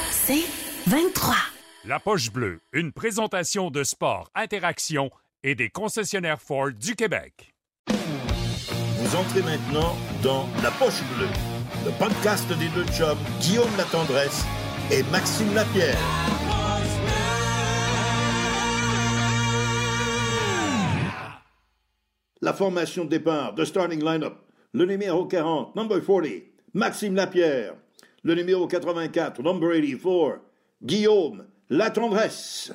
C'est 23. La Poche Bleue, une présentation de sport, interaction et des concessionnaires Ford du Québec. Vous entrez maintenant dans La Poche Bleue, le podcast des deux chums Guillaume Latendresse et Maxime Lapierre. La formation de départ, the starting line-up. Le numéro 40, number 40, Maxime Lapierre. Le numéro 84, number 84, Guillaume Latendresse.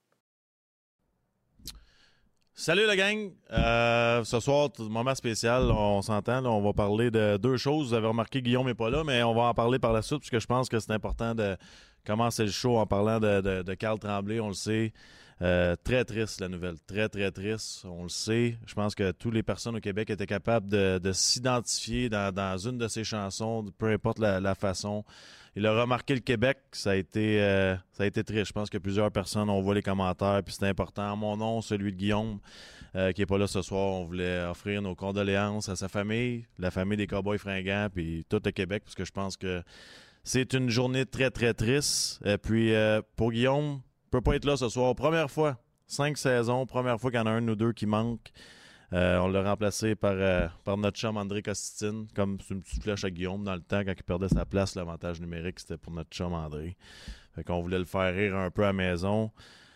Salut la gang! Ce soir, moment spécial, on s'entend, là, on va parler de deux choses. Vous avez remarqué, Guillaume n'est pas là, mais on va en parler par la suite, puisque je pense que c'est important de commencer le show en parlant de Carl Tremblay, on le sait. Très triste la nouvelle, très très triste, on le sait. Je pense que toutes les personnes au Québec étaient capables de s'identifier dans une de ses chansons, peu importe la façon. Il a remarqué le Québec, ça a été triste. Je pense que plusieurs personnes ont vu les commentaires, puis c'est important. Mon nom, celui de Guillaume, qui n'est pas là ce soir, on voulait offrir nos condoléances à sa famille, la famille des Cowboys fringants, puis tout le Québec, parce que je pense que c'est une journée très très triste. Et puis pour Guillaume, peut pas être là ce soir. Première fois, 5 saisons, première fois qu'il y en a un ou deux qui manquent. On l'a remplacé par notre chum André Costitine, comme c'est une petite flèche à Guillaume dans le temps, quand il perdait sa place, l'avantage numérique, c'était pour notre chum André. Fait qu'on voulait le faire rire un peu à la maison.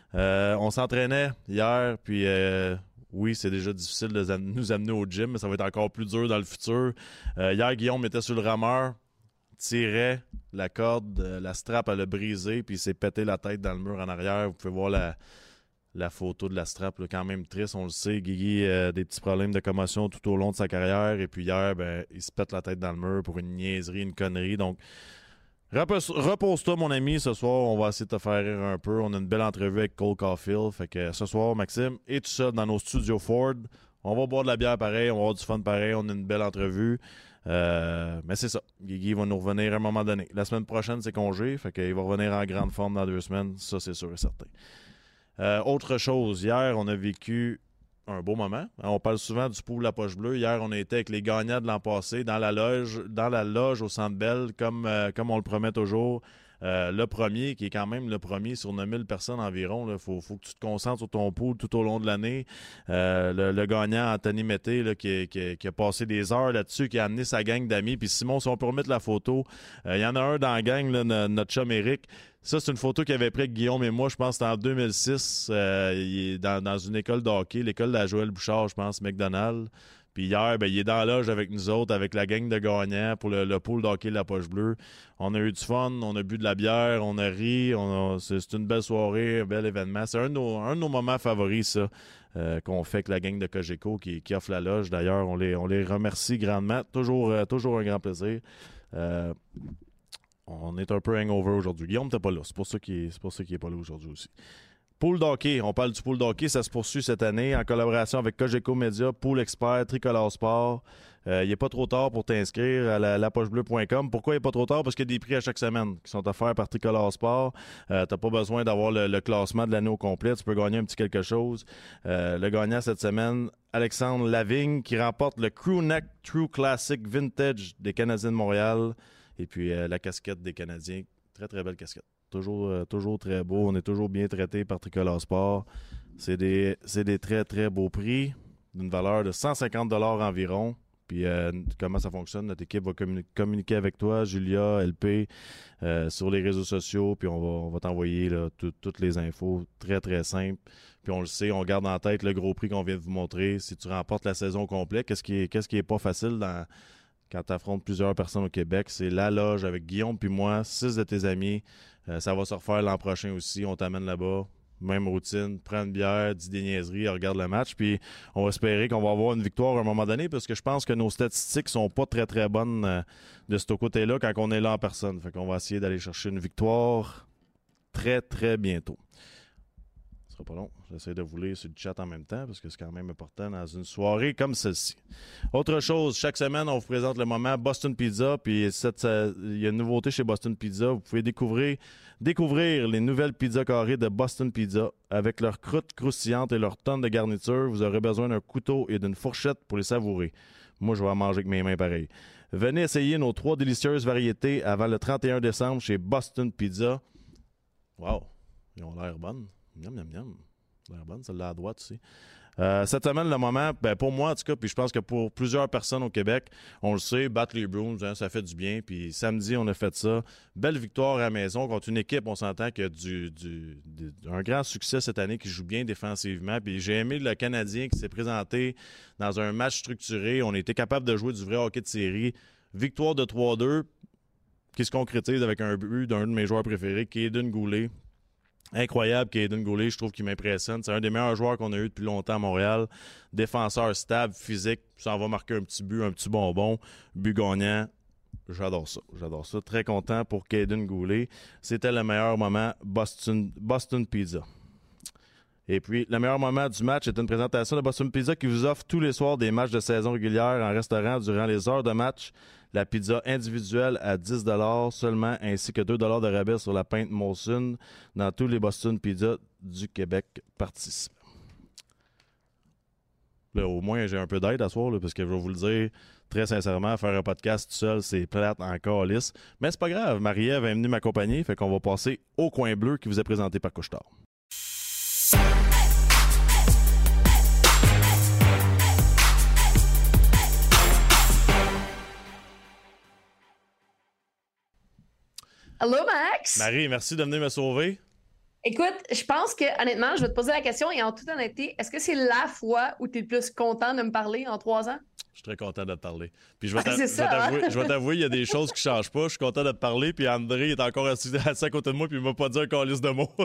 On s'entraînait hier, puis oui, c'est déjà difficile de nous amener au gym, mais ça va être encore plus dur dans le futur. Hier, Guillaume était sur le rameur, tirait la corde, la strap, elle a brisé, puis il s'est pété la tête dans le mur en arrière. Vous pouvez voir la photo de la strap, là, quand même triste, on le sait. Guigui a des petits problèmes de commotion tout au long de sa carrière, et puis hier, il se pète la tête dans le mur pour une niaiserie, une connerie. Donc, repose-toi, mon ami, ce soir, on va essayer de te faire rire un peu. On a une belle entrevue avec Cole Caulfield, fait que ce soir, Maxime, et tout ça dans nos studios Ford. On va boire de la bière pareil, on va avoir du fun pareil, on a une belle entrevue. Mais c'est ça. Guigui va nous revenir à un moment donné. La semaine prochaine, c'est congé. Fait qu'il va revenir en grande forme dans 2 semaines. Ça, c'est sûr et certain. Autre chose, hier, on a vécu un beau moment. On parle souvent du pool La Poche Bleue. Hier, on était avec les gagnants de l'an passé dans la loge au Centre Bell, comme on le promet toujours. Le premier, qui est quand même le premier sur 9000 personnes environ, il faut que tu te concentres sur ton pool tout au long de l'année. Le gagnant, Anthony Mété, là, qui a passé des heures là-dessus, qui a amené sa gang d'amis. Puis Simon, si on peut remettre la photo, il y en a un dans la gang, là, notre chum Eric. Ça, c'est une photo qu'il avait prise avec Guillaume et moi, je pense que c'était en 2006. Il est dans une école de hockey, l'école de la Joël Bouchard, je pense, McDonald's. Puis hier, il est dans la loge avec nous autres, avec la gang de gagnants pour le pool de hockey de La Poche Bleue. On a eu du fun, on a bu de la bière, on a ri. C'est une belle soirée, un bel événement. C'est un de nos moments favoris, ça, qu'on fait avec la gang de Cogeco qui offre la loge. D'ailleurs, on les remercie grandement. Toujours un grand plaisir. On est un peu hangover aujourd'hui. Guillaume, t'es pas là. C'est pour ça qu'il est pas là aujourd'hui aussi. Pool d'hockey, on parle du pool d'hockey, ça se poursuit cette année en collaboration avec Cogeco Média, Pool Expert, Tricolore Sport. Il n'est pas trop tard pour t'inscrire à lapochebleu.com. Pourquoi il n'est pas trop tard? Parce qu'il y a des prix à chaque semaine qui sont offerts par Tricolore Sport. Tu n'as pas besoin d'avoir le classement de l'année au complet. Tu peux gagner un petit quelque chose. Le gagnant cette semaine, Alexandre Lavigne, qui remporte le Crewneck True Classic Vintage des Canadiens de Montréal. Et puis la casquette des Canadiens. Très, très belle casquette. Toujours très beau. On est toujours bien traité par Tricolore Sport. C'est des très, très beaux prix d'une valeur de 150 $ environ. Puis comment ça fonctionne? Notre équipe va communiquer avec toi, Julia, LP, sur les réseaux sociaux. Puis on va t'envoyer là, toutes les infos. Très, très simple. Puis on le sait, on garde en tête le gros prix qu'on vient de vous montrer. Si tu remportes la saison complète, qu'est-ce qui est pas facile quand tu affrontes plusieurs personnes au Québec, c'est la loge avec Guillaume puis moi, 6 de tes amis. Ça va se refaire l'an prochain aussi. On t'amène là-bas. Même routine. Prends une bière, dis des niaiseries, regarde le match. Puis on va espérer qu'on va avoir une victoire à un moment donné parce que je pense que nos statistiques sont pas très, très bonnes de ce côté-là quand on est là en personne. Fait qu'on va essayer d'aller chercher une victoire très, très bientôt. Ce sera pas long. J'essaie de vous lire sur le chat en même temps parce que c'est quand même important dans une soirée comme celle-ci. Autre chose, chaque semaine, on vous présente le moment Boston Pizza. Puis il y a une nouveauté chez Boston Pizza. Vous pouvez découvrir les nouvelles pizzas carrées de Boston Pizza. Avec leurs croûtes croustillantes et leurs tonnes de garniture, vous aurez besoin d'un couteau et d'une fourchette pour les savourer. Moi, je vais en manger avec mes mains pareil. Venez essayer nos 3 délicieuses variétés avant le 31 décembre chez Boston Pizza. Wow, ils ont l'air bonnes. Miam, miam, miam. Ça a l'air bonne, celle-là à droite aussi. Cette semaine, le moment, pour moi en tout cas, puis je pense que pour plusieurs personnes au Québec, on le sait, battre les Bruins, hein, ça fait du bien. Puis samedi, on a fait ça. Belle victoire à la maison contre une équipe, on s'entend, qui a un grand succès cette année, qui joue bien défensivement. Puis j'ai aimé le Canadien qui s'est présenté dans un match structuré. On a été capable de jouer du vrai hockey de série. Victoire de 3-2 qui se concrétise avec un but d'un de mes joueurs préférés, Kaiden Goulet. Incroyable, Kaiden Goulet, je trouve qu'il m'impressionne. C'est un des meilleurs joueurs qu'on a eu depuis longtemps à Montréal. Défenseur stable, physique, ça en va marquer un petit but, un petit bonbon. But gagnant, j'adore ça. Très content pour Kaiden Goulet. C'était le meilleur moment Boston Pizza. Et puis, le meilleur moment du match est une présentation de Boston Pizza qui vous offre tous les soirs des matchs de saison régulière en restaurant durant les heures de match. La pizza individuelle à 10 $ seulement, ainsi que 2 $ de rabais sur la pinte Molson dans tous les Boston Pizza du Québec participants. Là, au moins, j'ai un peu d'aide à soir, là, parce que je vais vous le dire très sincèrement, faire un podcast tout seul, c'est plate en calice. Mais c'est pas grave, Marie-Ève est venue m'accompagner, fait qu'on va passer au coin bleu qui vous est présenté par Couche-Tard. Allô, Max? Marie, merci de venir me sauver. Écoute, je pense que, honnêtement, je vais te poser la question et en toute honnêteté, est-ce que c'est la fois où tu es le plus content de me parler en 3 ans? Je suis très content de te parler. Puis je vais t'avouer, il y a des choses qui ne changent pas. Je suis content de te parler. Puis André est encore assis à côté de moi, puis il m'a pas dit un calice de mots.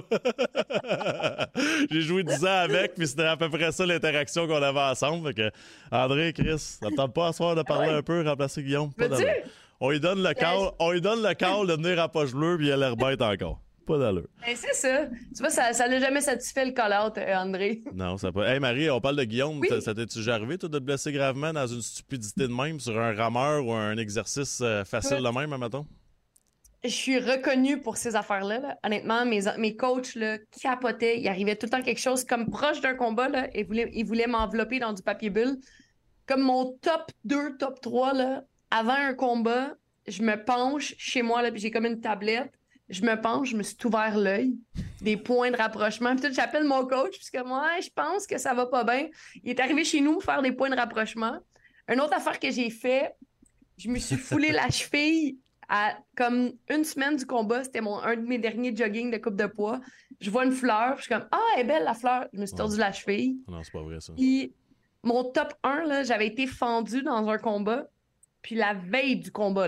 J'ai joué 10 ans avec, puis c'était à peu près ça l'interaction qu'on avait ensemble. Fait que, André, Chris, ça ne tente pas à soir de parler un peu, remplacer Guillaume? On lui donne le call de venir à poche bleue, puis il a l'air bête encore. Pas d'allure. Ben, c'est ça. Tu vois, ça l'a jamais satisfait le call-out, André. Non, ça pas. Hey Marie, on parle de Guillaume. Oui. Ça t'es-tu déjà arrivé, toi, de te blesser gravement dans une stupidité de même sur un rameur ou un exercice facile de même, admettons? Je suis reconnue pour ces affaires-là. Là. Honnêtement, mes coachs là, capotaient. Il arrivait tout le temps quelque chose comme proche d'un combat là, et ils voulaient m'envelopper dans du papier bulle. Comme mon top 2, top 3, là, avant un combat, je me penche chez moi, là, puis j'ai comme une tablette. Je me penche, je me suis ouvert l'œil, des points de rapprochement. Puis tout, j'appelle mon coach, puisque moi, je pense que ça va pas bien. Il est arrivé chez nous faire des points de rapprochement. Une autre affaire que j'ai fait, je me suis foulé la cheville à comme une semaine du combat. C'était un de mes derniers jogging de coupe de poids. Je vois une fleur, je suis comme « Ah, elle est belle la fleur! » Je me suis tordu la cheville. Non, c'est pas vrai ça. Puis mon top 1, là, j'avais été fendu dans un combat. Puis la veille du combat,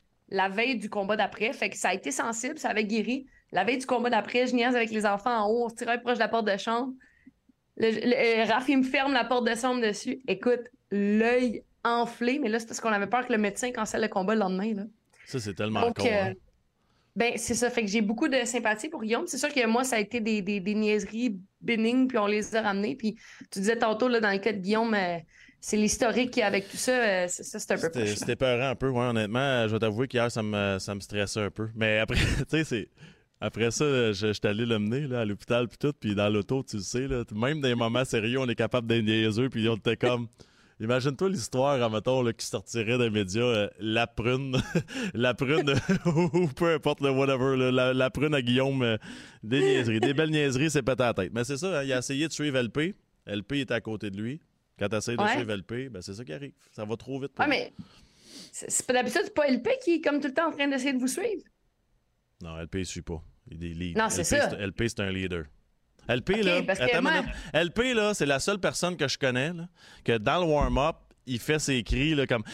d'après, fait que ça a été sensible, ça avait guéri. La veille du combat d'après, je niaise avec les enfants en haut, on se tirait proche de la porte de chambre. Raph, il me ferme la porte de chambre dessus. Écoute, l'œil enflé, mais là, c'est parce qu'on avait peur que le médecin cancelle le combat le lendemain. Là. Ça, c'est tellement con. Hein? Ben, c'est ça. Fait que j'ai beaucoup de sympathie pour Guillaume. C'est sûr que moi, ça a été des niaiseries bénignes, puis on les a ramenées. Puis tu disais tantôt, là, dans le cas de Guillaume, c'est l'historique qui, avec tout ça, c'est un peu proche. C'était peurant un peu, ouais, honnêtement. Je vais t'avouer qu'hier, ça me stressait un peu. Mais après, tu sais, après ça, j'étais allé l'emmener là, à l'hôpital, puis tout. Puis dans l'auto, tu le sais, là, même dans les moments sérieux, on est capable d'être niaiseux, puis on était comme... Imagine-toi l'histoire, admettons, là, qui sortirait des médias, la prune, ou peu importe, le whatever, là, la prune à Guillaume, des niaiseries, des belles niaiseries, c'est pété à la tête. Mais c'est ça, hein, il a essayé de suivre LP. LP était à côté de lui. Quand tu essaies de suivre LP, ben c'est ça qui arrive. Ça va trop vite. Mais c'est pas d'habitude, c'est pas LP qui est comme tout le temps en train d'essayer de vous suivre. Non, LP ne suit pas. Il est lead. Non, c'est ça. LP, c'est un leader. LP, okay, là, attends une minute. LP, là, c'est la seule personne que je connais là, que dans le warm-up, il fait ses cris là, comme...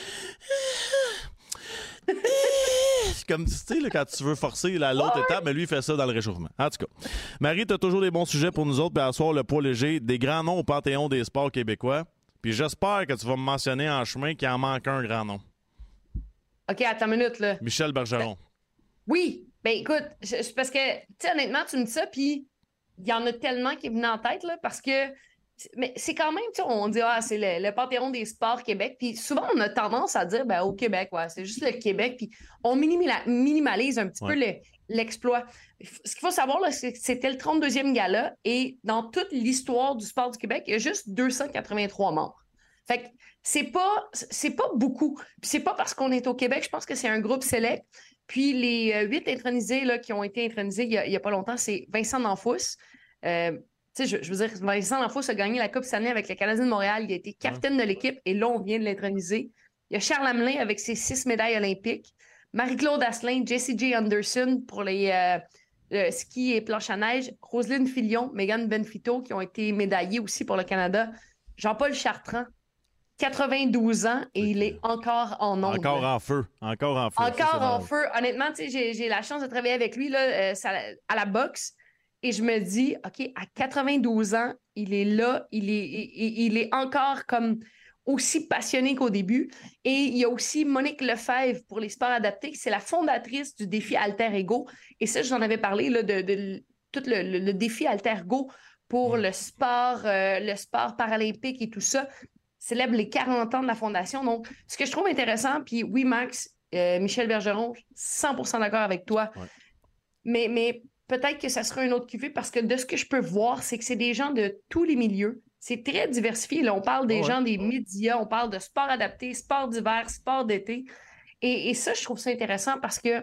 Comme tu sais, là, quand tu veux forcer l'autre étape, mais lui, il fait ça dans le réchauffement. En tout cas, Marie, tu as toujours des bons sujets pour nous autres. Puis à soir, le poids léger, des grands noms au Panthéon des sports québécois. Puis j'espère que tu vas me mentionner en chemin qu'il en manque un grand nom. OK, attends une minute, là. Michel Bergeron. Oui. Ben écoute, parce que, tu sais, honnêtement, tu me dis ça, puis il y en a tellement qui est venu en tête, là, parce que... Mais c'est quand même, tu sais, on dit, c'est le Panthéon des sports Québec. Puis souvent, on a tendance à dire, ben, au Québec, c'est juste le Québec. Puis on minimalise un petit peu l'exploit. Ce qu'il faut savoir, là, c'est que c'était le 32e gala. Et dans toute l'histoire du sport du Québec, il y a juste 283 morts. Fait que c'est pas beaucoup. Puis c'est pas parce qu'on est au Québec, je pense que c'est un groupe select. Puis les 8 intronisés là, qui ont été intronisés il y a pas longtemps, c'est Vincent D'Anfous. Je veux dire, Vincent D'Anfous a gagné la Coupe Stanley avec le Canadien de Montréal. Il a été capitaine de l'équipe et là, on vient de l'introniser. Il y a Charles Hamelin avec ses 6 médailles olympiques. Marie-Claude Asselin, Jessie J. Anderson pour les ski et planche à neige. Roselyne Filion, Megan Benfito qui ont été médaillées aussi pour le Canada. Jean-Paul Chartrand, 92 ans et il est encore en onde. Encore en feu. Encore en feu. Encore en feu. Honnêtement, j'ai la chance de travailler avec lui là, à la boxe et je me dis, OK, à 92 ans, il est là, il est encore comme aussi passionné qu'au début. Et il y a aussi Monique Lefebvre pour les sports adaptés, c'est la fondatrice du défi Alter Ego. Et ça, j'en avais parlé là, de tout le défi Alter Ego pour le sport paralympique et tout ça. Célèbre les 40 ans de la fondation. Donc, ce que je trouve intéressant, puis oui, Max, Michel Bergeron, 100% d'accord avec toi. Ouais. Mais peut-être que ça sera un autre QV parce que de ce que je peux voir, c'est que c'est des gens de tous les milieux. C'est très diversifié. Là, on parle des gens des médias, on parle de sport adapté, sport d'hiver, sport d'été. Et ça, je trouve ça intéressant parce que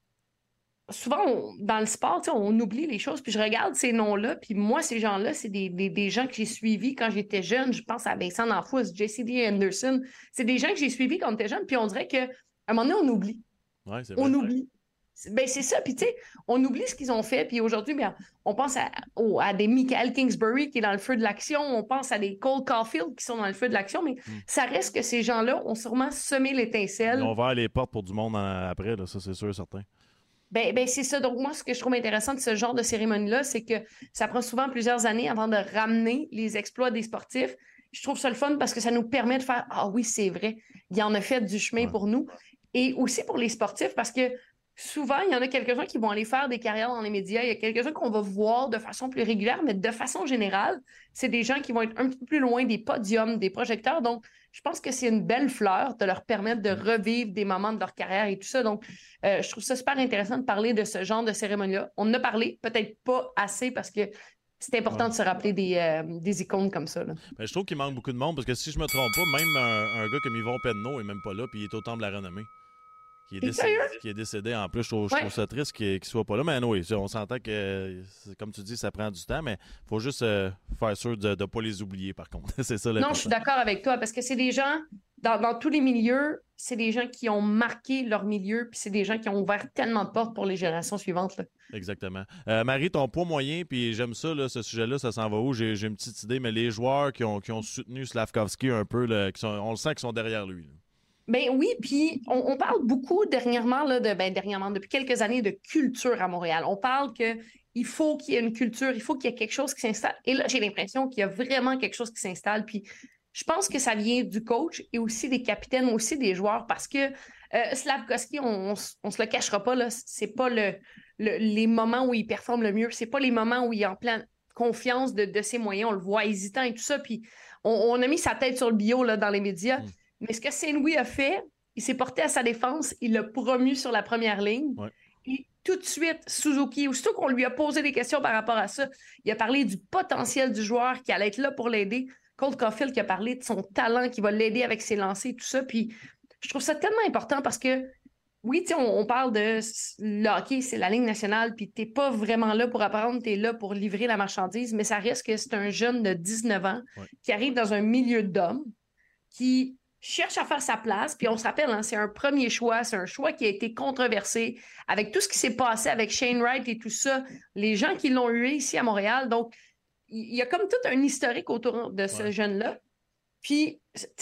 souvent, dans le sport, on oublie les choses. Puis je regarde ces noms-là. Puis moi, ces gens-là, c'est des gens que j'ai suivis quand j'étais jeune. Je pense à Vincent D'Anfous, Jessie J. Anderson. C'est des gens que j'ai suivis quand on était jeune. Puis on dirait qu'à un moment donné, on oublie. Ouais, c'est vrai. On oublie. Ben, c'est ça. Puis, tu sais, on oublie ce qu'ils ont fait. Puis aujourd'hui, bien, on pense à des Michael Kingsbury qui est dans le feu de l'action. On pense à des Cole Caulfield qui sont dans le feu de l'action. Mais ça reste que ces gens-là ont sûrement semé l'étincelle. Ils ont ouvert les portes pour du monde après, là, ça, c'est sûr et certain. Ben, c'est ça. Donc, moi, ce que je trouve intéressant de ce genre de cérémonie-là, c'est que ça prend souvent plusieurs années avant de ramener les exploits des sportifs. Je trouve ça le fun parce que ça nous permet de faire « Ah oui, c'est vrai, il en a fait du chemin pour nous. » Et aussi pour les sportifs parce que souvent, il y en a quelques-uns qui vont aller faire des carrières dans les médias. Il y a quelques-uns qu'on va voir de façon plus régulière, mais de façon générale, c'est des gens qui vont être un petit peu plus loin des podiums, des projecteurs. Donc, je pense que c'est une belle fleur de leur permettre de revivre des moments de leur carrière et tout ça. Donc, je trouve ça super intéressant de parler de ce genre de cérémonie-là. On en a parlé, peut-être pas assez parce que c'est important de se rappeler des icônes comme ça. Là. Ben, je trouve qu'il manque beaucoup de monde parce que si je me trompe pas, même un gars comme Yvon Penneau est même pas là puis il est au Temple de la Renommée. Qui est décédé en plus. Je trouve ça triste qu'il ne soit pas là. Mais oui, on s'entend que, comme tu dis, ça prend du temps, mais il faut juste faire sûr de ne pas les oublier, par contre. C'est ça. Non, je suis d'accord avec toi, parce que c'est des gens, dans tous les milieux, c'est des gens qui ont marqué leur milieu, puis c'est des gens qui ont ouvert tellement de portes pour les générations suivantes. Là. Exactement. Marie, ton poids moyen, puis j'aime ça, là, ce sujet-là, ça s'en va où? J'ai une petite idée, mais les joueurs qui ont soutenu Slafkovský un peu, là, on le sent qu'ils sont derrière lui. Là. Ben oui, puis on parle beaucoup dernièrement, là, depuis quelques années, de culture à Montréal. On parle qu'il faut qu'il y ait une culture, il faut qu'il y ait quelque chose qui s'installe. Et là, j'ai l'impression qu'il y a vraiment quelque chose qui s'installe. Puis je pense que ça vient du coach et aussi des capitaines, aussi des joueurs, parce que Slafkovský, on se le cachera pas, là, c'est pas les moments où il performe le mieux, c'est pas les moments où il est en pleine confiance de ses moyens, on le voit hésitant et tout ça. Puis on a mis sa tête sur le bio là, dans les médias. Mais ce que Saint-Louis a fait, il s'est porté à sa défense, il l'a promu sur la première ligne. Ouais. Et tout de suite, Suzuki, aussitôt qu'on lui a posé des questions par rapport à ça, il a parlé du potentiel du joueur qui allait être là pour l'aider. Cole Caulfield qui a parlé de son talent, qui va l'aider avec ses lancers, tout ça. Puis je trouve ça tellement important parce que, oui, on parle de le hockey, c'est la Ligue nationale, puis t'es pas vraiment là pour apprendre, t'es là pour livrer la marchandise, mais ça reste que c'est un jeune de 19 ans qui arrive dans un milieu d'hommes qui cherche à faire sa place, puis on se rappelle, hein, c'est un premier choix, c'est un choix qui a été controversé avec tout ce qui s'est passé avec Shane Wright et tout ça, les gens qui l'ont eu ici à Montréal, donc il y a comme tout un historique autour de ce jeune-là. Puis,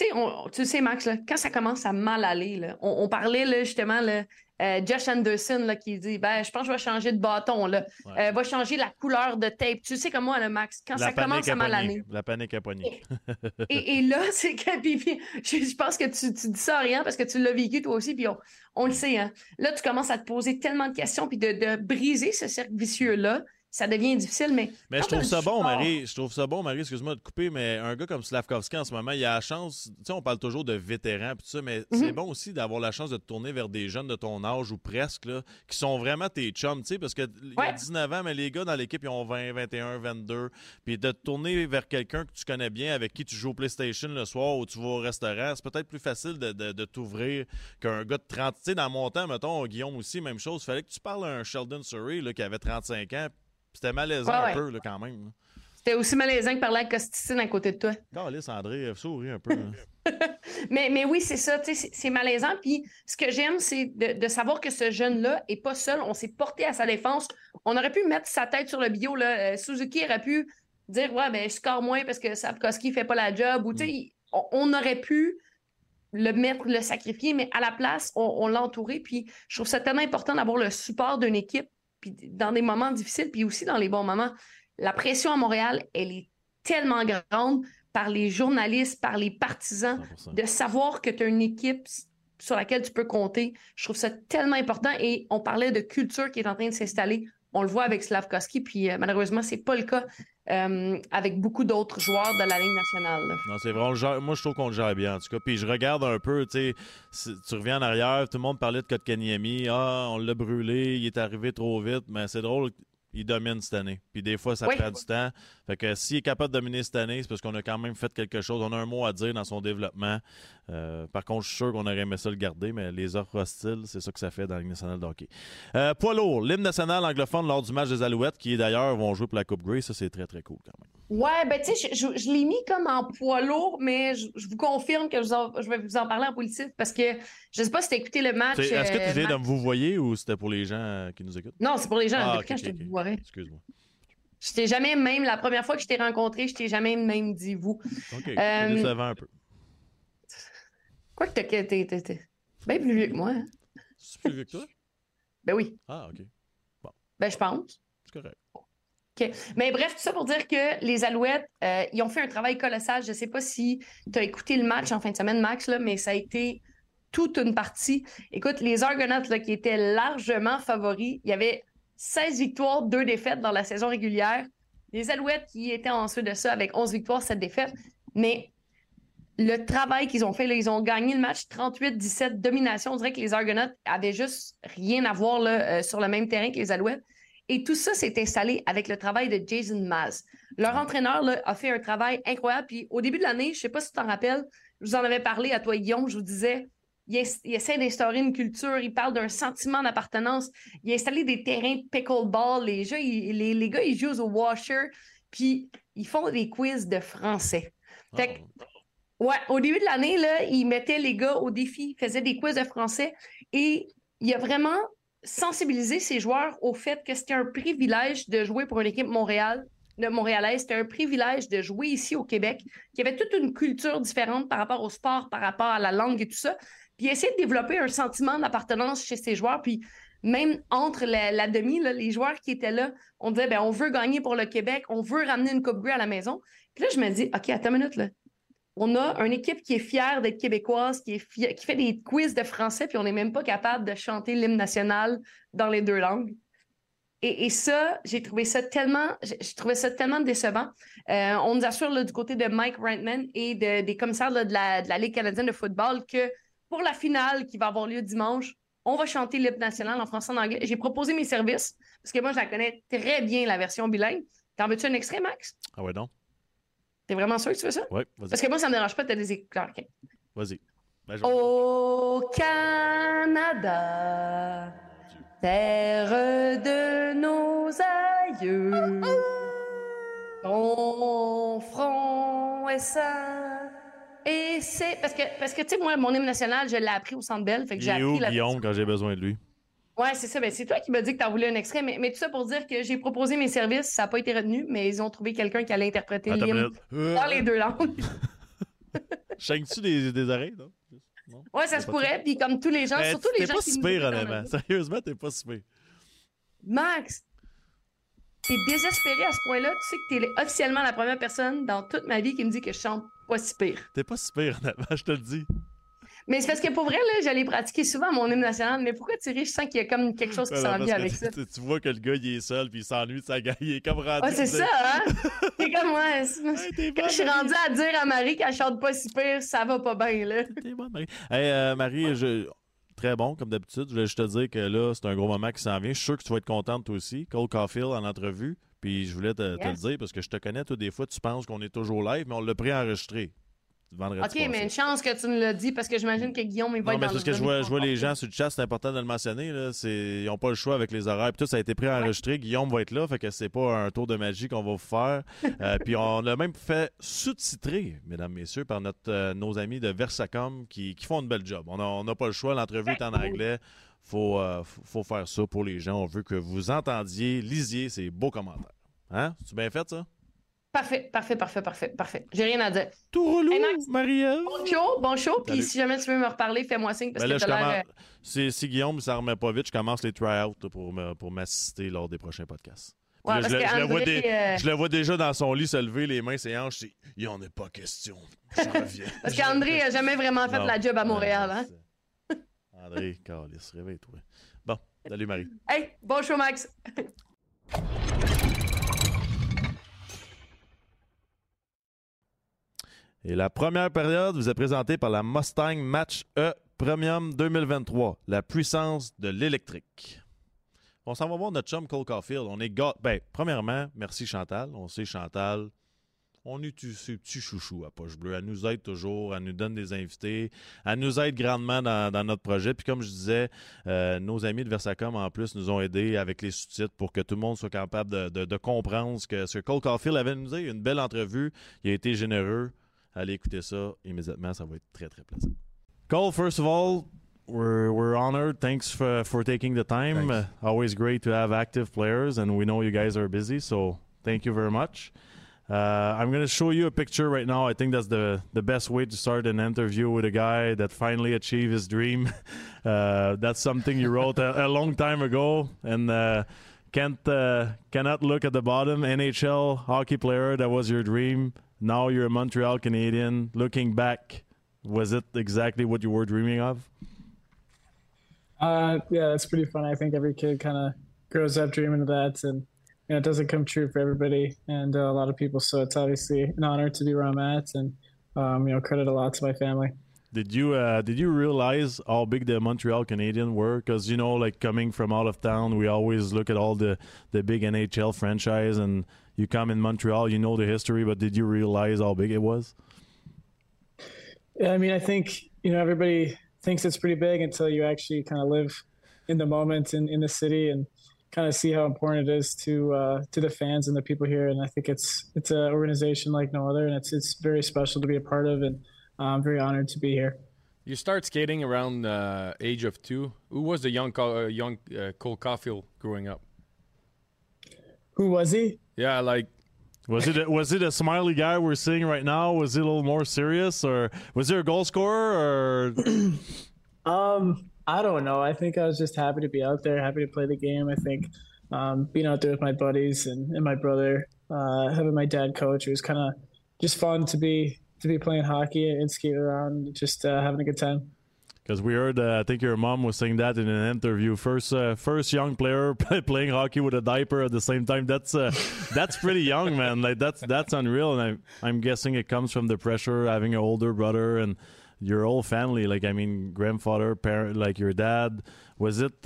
tu sais, Max, là, quand ça commence à mal aller, là, on parlait là, justement, là, Josh Anderson là, qui dit je pense que je vais changer de bâton, là. Va changer la couleur de tape. Tu sais comme moi, là, Max, quand ça commence à mal aller. La panique à poignée. Et là, c'est que puis, je pense que tu dis ça à rien parce que tu l'as vécu toi aussi, puis on le sait. Hein. Là, tu commences à te poser tellement de questions, puis de briser ce cercle vicieux-là. ça devient difficile. Mais je trouve ça bon, Marie. Je trouve ça bon, Marie, excuse-moi de couper, mais un gars comme Slavkovski en ce moment, il a la chance. Tu sais, on parle toujours de vétérans, puis tout ça, mais c'est bon aussi d'avoir la chance de te tourner vers des jeunes de ton âge ou presque, là, qui sont vraiment tes chums, tu sais, parce qu'il y a 19 ans, mais les gars dans l'équipe, ils ont 20, 21, 22. Puis de te tourner vers quelqu'un que tu connais bien, avec qui tu joues au PlayStation le soir ou tu vas au restaurant, c'est peut-être plus facile de t'ouvrir qu'un gars de 30. Tu sais, dans mon temps, mettons, Guillaume aussi, même chose. Il fallait que tu parles à un Sheldon Surrey là, qui avait 35 ans. C'était malaisant un peu, là, quand même. Là. C'était aussi malaisant que parler à Costicine à côté de toi. Calice, André, souris un peu. mais oui, c'est ça, tu sais, c'est malaisant. Puis ce que j'aime, c'est de savoir que ce jeune-là est pas seul. On s'est porté à sa défense. On aurait pu mettre sa tête sur le bio. Là. Suzuki aurait pu dire, ouais, ben, je score moins parce que Slavkovski fait pas la job. Ou, tu sais, on aurait pu le sacrifier, mais à la place, on l'a entouré. Puis je trouve ça tellement important d'avoir le support d'une équipe. Puis dans des moments difficiles, puis aussi dans les bons moments. La pression à Montréal, elle est tellement grande par les journalistes, par les partisans, 100%. De savoir que tu as une équipe sur laquelle tu peux compter. Je trouve ça tellement important. Et on parlait de culture qui est en train de s'installer. On le voit avec Slavkovski, puis malheureusement, c'est pas le cas avec beaucoup d'autres joueurs de la Ligue nationale. Là. Non, c'est vrai. Moi, je trouve qu'on le gère bien, en tout cas. Puis je regarde un peu, tu sais, tu reviens en arrière, tout le monde parlait de Kotkaniemi. Ah, on l'a brûlé, il est arrivé trop vite. Mais c'est drôle, il domine cette année. Puis des fois, ça prend du temps. Fait que s'il est capable de dominer cette année, c'est parce qu'on a quand même fait quelque chose. On a un mot à dire dans son développement. Par contre, je suis sûr qu'on aurait aimé ça le garder, mais les offres hostiles, c'est ça que ça fait dans la Ligue nationale de hockey. Poids lourd, l'hymne national anglophone lors du match des Alouettes, qui d'ailleurs vont jouer pour la Coupe Grey. Ça, c'est très, très cool quand même. Ouais, ben tu sais, je l'ai mis comme en poids lourd, mais je vous confirme que je vais vous en parler en politique parce que je sais pas si tu as écouté le match. Est-ce que tu viens de me vous voyer ou c'était pour les gens qui nous écoutent? Non, c'est pour les gens. Depuis quand je te voirais? Excuse-moi. Je t'ai jamais même, la première fois que je t'ai rencontré, je t'ai jamais même dit vous. OK, c'est décevant un peu. Quoi que t'es bien plus vieux que moi. Hein? C'est plus vieux que toi? Ben oui. Ah, OK. Bon. Ben je pense. C'est correct. OK. Mais bref, tout ça pour dire que les Alouettes, ils ont fait un travail colossal. Je sais pas si tu as écouté le match en fin de semaine, Max, là, mais ça a été toute une partie. Écoute, les Argonauts là, qui étaient largement favoris, il y avait 16 victoires, 2 défaites dans la saison régulière. Les Alouettes qui étaient ensuite de ça avec 11 victoires, 7 défaites. Mais le travail qu'ils ont fait, là, ils ont gagné le match 38-17, domination. On dirait que les Argonauts avaient juste rien à voir là, sur le même terrain que les Alouettes. Et tout ça s'est installé avec le travail de Jason Maz. Leur entraîneur là, a fait un travail incroyable. Puis au début de l'année, je ne sais pas si tu t'en rappelles, je vous en avais parlé à toi, Guillaume, je vous disais, il essaie d'instaurer une culture, il parle d'un sentiment d'appartenance. Il a installé des terrains de pickleball. Les gars, ils jouent au washer, puis ils font des quiz de français. Fait que, ouais, au début de l'année, là, il mettait les gars au défi, il faisait des quiz de français et il a vraiment sensibilisé ses joueurs au fait que c'était un privilège de jouer pour une équipe montréalaise. C'était un privilège de jouer ici au Québec, qu'il y avait toute une culture différente par rapport au sport, par rapport à la langue et tout ça. Puis il essaie de développer un sentiment d'appartenance chez ses joueurs. Puis même entre la demi, là, les joueurs qui étaient là, on disait, ben on veut gagner pour le Québec, on veut ramener une Coupe Grey à la maison. Puis là, je me dis, OK, attends une minute, là. On a une équipe qui est fière d'être québécoise, qui fait des quiz de français, puis on n'est même pas capable de chanter l'hymne national dans les 2 langues. Et ça, j'ai trouvé ça tellement décevant. On nous assure là, du côté de Mike Reitman et des commissaires là, de la Ligue canadienne de football que pour la finale qui va avoir lieu dimanche, on va chanter l'hymne national en français et en anglais. J'ai proposé mes services, parce que moi, je la connais très bien, la version bilingue. T'en veux-tu un extrait, Max? Ah ouais, non. T'es vraiment sûr que tu veux ça? Oui, vas-y. Parce que moi, ça me dérange pas de des écouteurs. Okay. Vas-y. Au Canada, terre de nos aïeux, ton front est saint. Et c'est parce que tu sais, moi, mon hymne national, je l'ai appris au Centre Bell. Fait que j'ai appris Guillaume, quand j'ai besoin de lui. Ouais, c'est ça. Ben, c'est toi qui m'as dit que tu en voulais un extrait. Mais tout ça pour dire que j'ai proposé mes services. Ça n'a pas été retenu, mais ils ont trouvé quelqu'un qui allait interpréter l'hymne dans les 2 langues. Chaînes-tu des oreilles, non? Ouais, ça se pourrait. Puis comme tous les gens, surtout les gens qui... T'es pas si pire, honnêtement. Sérieusement, t'es pas si pire. Max, t'es désespéré à ce point-là. Tu sais que t'es officiellement la première personne dans toute ma vie qui me dit que je chante pas si pire. T'es pas si pire, honnêtement, je te le dis. Mais c'est parce que pour vrai, là, j'allais pratiquer souvent mon hymne national. Mais pourquoi Thierry, je sens qu'il y a comme quelque chose qui s'en vient avec ça. Tu vois que le gars, il est seul puis il s'ennuie de sa gueule. Il est comme rendu. Ah, c'est ça, hein? C'est comme moi. Quand je suis rendue à dire à Marie qu'elle chante pas si pire, ça va pas bien, là. T'es bonne, Marie. Hey, Marie, très bon, comme d'habitude. Je voulais juste te dire que là, c'est un gros moment qui s'en vient. Je suis sûr que tu vas être contente, toi aussi. Cole Caulfield en entrevue. Puis je voulais te le dire parce que je te connais, toi, des fois, tu penses qu'on est toujours live, mais on l'a préenregistré. OK, mais une chance que tu nous l'as dit parce que j'imagine que Guillaume, il va être dans le... Non, mais parce que je vois les gens sur le chat, c'est important de le mentionner. Là, ils n'ont pas le choix avec les horaires. Puis tout, ça a été préenregistré. Guillaume va être là, fait que c'est pas un tour de magie qu'on va vous faire. Puis on l'a même fait sous-titrer, mesdames, messieurs, par nos amis de Versacom qui font une belle job. On n'a pas le choix. L'entrevue est en anglais. Faut faire ça pour les gens. On veut que vous entendiez, lisiez ces beaux commentaires. Hein? C'est bien fait, ça? Parfait. J'ai rien à dire. Tout relou, hey Max, Marie-Ève. Bon show. Puis si jamais tu veux me reparler, fais-moi signe parce que t'as l'air... Si Guillaume ne s'en remet pas vite, je commence les try-outs pour m'assister lors des prochains podcasts. Ouais, là, je le vois déjà dans son lit se lever, les mains, ses hanches. Il n'y en est pas question. J'en reviens. Parce qu'André n'a jamais vraiment fait la job à Montréal. Hein? André, Carlis, réveille-toi. Bon, salut Marie. Hey, bon show, Max. Et la première période vous est présentée par la Mustang Mach-E Premium 2023, la puissance de l'électrique. On s'en va voir notre chum Cole Caulfield. On est premièrement, merci Chantal. On sait Chantal, on est ses petits chouchous à Poche Bleue. Elle nous aide toujours, elle nous donne des invités, elle nous aide grandement dans notre projet. Puis comme je disais, nos amis de Versacom en plus nous ont aidés avec les sous-titres pour que tout le monde soit capable de comprendre ce que Cole Caulfield avait à nous dire. Une belle entrevue, il a été généreux. Allez écouter ça immédiatement, ça va être très, très plaisant. Cole, first of all, we're honored. Thanks for taking the time. Always great to have active players, and we know you guys are busy, so thank you very much. I'm going to show you a picture right now. I think that's the best way to start an interview with a guy that finally achieved his dream. That's something you wrote a long time ago, and cannot look at the bottom. NHL hockey player, that was your dream. Now you're a Montreal Canadian. Looking back, was it exactly what you were dreaming of? Yeah, that's pretty fun. I think every kid kind of grows up dreaming of that, and it doesn't come true for everybody and a lot of people. So it's obviously an honor to be where I'm at, and credit a lot to my family. Did you realize how big the Montreal Canadiens were? Because coming from out of town, we always look at all the big NHL franchise, and you come in Montreal, you know the history, but did you realize how big it was? Yeah, I mean, I think everybody thinks it's pretty big until you actually kind of live in the moment in the city and kind of see how important it is to the fans and the people here. And I think it's an organization like no other, and it's very special to be a part of, and I'm very honored to be here. You start skating around age of 2. Who was the young Cole Caulfield growing up? Who was he? Yeah, was it a smiley guy we're seeing right now? Was it a little more serious, or was there a goal scorer? Or I don't know. I think I was just happy to be out there, happy to play the game. I think being out there with my buddies and my brother, having my dad coach, it was kind of just fun to be playing hockey and skating around, just having a good time. Because we heard, I think your mom was saying that in an interview. First young player playing hockey with a diaper at the same time. That's pretty young, man. That's unreal. And I'm guessing it comes from the pressure having an older brother and your whole family. Grandfather, parent, your dad. Was it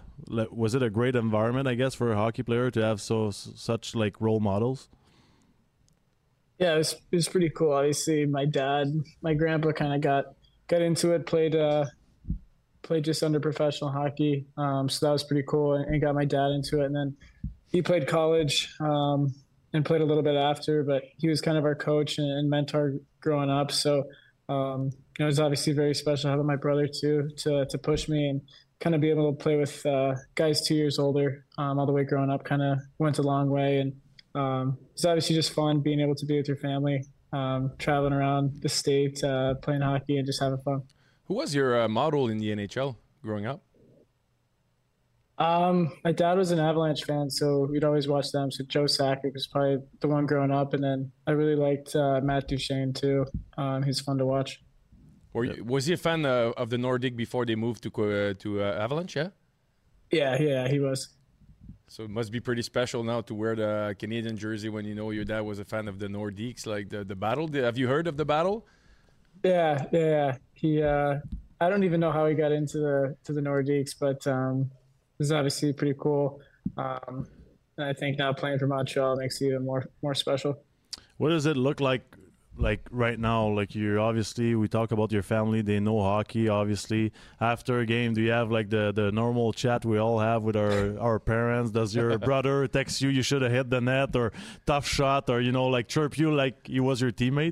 a great environment, I guess, for a hockey player to have such role models? Yeah, it was pretty cool. Obviously, my grandpa kind of got into it, played just under professional hockey. So that was pretty cool, and got my dad into it. And then he played college and played a little bit after, but he was kind of our coach and mentor growing up. So it was obviously very special having my brother too to push me and kind of be able to play with guys 2 years older all the way growing up. Kind of went a long way, and it's obviously just fun being able to be with your family. Traveling around the state, playing hockey, and just having fun. Who was your model in the NHL growing up? My dad was an Avalanche fan, so we'd always watch them. So Joe Sakic was probably the one growing up, and then I really liked Matt Duchene too. He's fun to watch. Was he a fan of the Nordic before they moved to Avalanche? Yeah. Yeah, he was. So it must be pretty special now to wear the Canadian jersey when you know your dad was a fan of the Nordiques, like the battle. Have you heard of the battle? Yeah. He, I don't even know how he got into the Nordiques, but this is obviously pretty cool. And I think now playing for Montreal makes it even more special. What does it look like right now? Like we talk about your family, they know hockey, obviously. After a game, do you have like the normal chat we all have with our parents? Does your brother text you should have hit the net, or tough shot, or like chirp you like he was your teammate?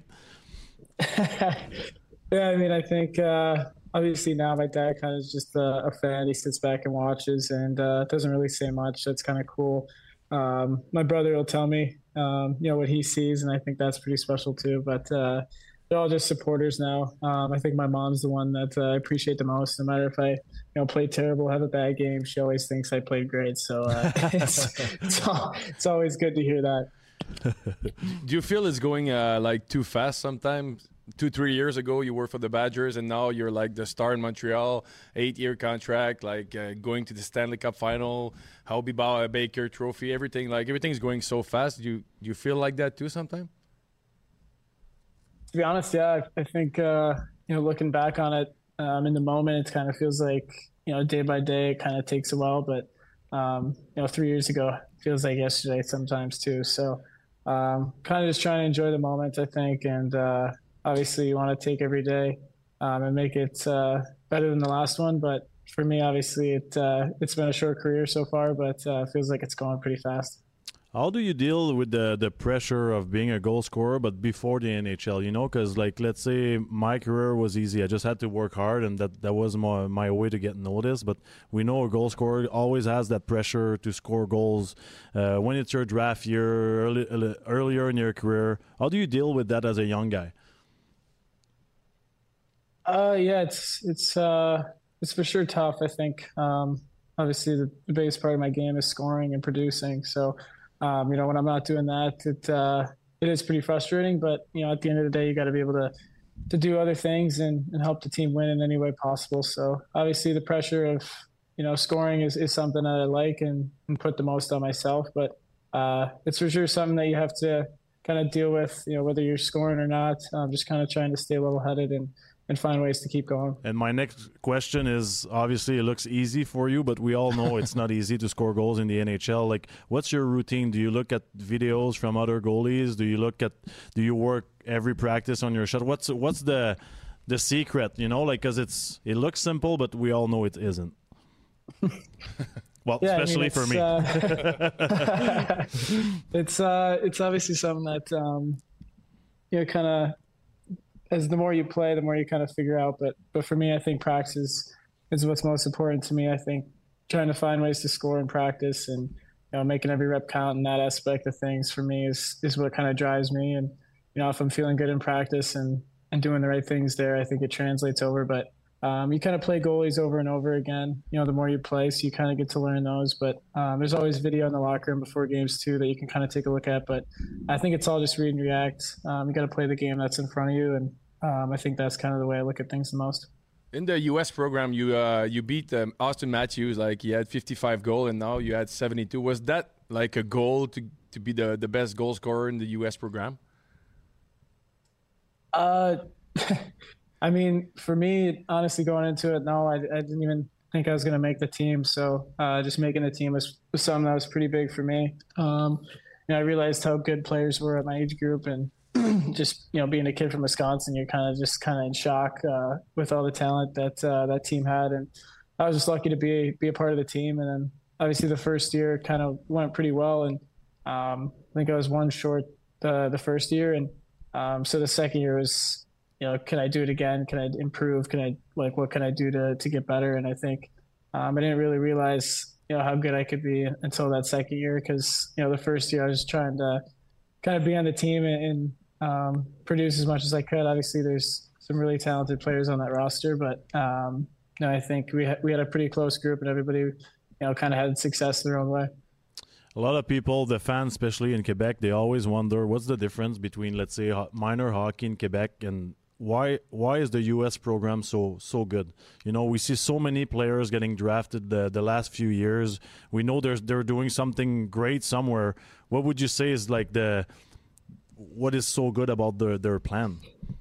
Yeah, I mean, I think obviously now my dad kind of is just a fan. He sits back and watches and doesn't really say much. That's kind of cool. My brother will tell me what he sees, and I think that's pretty special too. But they're all just supporters now. I think my mom's the one that I appreciate the most. No matter if I play terrible, have a bad game, she always thinks I played great. So it's always good to hear that. Do you feel it's going like too fast sometimes? 2-3 years ago you were for the Badgers, and now you're like the star in Montreal, 8-year contract, like going to the Stanley Cup final, Hobey Baker Trophy, everything's going so fast. Do you feel like that too sometimes? To be honest, yeah, I think looking back on it, in the moment, it kind of feels like day by day it kind of takes a while, but 3 years ago it feels like yesterday sometimes too. So kind of just trying to enjoy the moment, I think, and obviously you want to take every day and make it better than the last one. But for me, obviously it's been a short career so far, but it feels like it's going pretty fast. How do you deal with the pressure of being a goal scorer, but before the NHL, because like, let's say my career was easy. I just had to work hard, and that was my way to get noticed. But we know a goal scorer always has that pressure to score goals. When it's your draft year, earlier in your career, how do you deal with that as a young guy? Yeah, it's for sure tough. I think obviously the biggest part of my game is scoring and producing. So when I'm not doing that, it is pretty frustrating. But at the end of the day, you got to be able to do other things and help the team win in any way possible. So obviously the pressure of scoring is something that I like and put the most on myself. But it's for sure something that you have to kind of deal with. Whether you're scoring or not, just kind of trying to stay level-headed and find ways to keep going. And my next question is, obviously it looks easy for you, but we all know it's not easy to score goals in the NHL. Like, what's your routine? Do you look at videos from other goalies? Do you work every practice on your shot? What's the secret, because it looks simple, but we all know it isn't. Well, yeah, especially for me. It's obviously something that kind of, as the more you play, the more you kind of figure out. But for me, I think practice is what's most important to me. I think trying to find ways to score in practice and making every rep count in that aspect of things for me is what kind of drives me. And if I'm feeling good in practice and doing the right things there, I think it translates over. But you kind of play goalies over and over again. The more you play, so you kind of get to learn those. But there's always video in the locker room before games too that you can kind of take a look at. But I think it's all just read and react. You got to play the game that's in front of you, and I think that's kind of the way I look at things the most. In the U.S. program, you beat Austin Matthews. Like, he had 55 goals, and now you had 72. Was that like a goal to be the best goal scorer in the U.S. program? I mean, for me, honestly, going into it, no, I didn't even think I was going to make the team. So just making the team was something that was pretty big for me. I realized how good players were at my age group, and just being a kid from Wisconsin, you're kind of in shock with all the talent that team had, and I was just lucky to be a part of the team. And then obviously the first year kind of went pretty well, and I think I was one short the first year, and so the second year was, can I do it again? Can I improve? What can I do to get better? And I think I didn't really realize how good I could be until that second year, because the first year I was trying to kind of be on the team and produce as much as I could. Obviously, there's some really talented players on that roster, but I think we had a pretty close group, and everybody kind of had success their own way. A lot of people, the fans, especially in Quebec, they always wonder what's the difference between, let's say, minor hockey in Quebec and why is the U.S. program so good? You know, we see so many players getting drafted the last few years. We know they're doing something great somewhere. What would you say is like what is so good about their plan?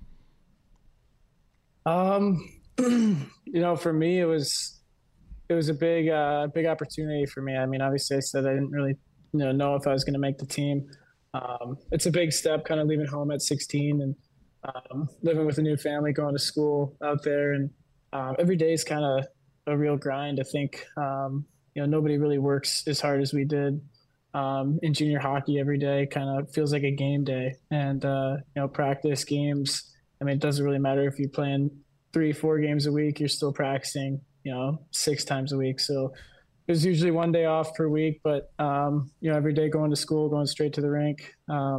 You know, for me, it was a big opportunity for me. I mean, obviously, I said I didn't really know if I was going to make the team. It's a big step, kind of leaving home at 16 and living with a new family, going to school out there, and every day is kind of a real grind. I think nobody really works as hard as we did in junior hockey. Every day kind of feels like a game day, and practice games. I mean, it doesn't really matter if you're playing 3-4 games a week. You're still practicing 6 times a week. So there's usually one day off per week, but every day going to school, going straight to the rink.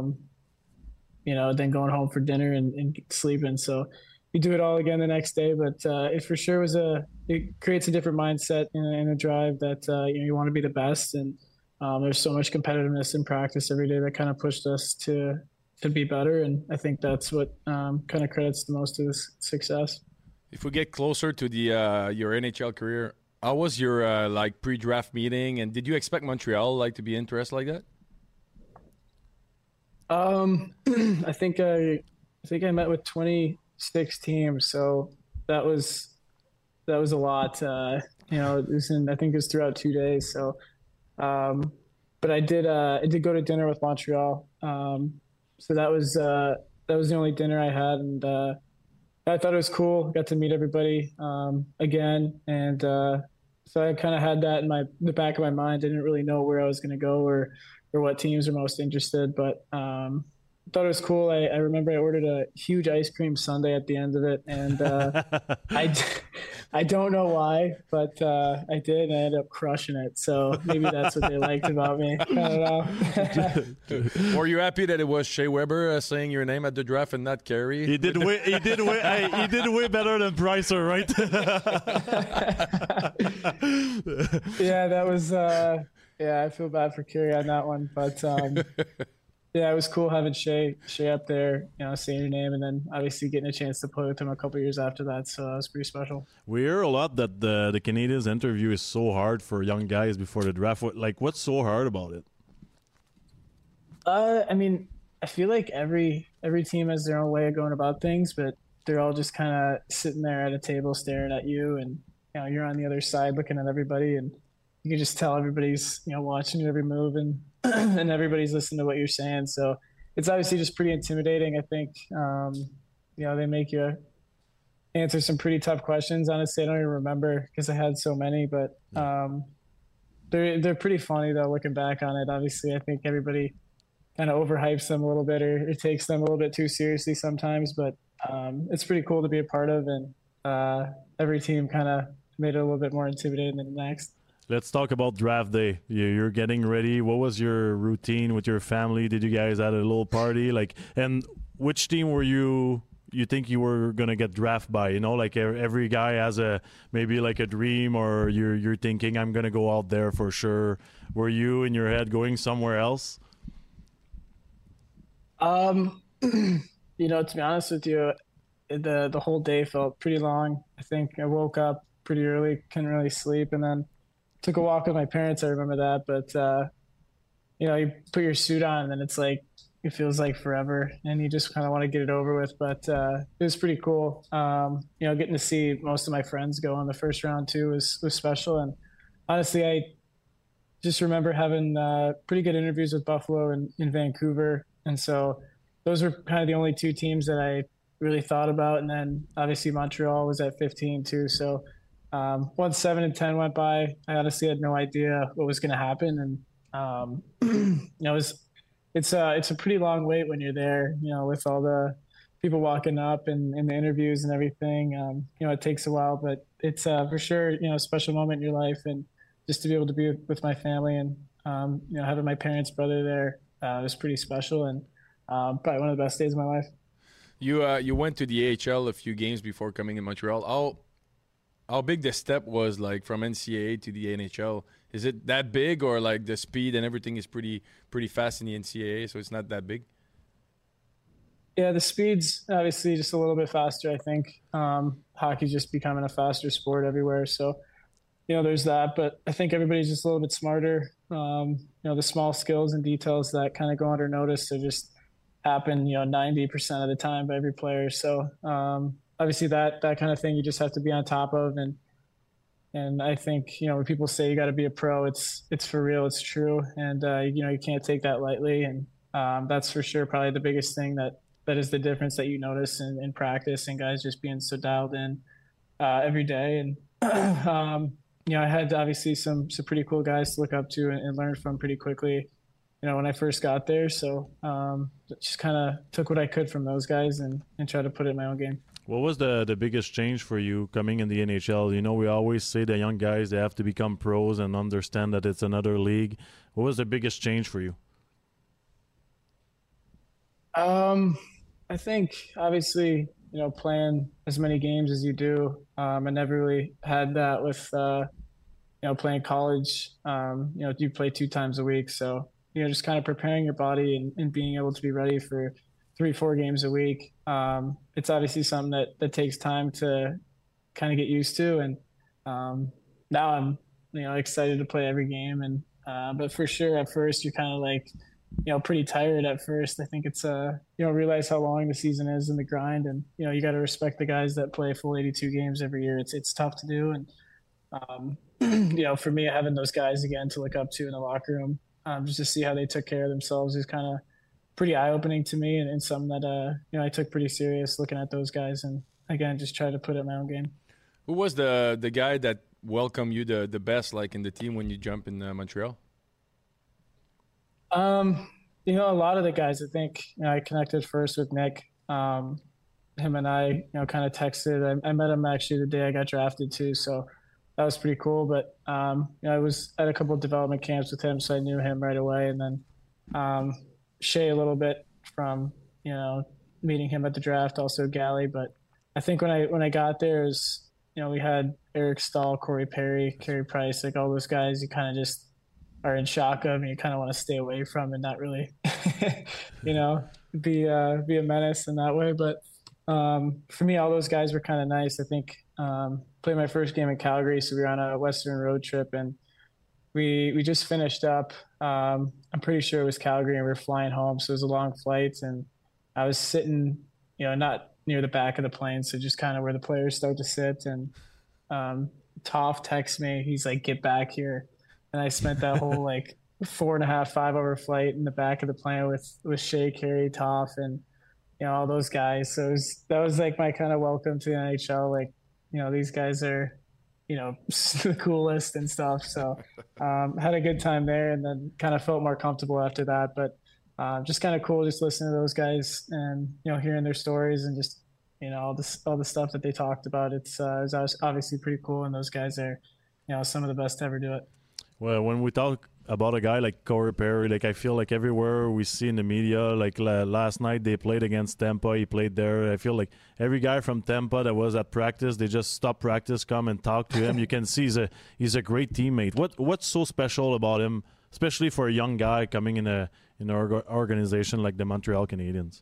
Then going home for dinner and sleeping. So you do it all again the next day. But it for sure it creates a different mindset and a drive that you want to be the best. And there's so much competitiveness in practice every day that kind of pushed us to be better. And I think that's what kind of credits the most to this success. If we get closer to the your NHL career, how was your pre-draft meeting? And did you expect Montreal to be interested like that? I think I met with 26 teams, so that was a lot. I think it was throughout 2 days. So, but I did go to dinner with Montreal. So that was the only dinner I had, and I thought it was cool. Got to meet everybody again, and so I kind of had that in the back of my mind. I didn't really know where I was going to go or what teams are most interested, but thought it was cool. I remember I ordered a huge ice cream sundae at the end of it, and I don't know why, but I did, and I ended up crushing it. So maybe that's what they liked about me. I don't know. Were you happy that it was Shea Weber saying your name at the draft and not Carey? He did way better than Pricer, right? Yeah, that was. I feel bad for Carey on that one, but yeah, it was cool having Shea up there, saying your name, and then obviously getting a chance to play with him a couple years after that. So that was pretty special. We hear a lot that the Canadiens interview is so hard for young guys before the draft. What's so hard about it? I mean, I feel like every team has their own way of going about things, but they're all just kind of sitting there at a table staring at you, and you're on the other side looking at everybody, and you can just tell everybody's watching every move, and and everybody's listening to what you're saying. So it's obviously just pretty intimidating. I think they make you answer some pretty tough questions. Honestly, I don't even remember because I had so many, but they're pretty funny though looking back on it. Obviously, I think everybody kind of overhypes them a little bit, or it takes them a little bit too seriously sometimes, but it's pretty cool to be a part of, and every team kind of made it a little bit more intimidating than the next. Let's talk about draft day. You're getting ready. What was your routine with your family? Did you guys have a little party? And which team were you think you were gonna get drafted by? Every guy has maybe a dream, or you're thinking I'm gonna go out there for sure. Were you in your head going somewhere else? To be honest with you, the whole day felt pretty long. I think I woke up pretty early, couldn't really sleep, and then took a walk with my parents. I remember that, but you put your suit on, and then it's it feels like forever, and you just kind of want to get it over with. But it was pretty cool. Getting to see most of my friends go on the first round too was special. And honestly, I just remember having pretty good interviews with Buffalo and in Vancouver, and so those were kind of the only 2 teams that I really thought about. And then obviously Montreal was at 15 too, so. Once 7 and 10 went by, I honestly had no idea what was going to happen, and it's a pretty long wait when you're there, with all the people walking up and the interviews and everything. It takes a while, but it's for sure a special moment in your life, and just to be able to be with my family and having my parents' brother there was pretty special, and probably one of the best days of my life. You went to the AHL a few games before coming in Montreal. How big the step was from NCAA to the NHL? Is it that big, or the speed and everything is pretty fast in the NCAA, so it's not that big? Yeah, the speed's obviously just a little bit faster, I think. Hockey's just becoming a faster sport everywhere. So, there's that. But I think everybody's just a little bit smarter. The small skills and details that kind of go under notice, they just happen, 90% of the time by every player. So, obviously that kind of thing you just have to be on top of. And I think, when people say you got to be a pro, it's for real, it's true. And, you can't take that lightly. And that's for sure probably the biggest thing that is the difference that you notice in practice and guys just being so dialed in every day. And, I had obviously some pretty cool guys to look up to and learn from pretty quickly, when I first got there. So just kind of took what I could from those guys and tried to put it in my own game. What was the biggest change for you coming in the NHL? We always say the young guys, they have to become pros and understand that it's another league. What was the biggest change for you? I think obviously, playing as many games as you do, I never really had that with, playing college. You play 2 times a week. So, just kind of preparing your body and being able to be ready for 3-4 games a week. It's obviously something that takes time to kind of get used to. And now I'm, excited to play every game. And but for sure, at first, you're kind of like, pretty tired at first. I think it's realize how long the season is and the grind, and you got to respect the guys that play full 82 games every year. It's tough to do, and for me, having those guys again to look up to in the locker room, just to see how they took care of themselves is kind of pretty eye opening to me, and something that I took pretty serious looking at those guys, and again just try to put it in my own game. Who was the guy that welcomed you the best, like in the team when you jump in Montreal? A lot of the guys, I think, I connected first with Nick. Him and I, kind of texted. I met him actually the day I got drafted too, so that was pretty cool. But I was at a couple of development camps with him, so I knew him right away. And then Shea a little bit from meeting him at the draft, also Gally. But I think when I got there, we had Eric Stahl, Corey Perry, Carey Price, like all those guys. You kind of just are in shock of, and you kind of want to stay away from and not really, be a menace in that way. But for me, all those guys were kind of nice. I think played my first game in Calgary, so we were on a Western road trip, and we just finished up. I'm pretty sure it was Calgary, and we were flying home, so it was a long flight, and I was sitting, not near the back of the plane, so just kind of where the players start to sit. And Toff texts me. He's like, "Get back here." And I spent that whole 4.5, 5-hour flight in the back of the plane with Shea, Carey, Toff, and all those guys. So that was like my kind of welcome to the NHL. These guys are, the coolest and stuff. So had a good time there, and then kind of felt more comfortable after that. But just kind of cool, just listening to those guys and hearing their stories and just all the stuff that they talked about. It was obviously pretty cool, and those guys are some of the best to ever do it. Well, when we talk about a guy like Corey Perry, I feel like everywhere we see in the media, last night they played against Tampa, he played there. I feel like every guy from Tampa that was at practice, they just stop practice, come and talk to him. You can see he's a great teammate. What's so special about him, especially for a young guy coming in an organization like the Montreal Canadiens?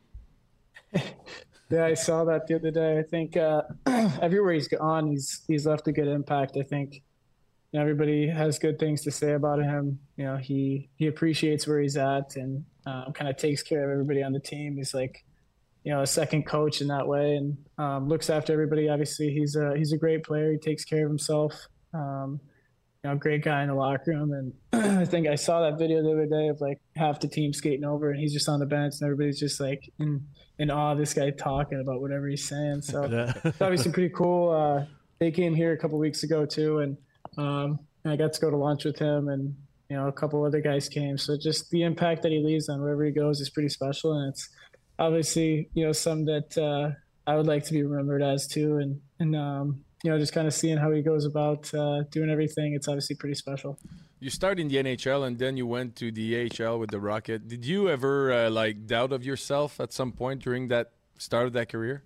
Yeah, I saw that the other day. I think everywhere he's gone, he's left a good impact. I think everybody has good things to say about him. He appreciates where he's at, and kind of takes care of everybody on the team. He's like, a second coach in that way, and looks after everybody. Obviously, he's a great player. He takes care of himself. Great guy in the locker room. And I think I saw that video the other day of half the team skating over, and he's just on the bench, and everybody's just in awe of this guy talking about whatever he's saying. So it's obviously pretty cool. They came here a couple weeks ago too, and I got to go to lunch with him, and a couple other guys came. So just the impact that he leaves on wherever he goes is pretty special, and it's obviously something that I would like to be remembered as too. And just kind of seeing how he goes about doing everything, it's obviously pretty special. You started in the NHL, and then you went to the AHL with the Rocket. Did you ever doubt of yourself at some point during that start of that career?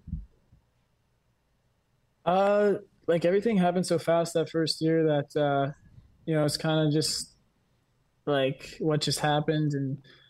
Everything happened so fast that first year that, it's kind of just what just happened. And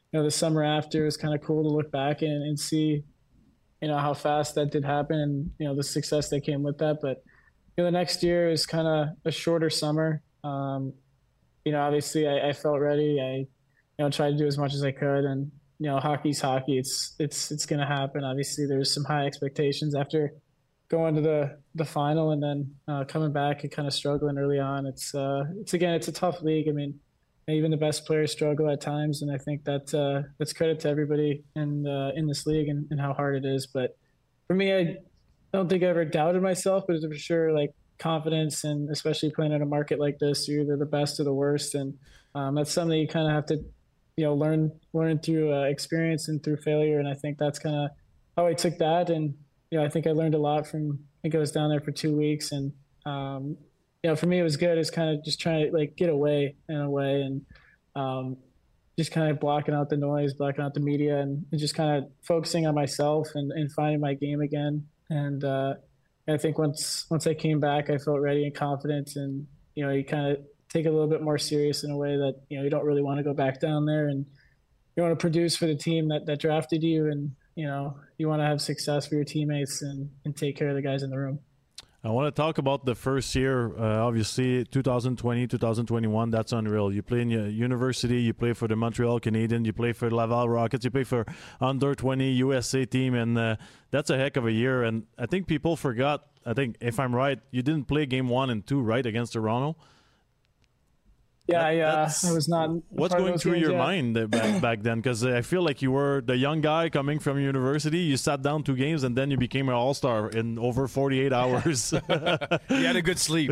the summer after, it was kind of cool to look back and see, how fast that did happen and, the success that came with that. But, the next year is kind of a shorter summer. Obviously I felt ready. I, tried to do as much as I could, and, hockey's hockey. It's going to happen. Obviously there's some high expectations after going to the final and then coming back and kind of struggling early on. It's a tough league. I mean, even the best players struggle at times, and I think that's credit to everybody in this league and how hard it is. But for me, I don't think I ever doubted myself, but for sure, like, confidence, and especially playing in a market like this, you're either the best or the worst, and that's something you kind of have to, learn through experience and through failure. And I think that's kind of how I took that, and I think I learned a lot from. I think I was down there for 2 weeks, and for me, it was good. It's kind of just trying to, like, get away in a way, and just kind of blocking out the noise, blocking out the media, and just kind of focusing on myself and finding my game again. And I think once I came back, I felt ready and confident, and you kind of take it a little bit more serious in a way that you don't really want to go back down there, and you want to produce for the team that drafted you, and you want to have success for your teammates and take care of the guys in the room. I want to talk about the first year. Obviously, 2020, 2021, that's unreal. You play in your university, you play for the Montreal Canadiens, you play for Laval Rockets, you play for under 20 USA team, and that's a heck of a year. And I think people forgot, if I'm right, you didn't play game 1 and 2, right, against Toronto? Yeah, I was not. What's going through your mind back then? Because I feel like you were the young guy coming from university. You sat down 2 games, and then you became an all-star in over 48 hours. You had a good sleep.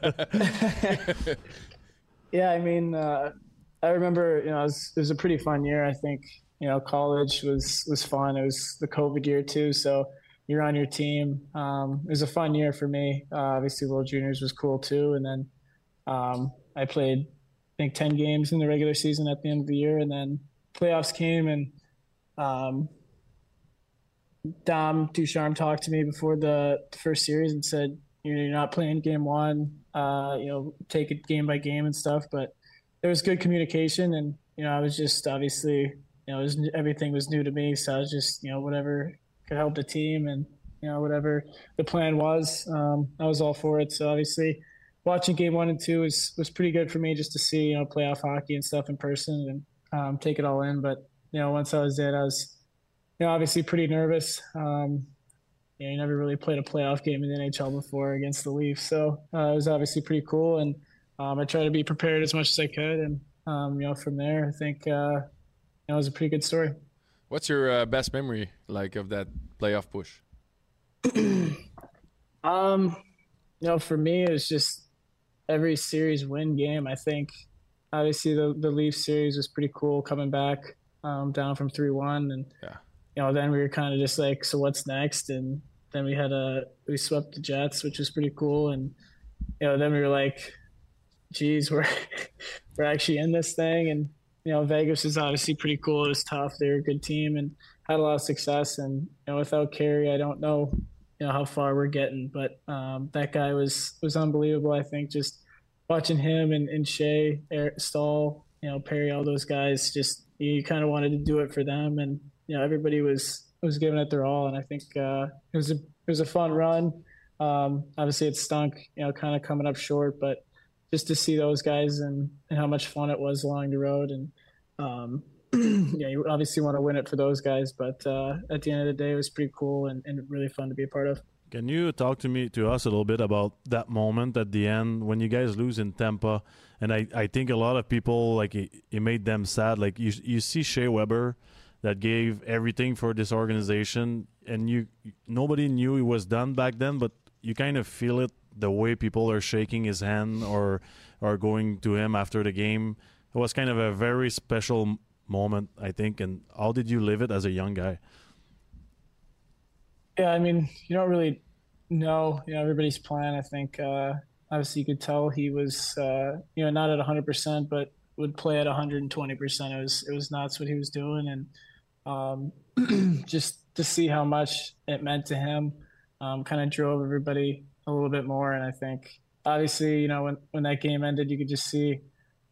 Yeah, I mean, I remember, it was a pretty fun year. I think, college was fun. It was the COVID year too, so you're on your team. It was a fun year for me. Obviously, World Juniors was cool too, and then I played, I think, 10 games in the regular season at the end of the year, and then playoffs came, and Dom Ducharme talked to me before the first series and said, you're not playing game 1, take it game by game and stuff. But there was good communication, and I was just obviously everything was new to me, so I was just whatever could help the team, and whatever the plan was, I was all for it. So obviously, watching game 1 and 2 was pretty good for me, just to see playoff hockey and stuff in person and take it all in. But once I was in, I was obviously pretty nervous. You never really played a playoff game in the NHL before against the Leafs, so it was obviously pretty cool. And I tried to be prepared as much as I could, and from there, I think it was a pretty good story. What's your best memory like of that playoff push? For me, it was just every series win game. I think obviously the Leafs series was pretty cool, coming back down from 3-1, and then we were kind of just like, so what's next? And then we swept the Jets, which was pretty cool, and then we were like, geez, we're actually in this thing. And Vegas is obviously pretty cool. It was tough. They were a good team and had a lot of success, and without Carey, I don't know how far we're getting, but that guy was unbelievable. I think just watching him and Shea, Stahl, Perry, all those guys, just you kind of wanted to do it for them, and everybody was giving it their all. And I think it was a fun run. Obviously, it stunk, kind of coming up short, but just to see those guys and how much fun it was along the road, and you obviously want to win it for those guys, but at the end of the day, it was pretty cool and really fun to be a part of. Can you talk to us a little bit about that moment at the end when you guys lose in Tampa? And I think a lot of people, like, it made them sad. Like, you see Shea Weber that gave everything for this organization, and nobody knew he was done back then, but you kind of feel it the way people are shaking his hand or going to him after the game. It was kind of a very special moment, I think. And how did you live it as a young guy? Yeah, I mean, you don't really know, everybody's plan. I think obviously you could tell he was, not at 100%, but would play at 120%. It was nuts what he was doing, and just to see how much it meant to him, kind of drove everybody a little bit more. And I think obviously, when that game ended, you could just see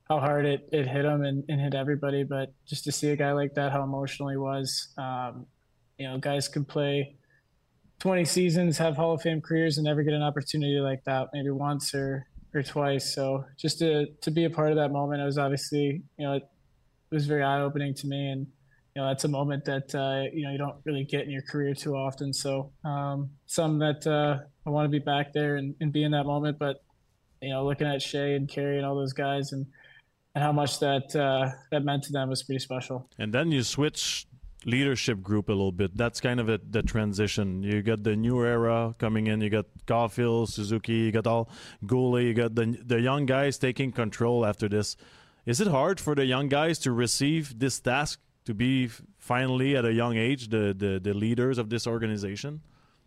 hard it hit him and hit everybody. But just to see a guy like that, how emotional he was, guys could play 20 seasons, have Hall of Fame careers, and never get an opportunity like that, maybe once or twice. So just to be a part of that moment, it was obviously, it was very eye-opening to me. And, that's a moment that, you don't really get in your career too often. So something that I want to be back there and be in that moment. But, looking at Shea and Carey and all those guys and how much that meant to them was pretty special. And then you switch leadership group a little bit. That's kind of the transition. You got the new era coming in. You got Caulfield, Suzuki, you got all Goulet, you got the young guys taking control after this. Is it hard for the young guys to receive this task, to be finally at a young age the leaders of this organization?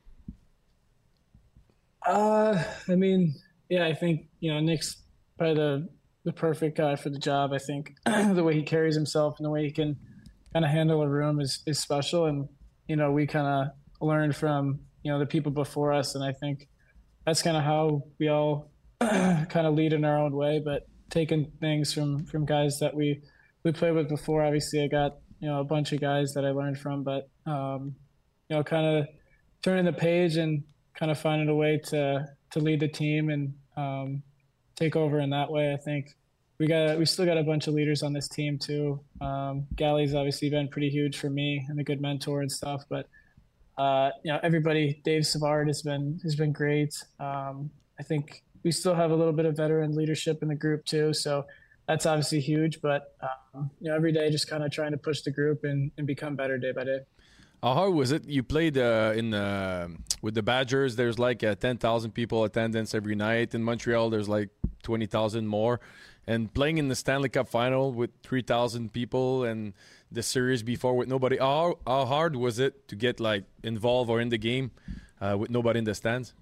I think Nick's probably the perfect guy for the job. I think the way he carries himself and the way he can kind of handle a room is special. And, we kind of learned from, the people before us. And I think that's kind of how we all kind of lead in our own way, but taking things from guys that we played with before. Obviously I got, a bunch of guys that I learned from, but, kind of turning the page and kind of finding a way to lead the team and take over in that way. I think we still got a bunch of leaders on this team too. Gally's obviously been pretty huge for me and a good mentor and stuff, but everybody, Dave Savard has been great. I think we still have a little bit of veteran leadership in the group too. So that's obviously huge, but every day just kind of trying to push the group and become better day by day. How hard was it? You played with the Badgers. There's like 10,000 people attendance every night. In Montreal, there's like 20,000 more. And playing in the Stanley Cup final with 3,000 people and the series before with nobody. How hard was it to get like involved or in the game with nobody in the stands?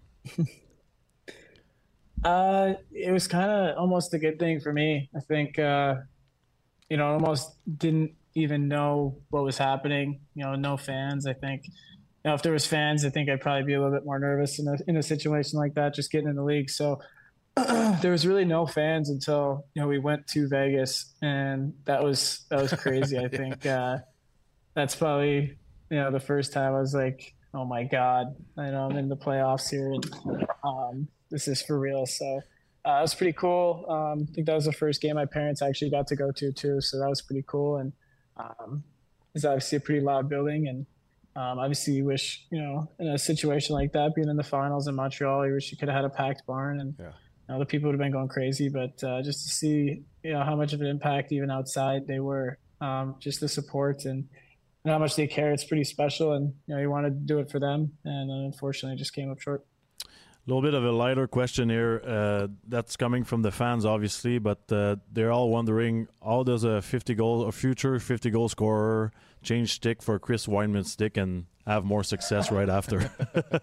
It was kind of almost a good thing for me. I think, almost didn't even know what was happening. No fans. I think, if there was fans, I think I'd probably be a little bit more nervous in a situation like that, just getting in the league. So there was really no fans until, we went to Vegas, and that was crazy. I think that's probably, the first time I was like, oh my God, I'm in the playoffs here, and this is for real. So it was pretty cool. I think that was the first game my parents actually got to go to too. So that was pretty cool. And it's obviously a pretty loud building. And obviously you wish, in a situation like that, being in the finals in Montreal, you wish you could have had a packed barn, and the people would have been going crazy. But just to see, how much of an impact even outside they were, just the support and how much they care, it's pretty special. And, you wanted to do it for them. And unfortunately, it just came up short. A little bit of a lighter question here that's coming from the fans, obviously, but they're all wondering, how does a future 50-goal scorer change stick for Chris Wideman's stick and have more success right after?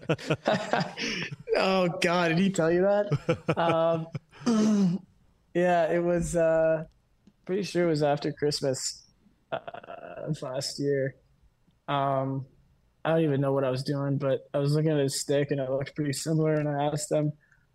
Oh, God, did he tell you that? Yeah, it was pretty sure it was after Christmas last year. I don't even know what I was doing, but I was looking at his stick and it looked pretty similar. And I asked him,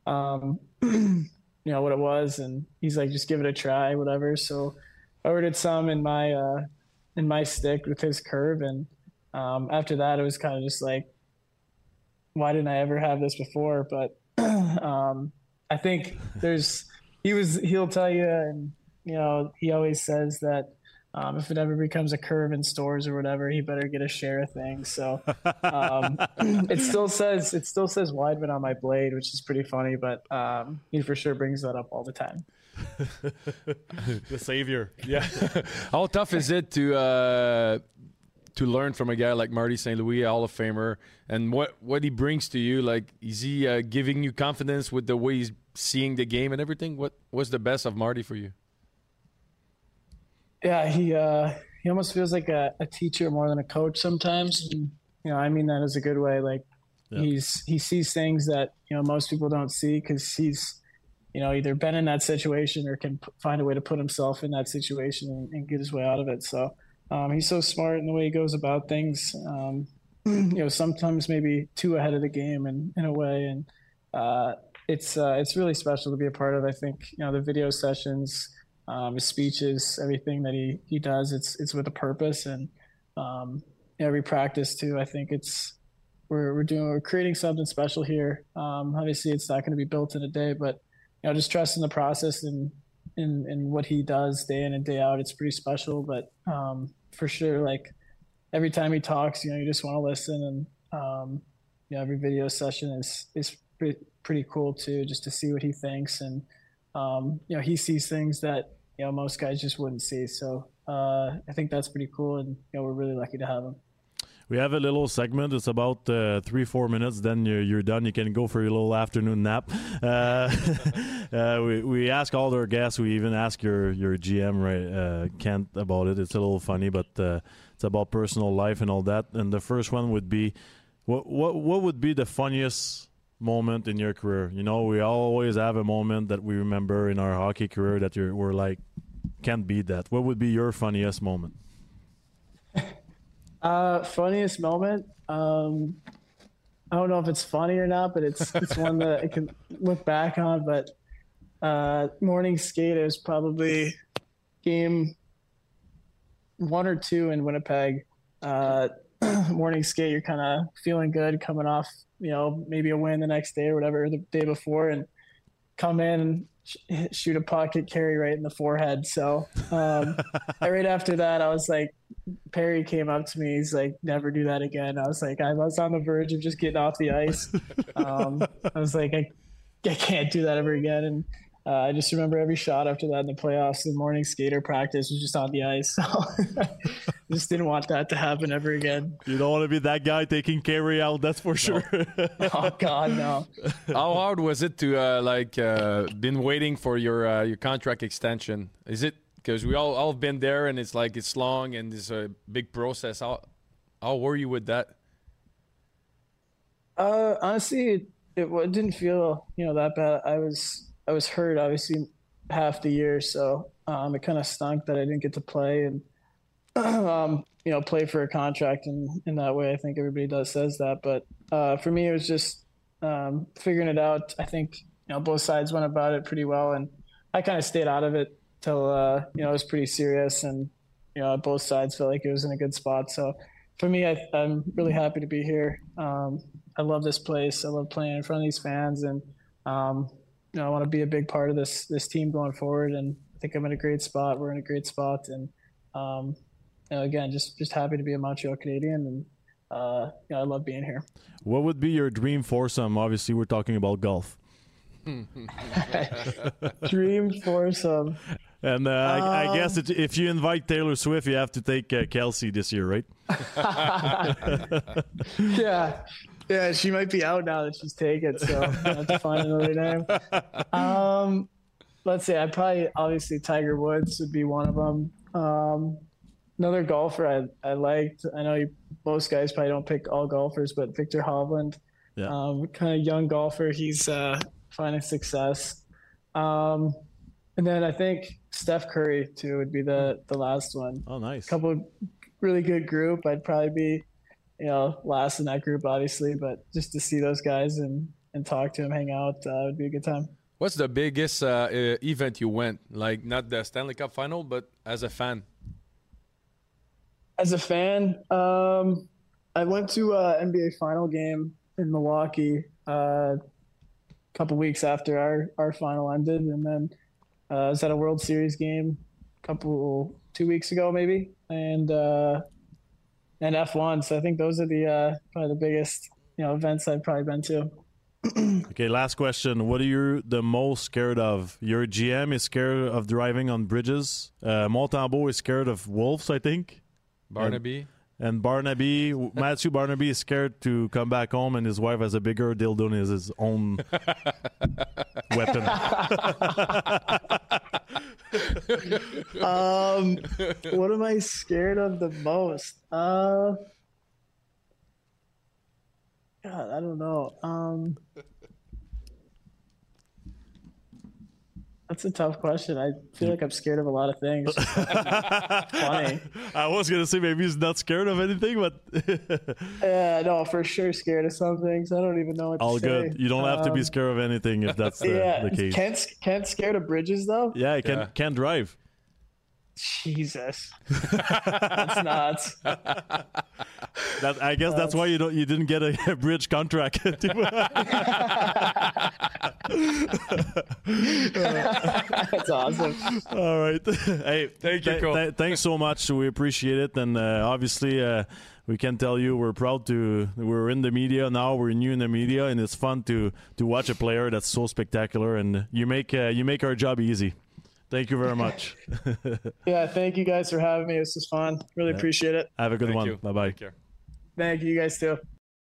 what it was, and he's like, "Just give it a try, whatever." So I ordered some in my stick with his curve, and after that, it was kind of just like, why didn't I ever have this before? But I think he'll tell you, and he always says that. If it ever becomes a curve in stores or whatever, he better get a share of things. So it still says Wideman on my blade, which is pretty funny, but he for sure brings that up all the time. The savior. Yeah. How tough is it to learn from a guy like Marty St. Louis, Hall of Famer, and what he brings to you? Like, is he giving you confidence with the way he's seeing the game and everything? What was the best of Marty for you? Yeah, he almost feels like a teacher more than a coach sometimes. And, I mean that as a good way. Like, he sees things that most people don't see because he's either been in that situation or can find a way to put himself in that situation and get his way out of it. So he's so smart in the way he goes about things. Sometimes maybe too ahead of the game in a way, and it's really special to be a part of. I think the video sessions. his speeches, everything that he does, it's with a purpose. And every practice too, I think we're creating something special here. Obviously, it's not going to be built in a day, but just trusting the process and what he does day in and day out, it's pretty special. But for sure, like every time he talks, you just want to listen. And every video session is pretty cool too, just to see what he thinks. And he sees things that most guys just wouldn't see. So I think that's pretty cool, and we're really lucky to have him. We have a little segment. It's about 3-4 minutes. Then you're done. You can go for your little afternoon nap. We ask all our guests. We even ask your GM, right, Kent, about it. It's a little funny, but it's about personal life and all that. And the first one would be, what would be the funniest moment in your career? We always have a moment that we remember in our hockey career that we're like, can't beat that. What would be your funniest moment? Funniest moment. I don't know if it's funny or not, but it's one that I can look back on. But morning skate is probably game 1 or 2 in Winnipeg. Morning skate, you're kind of feeling good coming off, maybe a win the next day or whatever, the day before, and come in and shoot a pocket carry right in the forehead. So right after that, I was like, Perry came up to me. He's like, never do that again. I was like, I was on the verge of just getting off the ice. I was like, I can't do that ever again. And I just remember every shot after that in the playoffs, the morning skater practice was just on the ice. So just didn't want that to happen ever again. You don't want to be that guy taking carry out, that's for sure. Oh, God, no. How hard was it to been waiting for your contract extension? Is it because we all have been there, and it's like it's long and it's a big process? How were you with that? Honestly, it didn't feel that bad. I was hurt obviously half the year, so it kind of stunk that I didn't get to play and play for a contract in that way. I think everybody says that, but for me it was just figuring it out. I think both sides went about it pretty well, and I kind of stayed out of it till it was pretty serious, and both sides felt like it was in a good spot. So for me, I'm really happy to be here. I love this place. I love playing in front of these fans, and I want to be a big part of this team going forward. And I think I'm in a great spot. We're in a great spot, and again, just happy to be a Montreal Canadian, and I love being here. What would be your dream foursome? Obviously, we're talking about golf. Dream foursome. And I guess if you invite Taylor Swift, you have to take Kelsey this year, right? Yeah, she might be out now that she's taken, so I have to find another name. Let's see, obviously Tiger Woods would be one of them. Another golfer I liked, I know most guys probably don't pick all golfers, but Victor Hovland, kind of young golfer, he's finding success. And then I think Steph Curry too would be the last one. Oh, nice. Couple of really good group. I'd probably be last in that group, obviously, but just to see those guys and talk to them, hang out, would be a good time. What's the biggest event you went? Like not the Stanley Cup final, but as a fan? As a fan, I went to an NBA final game in Milwaukee a couple weeks after our final ended, and then I was at a World Series game 2 weeks ago maybe, and F1. So I think those are probably the biggest events I've probably been to. Okay, last question. What are you the most scared of? Your GM is scared of driving on bridges. Montembeault is scared of wolves, I think. Barnaby. And Matthew Barnaby is scared to come back home, and his wife has a bigger dildo in his own weapon. What am I scared of the most? God, I don't know. That's a tough question. I feel like I'm scared of a lot of things. Funny. I was going to say maybe he's not scared of anything, but... No, for sure scared of some things. I don't even know what all to say. All good. You don't have to be scared of anything if that's the case. Kent's scared of bridges, though? Yeah, can't drive. Jesus. That's nuts. I guess that's why you didn't get a bridge contract. That's awesome. All right. Hey, thank you, Cole. Thanks so much. We appreciate it. And obviously, we can tell you we're proud we're in the media now. We're new in the media, and it's fun to watch a player that's so spectacular. And you make our job easy. Thank you very much. Yeah, thank you guys for having me. This was fun. Really appreciate it. Have a good one. Bye-bye. Take care. Thank you, you guys too.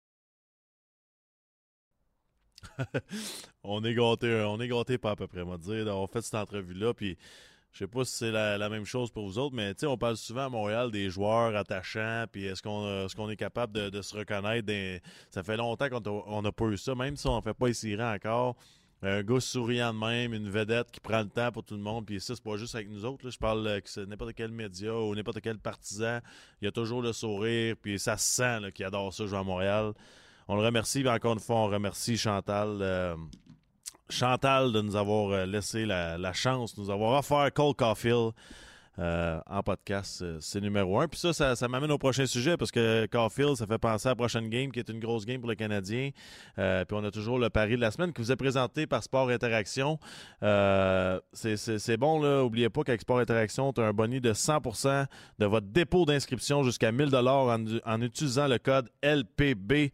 On est gâtés pas à peu près, on va dire. On fait cette entrevue-là, puis je sais pas si c'est la même chose pour vous autres, mais on parle souvent à Montréal des joueurs attachants, puis est-ce qu'on est capable de se reconnaître? Ça fait longtemps qu'on n'a pas eu ça, même si on ne fait pas essayer encore. Un gars souriant de même, une vedette qui prend le temps pour tout le monde, puis ça, c'est pas juste avec nous autres. Là. Je parle que c'est n'importe quel média ou n'importe quel partisan. Il y a toujours le sourire, puis ça se sent là, qu'il adore ça jouer à Montréal. On le remercie, mais encore une fois, on remercie Chantal de nous avoir laissé la chance, de nous avoir offert Cole Caulfield en podcast. C'est numéro 1. Puis ça m'amène au prochain sujet parce que Caulfield, ça fait penser à la prochaine game qui est une grosse game pour le Canadien. Puis on a toujours le pari de la semaine qui vous est présenté par Sport Interaction. C'est bon, là. N'oubliez pas qu'avec Sport Interaction, tu as un boni de 100% de votre dépôt d'inscription jusqu'à 1 000 $ en utilisant le code LPB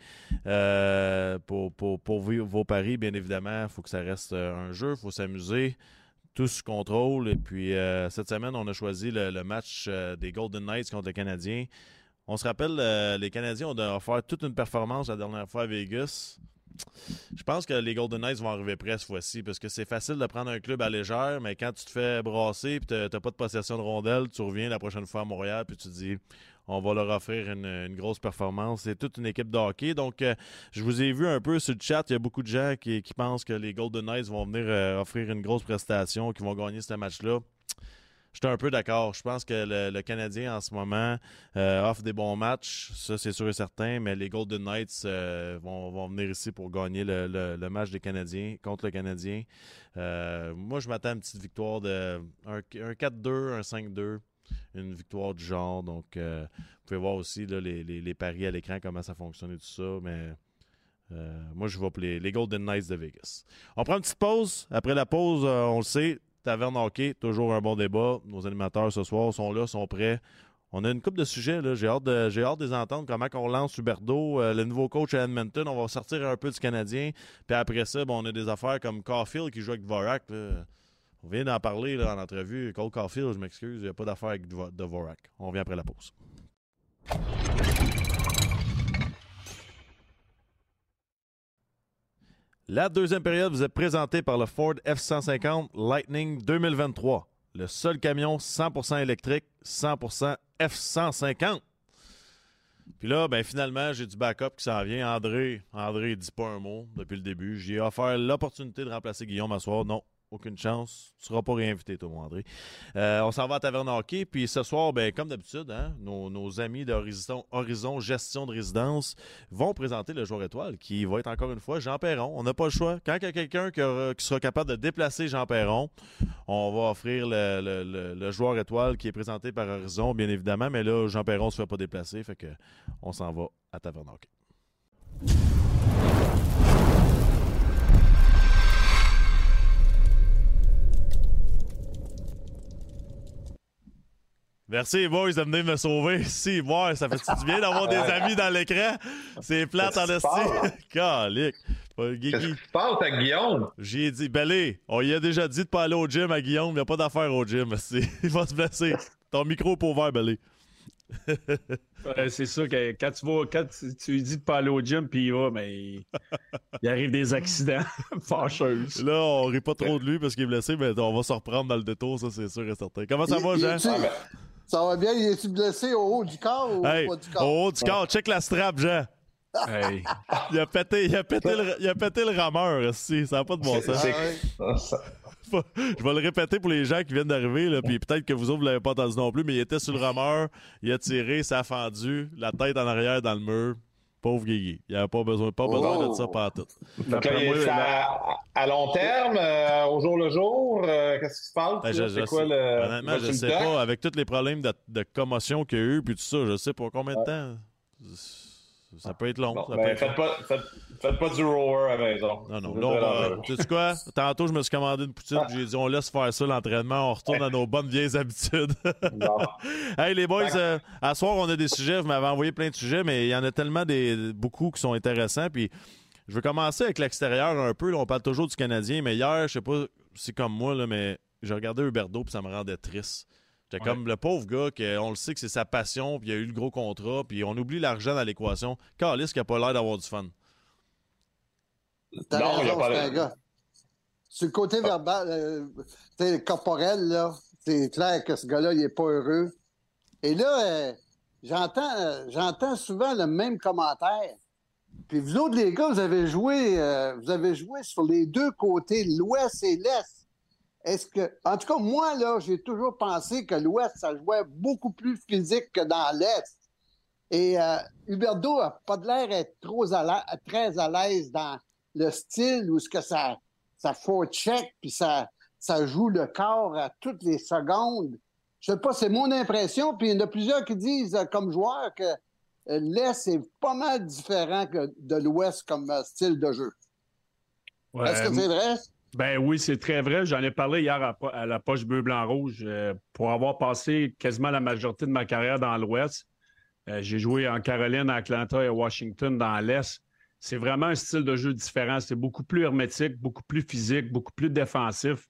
pour vos paris. Bien évidemment, il faut que ça reste un jeu, il faut s'amuser. Tout sous contrôle. Et puis, cette semaine, on a choisi le match des Golden Knights contre les Canadiens. On se rappelle, les Canadiens ont offert toute une performance la dernière fois à Vegas. Je pense que les Golden Knights vont arriver près cette fois-ci parce que c'est facile de prendre un club à légère, mais quand tu te fais brasser et tu n'as pas de possession de rondelle, tu reviens la prochaine fois à Montréal puis tu te dis on va leur offrir une grosse performance. C'est toute une équipe de hockey. Donc, je vous ai vu un peu sur le chat. Il y a beaucoup de gens qui pensent que les Golden Knights vont venir offrir une grosse prestation, qui vont gagner ce match-là. J'étais un peu d'accord. Je pense que le Canadien, en ce moment, offre des bons matchs. Ça, c'est sûr et certain. Mais les Golden Knights vont venir ici pour gagner le match des Canadiens contre le Canadien. Moi, je m'attends à une petite victoire de un 4-2, un 5-2. Une victoire du genre. Donc, vous pouvez voir aussi là, les paris à l'écran, comment ça fonctionne et tout ça. Mais moi, je vais pour les Golden Knights de Vegas. On prend une petite pause. Après la pause, on le sait, Taverne Hockey, toujours un bon débat. Nos animateurs ce soir sont là, sont prêts. On a une couple de sujets. Là. J'ai hâte de les entendre. Comment on lance Huberdeau, le nouveau coach à Edmonton. On va sortir un peu du Canadien. Puis après ça, on a des affaires comme Caulfield qui joue avec Dvorak. Là. On vient d'en parler là, en entrevue. Cole Caulfield, je m'excuse, il n'y a pas d'affaire avec Dvorak. On revient après la pause. La deuxième période vous est présentée par le Ford F-150 Lightning 2023. Le seul camion 100% électrique, 100% F-150. Puis là, finalement, j'ai du backup qui s'en vient. André, il dit pas un mot depuis le début. J'ai offert l'opportunité de remplacer Guillaume à soir. Non. Aucune chance. Tu ne seras pas réinvité, toi, mon André. On s'en va à Taverne Hockey. Puis ce soir, comme d'habitude, hein, nos amis d'Horizon Gestion de Résidence vont présenter le joueur étoile qui va être encore une fois Jean Perron. On n'a pas le choix. Quand il y a quelqu'un qui sera capable de déplacer Jean Perron, on va offrir le joueur étoile qui est présenté par Horizon, bien évidemment. Mais là, Jean Perron ne se fait pas déplacer. Fait que on s'en va à Taverne Hockey. Merci, boys, de venir me sauver. Si, moi, ça fait du bien d'avoir des amis dans l'écran. C'est plate en esti. Calique. Qu'est-ce qui se passe à Guillaume? J'ai dit, Belé, on lui a déjà dit de pas aller au gym à Guillaume. Il n'y a pas d'affaire au gym. Il va se blesser. Ton micro est pas ouvert, Belé. C'est sûr que quand tu lui dis de pas aller au gym puis il va, mais il arrive des accidents fâcheux. Là, on rit pas trop de lui parce qu'il est blessé, mais on va se reprendre dans le détour, ça c'est sûr et certain. Comment ça va, Jean? Ça va bien, il est-tu blessé au haut du corps ou pas du corps? Au haut du corps, check la strap, Jean. Hey. Il a pété le rameur, ça n'a pas de bon sens. Je vais le répéter pour les gens qui viennent d'arriver, là, puis peut-être que vous autres, vous l'avez pas entendu non plus, mais il était sur le rameur, il a tiré, ça a fendu, la tête en arrière dans le mur. Pauvre Guigui. Il n'avait pas besoin de ça par tout. Donc là, à long terme, au jour le jour, qu'est-ce qui se passe? Honnêtement, je ne sais pas. Avec tous les problèmes de commotion qu'il y a eu, puis tout ça, je sais pas combien de temps. Ça peut être long. Bon, faites pas du rower à la maison. Non. Là, tu sais quoi? Tantôt, je me suis commandé une poutine, j'ai dit, on laisse faire ça, l'entraînement, on retourne à nos bonnes vieilles habitudes. Hey, les boys, à soir, on a des sujets. Vous m'avez envoyé plein de sujets, mais il y en a tellement beaucoup qui sont intéressants. Puis, je vais commencer avec l'extérieur un peu. Là, on parle toujours du Canadien, mais hier, je sais pas si c'est comme moi, là, mais j'ai regardé Huberdeau, puis ça me rendait triste. J'étais comme le pauvre gars, on le sait que c'est sa passion, puis il a eu le gros contrat, puis on oublie l'argent dans l'équation. Carlis qui n'a pas l'air d'avoir du fun. T'as raison, c'est un gars. Sur le côté verbal, corporel, là, c'est clair que ce gars-là, il n'est pas heureux. Et là, j'entends souvent le même commentaire. Puis vous autres, les gars, vous avez joué sur les deux côtés, l'Ouest et l'Est. En tout cas, moi, là, j'ai toujours pensé que l'Ouest, ça jouait beaucoup plus physique que dans l'Est. Et Huberdeau n'a pas de l'air d'être très à l'aise dans le style où ça forecheck puis ça joue le corps à toutes les secondes. Je sais pas, c'est mon impression. Puis il y en a plusieurs qui disent, comme joueur, que l'Est est pas mal différent que de l'Ouest comme style de jeu. Ouais, est-ce que c'est vrai? Ben oui, c'est très vrai. J'en ai parlé hier à la poche bleu-blanc-rouge. Pour avoir passé quasiment la majorité de ma carrière dans l'Ouest, j'ai joué en Caroline, à Atlanta et à Washington dans l'Est. C'est vraiment un style de jeu différent. C'est beaucoup plus hermétique, beaucoup plus physique, beaucoup plus défensif.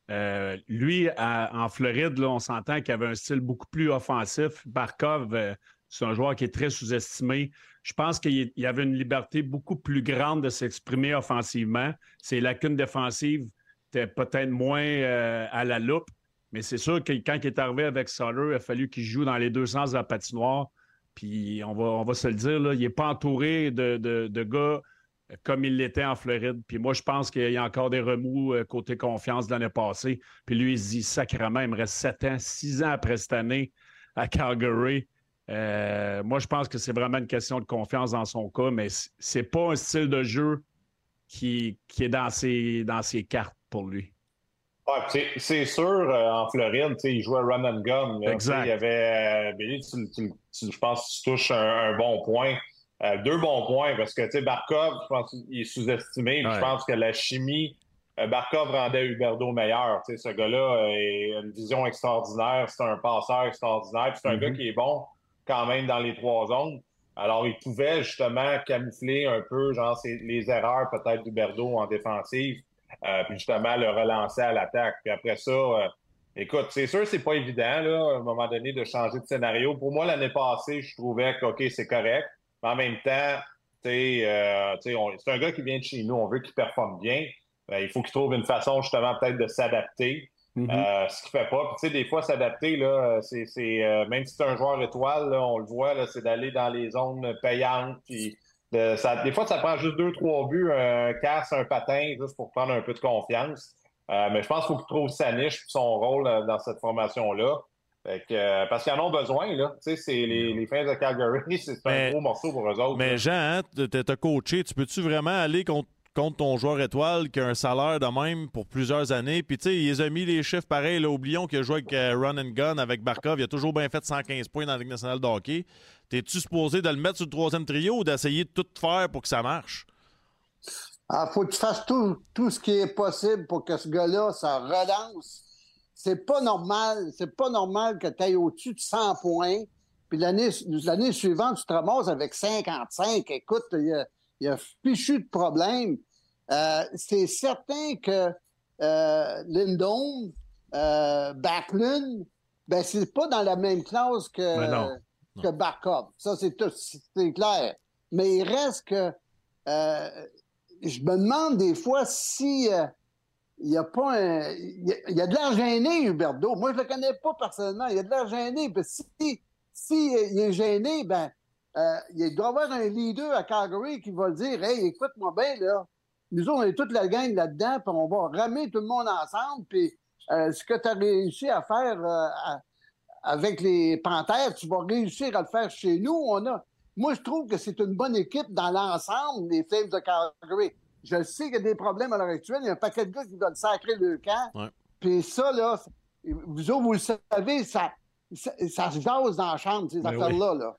Lui, en Floride, là, on s'entend qu'il avait un style beaucoup plus offensif. Barkov, c'est un joueur qui est très sous-estimé. Je pense qu'il y avait une liberté beaucoup plus grande de s'exprimer offensivement. Ses lacunes défensives étaient peut-être moins à la loupe, mais c'est sûr que quand il est arrivé avec Sutter, il a fallu qu'il joue dans les deux sens de la patinoire. Puis on va se le dire, là, il n'est pas entouré de gars comme il l'était en Floride. Puis moi, je pense qu'il y a encore des remous côté confiance de l'année passée. Puis lui, il se dit, sacrément, il me reste 6 ans après cette année à Calgary. Moi, je pense que c'est vraiment une question de confiance dans son cas, mais c'est pas un style de jeu qui est dans ses cartes pour lui. Ouais, c'est sûr, en Floride, il jouait run and gun. Là, exact. Il y avait, je pense que tu touches un bon point. 2 bons points, parce que Barkov, je pense qu'il est sous-estimé. Ouais. Je pense que la chimie, Barkov rendait Huberdeau meilleur. Ce gars-là a une vision extraordinaire. C'est un passeur extraordinaire. C'est un gars qui est bon quand même dans les 3 zones. Alors, il pouvait justement camoufler un peu les erreurs peut-être d'Huberdeau en défensive, puis justement le relancer à l'attaque. Puis après ça, écoute, c'est sûr c'est pas évident là, à un moment donné de changer de scénario. Pour moi, l'année passée, je trouvais que OK, c'est correct. Mais en même temps, c'est un gars qui vient de chez nous. On veut qu'il performe bien. Il faut qu'il trouve une façon justement peut-être de s'adapter. Ce qu'il fait pas. Puis des fois, s'adapter, là, c'est même si c'est un joueur étoile, là, on le voit, là, c'est d'aller dans les zones payantes. Puis des fois, ça prend juste 2-3 buts, un casse, un patin, juste pour prendre un peu de confiance. Mais je pense qu'il faut qu'il trouve sa niche et son rôle dans cette formation-là. Parce qu'ils en ont besoin, là. Tu sais, c'est les Flames de Calgary, c'est un gros morceau pour eux autres. Mais là. Jean, hein, t'as coaché, tu peux-tu vraiment aller contre ton joueur étoile qui a un salaire de même pour plusieurs années? Puis tu sais, ils ont mis les chiffres pareils. Là, oublions qu'il a joué avec Run and Gun, avec Barkov. Il a toujours bien fait 115 points dans la Ligue nationale de hockey. T'es-tu supposé de le mettre sur le 3e trio ou d'essayer de tout faire pour que ça marche? Faut que tu fasses tout ce qui est possible pour que ce gars-là, ça relance. C'est pas normal que tu ailles au-dessus de 100 points, puis l'année suivante, tu te ramasses avec 55. Écoute, il y a fichu de problème. C'est certain que Lindholm, Backlund, ben c'est pas dans la même classe que Barkov. Ça, c'est clair. Mais il reste que je me demande des fois si il y a pas il y a de l'air gêné, Huberdeau. Moi, je le connais pas personnellement. Il y a de l'air gêné. Parce que si il est gêné, il doit y avoir un leader à Calgary qui va le dire « Hey, écoute-moi bien, là. nous autres, on est toute la gang là-dedans, puis on va ramer tout le monde ensemble, puis ce que tu as réussi à faire avec les Panthères, tu vas réussir à le faire chez nous. Moi, je trouve que c'est une bonne équipe dans l'ensemble, les Flames de Calgary. Je sais qu'il y a des problèmes à l'heure actuelle. Il y a un paquet de gars qui doivent sacrer le camp. Ouais. Puis ça, là, vous autres, vous le savez, ça se jase dans la chambre, ces affaires-là. Là.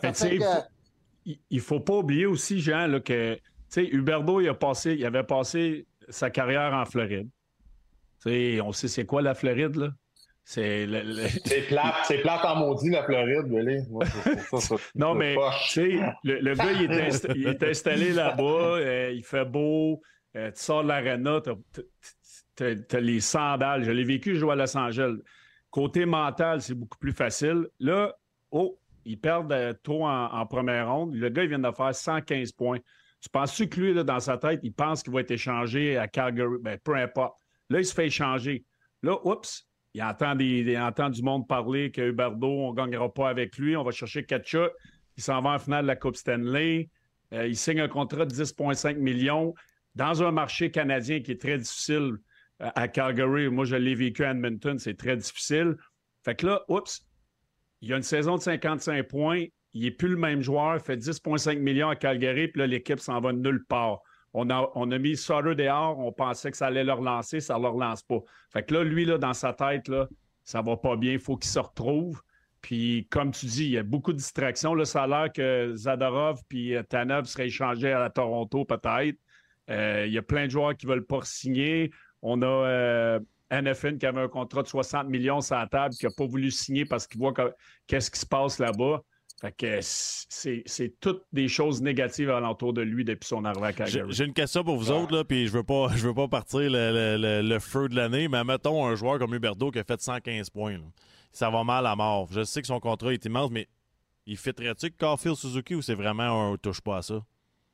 Il ne faut pas oublier aussi, Jean, là, que Huberdeau, il avait passé sa carrière en Floride. On sait c'est quoi la Floride, là? C'est plate en maudit, la Floride, Billy. Non, mais le gars, il est installé là-bas, il fait beau, tu sors de l'aréna, t'as les sandales. Je l'ai vécu, je joue à Los Angeles. Côté mental, c'est beaucoup plus facile. Là, ils perdent trop en première ronde. Le gars, il vient de faire 115 points. Tu penses-tu que lui, là, dans sa tête, il pense qu'il va être échangé à Calgary? Ben, peu importe. Là, il se fait échanger. Là, il entend du monde parler que Huberdeau, on ne gagnera pas avec lui. On va chercher Tkachuk. Il s'en va en finale de la Coupe Stanley. Il signe un contrat de 10,5 millions dans un marché canadien qui est très difficile à Calgary. Moi, je l'ai vécu à Edmonton. C'est très difficile. Fait que là, il y a une saison de 55 points. Il n'est plus le même joueur. Il fait 10,5 millions à Calgary. Puis là, l'équipe s'en va de nulle part. On a mis Sutter dehors, on pensait que ça allait le relancer, ça ne le relance pas. Fait que là, lui, là, dans sa tête, là, ça va pas bien, il faut qu'il se retrouve. Puis, comme tu dis, il y a beaucoup de distractions. Là, ça a l'air que Zadorov puis Tanev seraient échangés à Toronto, peut-être. Il y a plein de joueurs qui ne veulent pas signer. On a NFN qui avait un contrat de 60 millions sur la table, qui n'a pas voulu signer parce qu'il voit qu'est-ce qui se passe là-bas. Fait que c'est toutes des choses négatives alentour de lui depuis son arrivée à Calgary. J'ai une question pour vous autres, là, puis je veux pas partir le feu de l'année, mais mettons un joueur comme Huberdeau qui a fait 115 points. Là. Ça va mal à mort. Je sais que son contrat est immense, mais il fitterait-tu que Caulfield Suzuki ou c'est vraiment un touche pas à ça?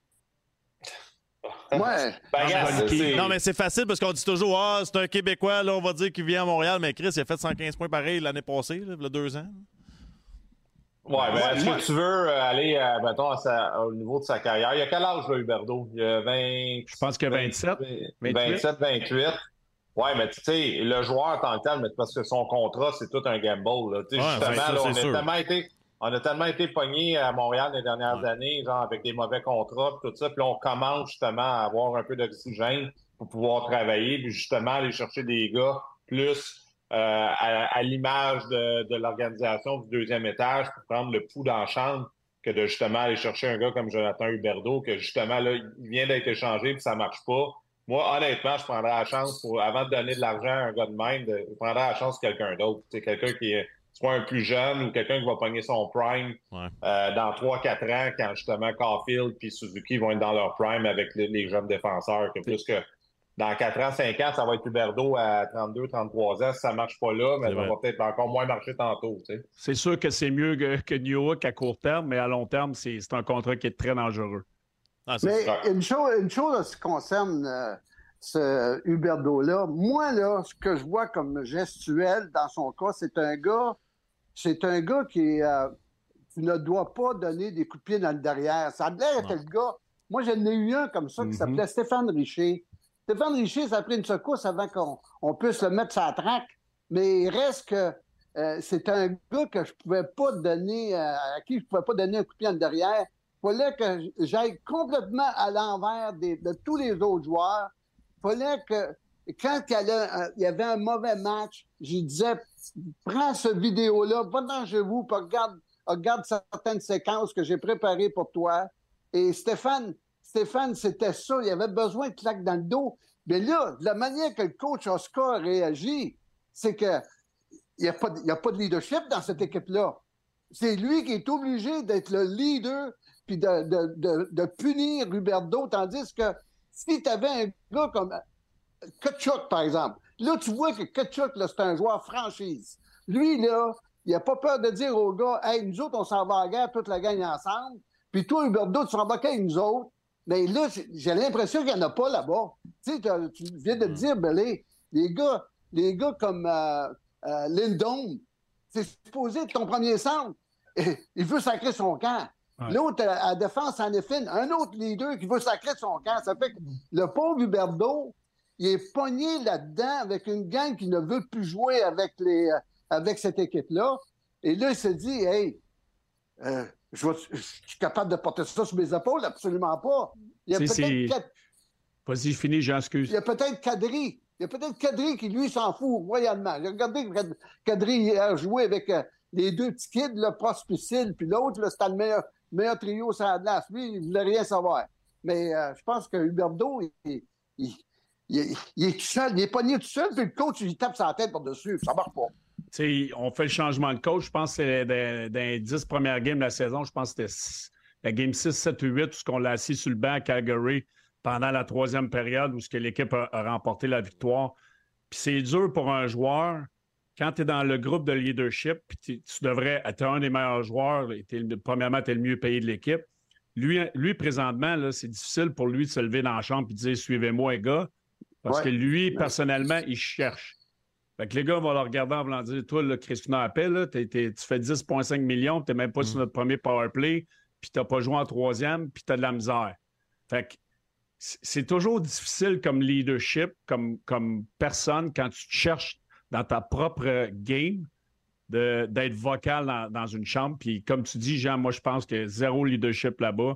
Ouais. Non, mais c'est facile parce qu'on dit toujours c'est un Québécois, là, on va dire qu'il vient à Montréal, mais Chris, il a fait 115 points pareil l'année passée, là, il y a 2 ans. Ouais, mais est-ce que tu veux aller, mettons, au niveau de sa carrière? Il a quel âge, là, Huberdeau? Il a 20... Je pense qu'il a 27. 27, 28. Ouais, mais tu sais, le joueur en tant que tel, mais parce que son contrat, c'est tout un gamble. Là. Justement, on a tellement été pognés à Montréal les dernières années, genre avec des mauvais contrats, tout ça. Puis là, on commence justement à avoir un peu d'oxygène pour pouvoir travailler, puis justement aller chercher des gars plus... à l'image de l'organisation du deuxième étage pour prendre le pouls dans la chambre que de justement aller chercher un gars comme Jonathan Huberdeau que justement là, il vient d'être échangé puis ça marche pas. Moi, honnêtement, je prendrais la chance avant de donner de l'argent à un gars de même, je prendrais la chance de quelqu'un d'autre. C'est quelqu'un qui est soit un plus jeune ou quelqu'un qui va pogner son prime dans 3-4 ans quand justement Caulfield puis Suzuki vont être dans leur prime avec les jeunes défenseurs. Que plus que dans 4 ans, 5 ans, ça va être Huberdeau à 32, 33 ans. Si ça ne marche pas là, mais ça va peut-être encore moins marcher tantôt. Tu sais. C'est sûr que c'est mieux que Newhook à court terme, mais à long terme, c'est un contrat qui est très dangereux. Mais une chose en ce qui concerne ce Huberdeau-là, moi, là, ce que je vois comme gestuel dans son cas, c'est un gars qui ne doit pas donner des coups de pied dans le derrière. Ça a l'air que le gars... Moi, j'en ai eu un comme ça qui s'appelait Stéphane Richer. Stéphane Richer, ça a pris une secousse avant qu'on puisse le mettre sur la traque, mais il reste que c'est un gars que je pouvais pas donner, à qui je pouvais pas donner un coup de pied en derrière. Il fallait que j'aille complètement à l'envers de tous les autres joueurs. Il fallait que, quand il y avait un mauvais match, je disais, prends ce vidéo-là, va dans chez vous, puis regarde certaines séquences que j'ai préparées pour toi. Et Stéphane, c'était ça. Il avait besoin de claques dans le dos. Mais là, la manière que le coach Oscar réagit, c'est qu'il n'y a pas de leadership dans cette équipe-là. C'est lui qui est obligé d'être le leader puis de punir Huberdeau, tandis que si tu avais un gars comme Tkachuk, par exemple, là, tu vois que Tkachuk, là, c'est un joueur franchise. Lui, là, il n'a pas peur de dire aux gars, « Hey, nous autres, on s'en va à la guerre, toute la gang ensemble. Puis toi, Huberdeau, tu s'en vas avec nous autres. » Mais là, j'ai l'impression qu'il n'y en a pas là-bas. Tu sais, tu viens de dire, Belé, les gars comme Lindholm, c'est supposé être ton premier centre. Il veut sacrer son camp. Ouais. L'autre, à défense, en effet, un autre leader qui veut sacrer de son camp. Ça fait que le pauvre Huberdeau, il est pogné là-dedans avec une gang qui ne veut plus jouer avec cette équipe-là. Et là, il se dit, hey, je suis capable de porter ça sur mes épaules? Absolument pas. Il y a peut-être... Vas-y, je finis, j'en excuse. Il y a peut-être Kadri qui, lui, s'en fout royalement. Regardez Kadri a joué avec les deux petits kids, le Prospicil, puis l'autre, là, c'était le meilleur trio sur la glace. Lui, il ne voulait rien savoir. Mais je pense que Huberdeau, il est tout seul, il est pogné tout seul, puis le coach, il tape sa tête par-dessus. Ça marche pas. T'sais, on fait le changement de coach. Je pense que c'est dans les 10 premières games de la saison. Je pense que c'était la game 6, 7 ou 8, où on l'a assis sur le banc à Calgary pendant la troisième période où l'équipe a remporté la victoire. Puis c'est dur pour un joueur, quand tu es dans le groupe de leadership, puis tu devrais être un des meilleurs joueurs, premièrement, tu es le mieux payé de l'équipe. Lui présentement, là, c'est difficile pour lui de se lever dans la chambre et de dire « Suivez-moi, les gars », parce que lui, personnellement, il cherche. Fait que les gars vont le regarder en voulant dire « Toi, là, Christina appelle, tu fais 10,5 millions, tu n'es même pas sur notre premier power play, puis tu n'as pas joué en troisième, puis tu as de la misère. » Fait que c'est toujours difficile comme leadership, comme personne, quand tu te cherches dans ta propre game, d'être vocal dans une chambre. Puis comme tu dis, Jean, moi, je pense que zéro leadership là-bas.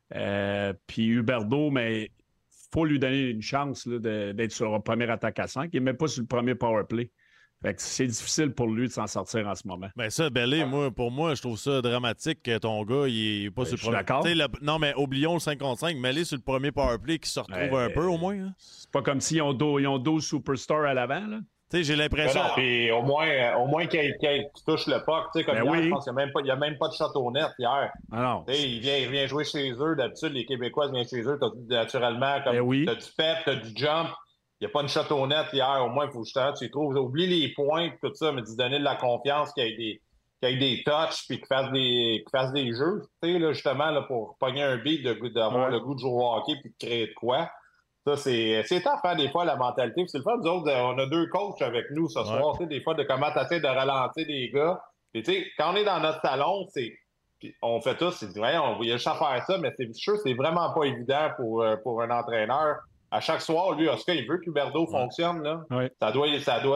Puis Huberdeau, mais il faut lui donner une chance là, d'être sur le premier attaque à 5. Il n'est même pas sur le premier power play. Fait que c'est difficile pour lui de s'en sortir en ce moment. Ben ça, Bellé, pour moi, je trouve ça dramatique que ton gars, il est pas sur le premier. D'accord. Non, mais oublions le 5 contre 5, mets-les sur le premier powerplay qui se retrouve un peu au moins. Hein. C'est pas comme s'ils ont 12 superstars à l'avant, là. J'ai l'impression. Puis au moins qu'il touche le puck. Comme hier, je pense qu'il n'y a même pas de shot au net hier. Ah non. Il vient jouer chez eux. D'habitude, les Québécois viennent chez eux. Naturellement, comme t'as du pep, t'as du jump. Il n'y a pas une shot au net hier. Au moins, il faut justement tu trouves. Oublie les points et tout ça, mais d'y donner de la confiance, qu'il y ait des touches puis qu'il fasse des jeux. Là, justement, là, pour pogner un beat, d'avoir le goût de jouer au hockey puis de créer de quoi. Ça, c'est tough, hein, des fois, la mentalité. Puis c'est le fun, nous autres, on a 2 coachs avec nous ce soir, des fois, de comment t'essaies de ralentir des gars. Puis, tu sais, quand on est dans notre salon, on fait tous, il y a juste à faire ça, mais c'est sûr, c'est vraiment pas évident pour un entraîneur. À chaque soir, lui, Oscar, il veut que Huberdeau fonctionne, là. Ouais. Ça doit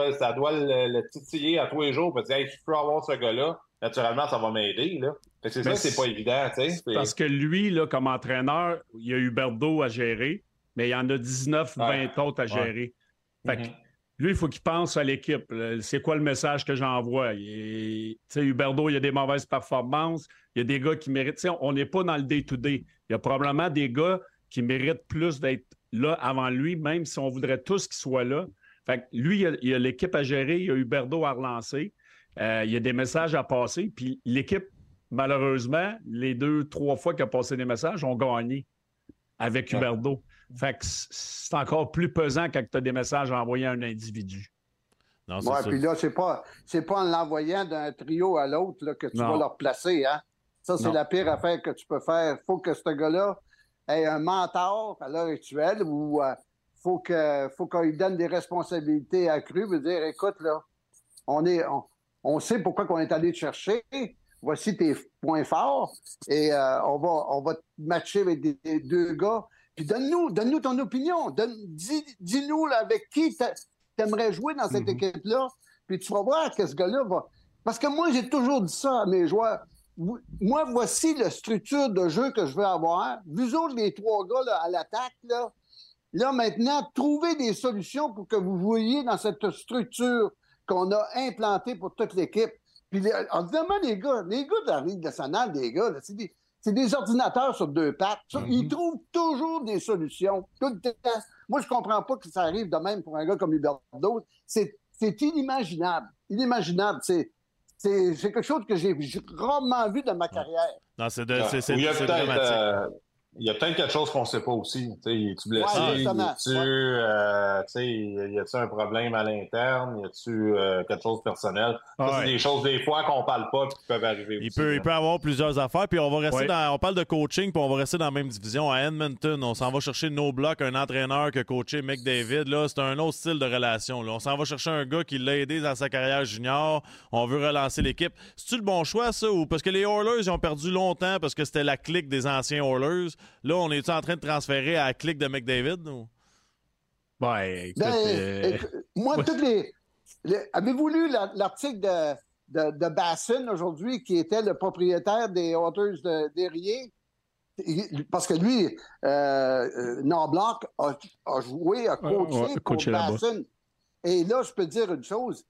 le titiller à tous les jours, parce que, hey, si je peux avoir ce gars-là, naturellement, ça va m'aider, là. Fait que c'est ça, c'est pas évident, tu sais. Parce que lui, là, comme entraîneur, il y a Huberdeau à gérer, mais il y en a 19, 20 autres à gérer. Fait que lui, il faut qu'il pense à l'équipe. C'est quoi le message que j'envoie? Huberdeau, il y a des mauvaises performances. Il y a des gars qui méritent... on n'est pas dans le day-to-day. Il y a probablement des gars qui méritent plus d'être là avant lui, même si on voudrait tous qu'ils soient là. Fait que lui, il y a l'équipe à gérer, il y a Huberdeau à relancer. Il y a des messages à passer. Puis l'équipe, malheureusement, les 2-3 fois qu'il a passé des messages, ont gagné avec Huberdeau. Fait que c'est encore plus pesant quand tu as des messages à envoyer à un individu. Oui, puis là, c'est pas en l'envoyant d'un trio à l'autre là, que tu vas le replacer. Hein? Ça, c'est la pire affaire que tu peux faire. Il faut que ce gars-là ait un mentor à l'heure actuelle ou faut qu'il donne des responsabilités accrues. Veut dire, écoute, là, on sait pourquoi on est allé te chercher. Voici tes points forts et on va te matcher avec des 2 gars. Puis donne-nous ton opinion. Dis-nous là, avec qui t'aimerais jouer dans cette équipe-là. Puis tu vas voir que ce gars-là va... Parce que moi, j'ai toujours dit ça à mes joueurs. Moi, voici la structure de jeu que je veux avoir. Vous autres, les 3 gars là, à l'attaque, là, maintenant, trouvez des solutions pour que vous jouiez dans cette structure qu'on a implantée pour toute l'équipe. Puis, évidemment, les gars de la Ligue nationale, des gars, là, c'est des ordinateurs sur 2 pattes. Ils trouvent toujours des solutions. Tout le temps. Moi, je comprends pas que ça arrive de même pour un gars comme Huberdeau. C'est inimaginable. Inimaginable. C'est quelque chose que j'ai rarement vu dans ma carrière. Non, c'est dramatique. Il y a peut-être quelque chose qu'on ne sait pas aussi. Es-tu blessé? Ouais, Y a-tu un problème à l'interne? Y a-tu quelque chose de personnel? Ça, c'est des choses des fois qu'on ne parle pas et qui peuvent arriver Il aussi. peut avoir plusieurs affaires. Puis on va rester on parle de coaching, puis on va rester dans la même division. À Edmonton, on s'en va chercher No Block, un entraîneur qui a coaché McDavid. Là, c'est un autre style de relation. Là. On s'en va chercher un gars qui l'a aidé dans sa carrière junior. On veut relancer l'équipe. C'est-tu le bon choix, ça? Ou parce que les Oilers, ils ont perdu longtemps parce que c'était la clique des anciens Oilers. Là, on est-tu en train de transférer à la clique de McDavid? Ou? Moi, toutes les avez-vous lu l'article de Basson aujourd'hui, qui était le propriétaire des Oilers d'Erie? Parce que lui, Knoblauch a joué, a coaché pour Basson. Et là, je peux te dire une chose.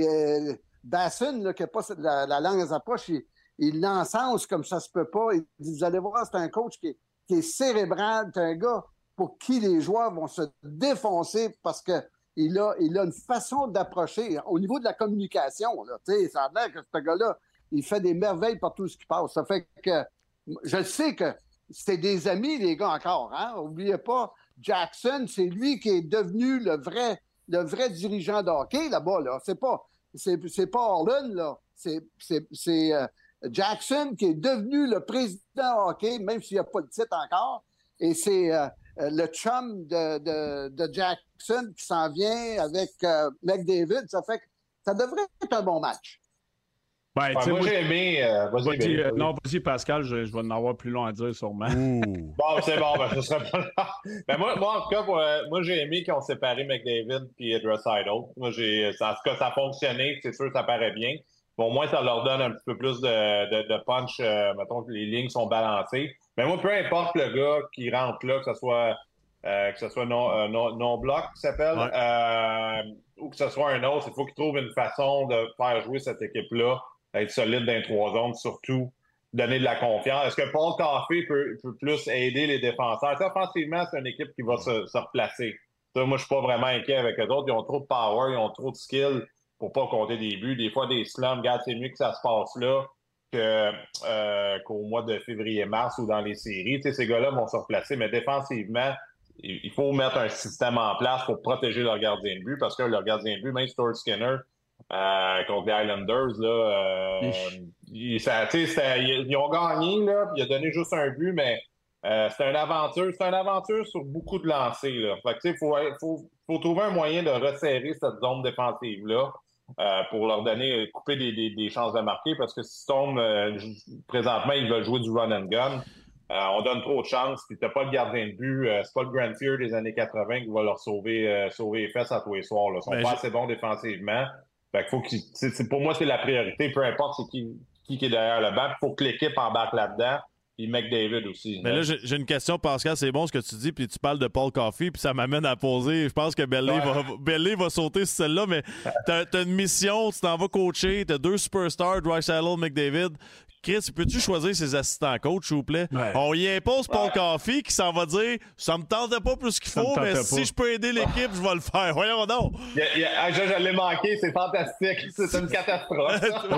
Basson, qui n'a pas la langue à sa poche, il l'encense comme ça se peut pas. Il dit, vous allez voir, c'est un coach qui est cérébral. C'est un gars pour qui les joueurs vont se défoncer parce qu'il a une façon d'approcher. Au niveau de la communication, là, ça a l'air que ce gars-là, il fait des merveilles par tout ce qui passe. Ça fait que je sais que c'était des amis, les gars, encore. Hein? N'oubliez pas, Jackson, c'est lui qui est devenu le vrai dirigeant de hockey là-bas. Là. C'est pas Orlin, là. C'est Jackson qui est devenu le président hockey, même s'il n'y a pas de titre encore. Et c'est le chum de Jackson qui s'en vient avec McDavid. Ça fait que ça devrait être un bon match. Moi, j'ai aimé... vas-y, Pascal, je vais en avoir plus long à dire, sûrement. Bon, c'est bon, ce serait pas là. Mais moi, en tout cas, moi, j'ai aimé qu'on séparé McDavid et Draisaitl. Moi, en tout cas, ça a fonctionné, c'est sûr, ça paraît bien. Bon, au moins, ça leur donne un petit peu plus de punch, mettons que les lignes sont balancées. Mais moi, peu importe le gars qui rentre là, que ce soit Non-Block qui s'appelle, ou que ce soit un autre, il faut qu'il trouve une façon de faire jouer cette équipe-là, être solide dans les 3 zones, surtout donner de la confiance. Est-ce que Paul Coffey peut plus aider les défenseurs? Ça, offensivement, c'est une équipe qui va se replacer. Ça, moi, je suis pas vraiment inquiet avec eux autres. Ils ont trop de power, ils ont trop de skill pour pas compter des buts. Des fois, des slums, regarde, c'est mieux que ça se passe là qu'au mois de février-mars ou dans les séries. Tu sais, ces gars-là vont se replacer, mais défensivement, il faut mettre un système en place pour protéger leur gardien de but, parce que leur gardien de but, même Stuart Skinner, contre les Islanders, là, ils ont gagné, là, il a donné juste un but, mais c'est une aventure sur beaucoup de lancers, là. Fait que, faut trouver un moyen de resserrer cette zone défensive-là pour leur couper des chances de marquer, parce que si présentement, ils veulent jouer du run and gun. On donne trop de chances, puis t'as pas le gardien de but. C'est pas le Grand Fear des années 80 qui va leur sauver les fesses à tous les soirs. Là. Ils sont pas assez bons défensivement. Fait que pour moi, c'est la priorité. Peu importe c'est qui est derrière le banc. Il faut que l'équipe embarque là-dedans. Puis McDavid aussi. Mais là, j'ai une question, Pascal. C'est bon ce que tu dis, puis tu parles de Paul Coffey, puis ça m'amène à poser. Je pense que Bellet va sauter sur celle-là, mais t'as une mission, tu t'en vas coacher, t'as 2 superstars, Draisaitl, McDavid. Chris, peux-tu choisir ses assistants coach, s'il vous plaît? Ouais. On y impose Paul Coffey qui s'en va dire « Ça me tentait pas plus qu'il faut, mais si je peux aider l'équipe, je vais le faire. » Voyons donc! Je l'ai manqué, c'est fantastique. C'est une catastrophe.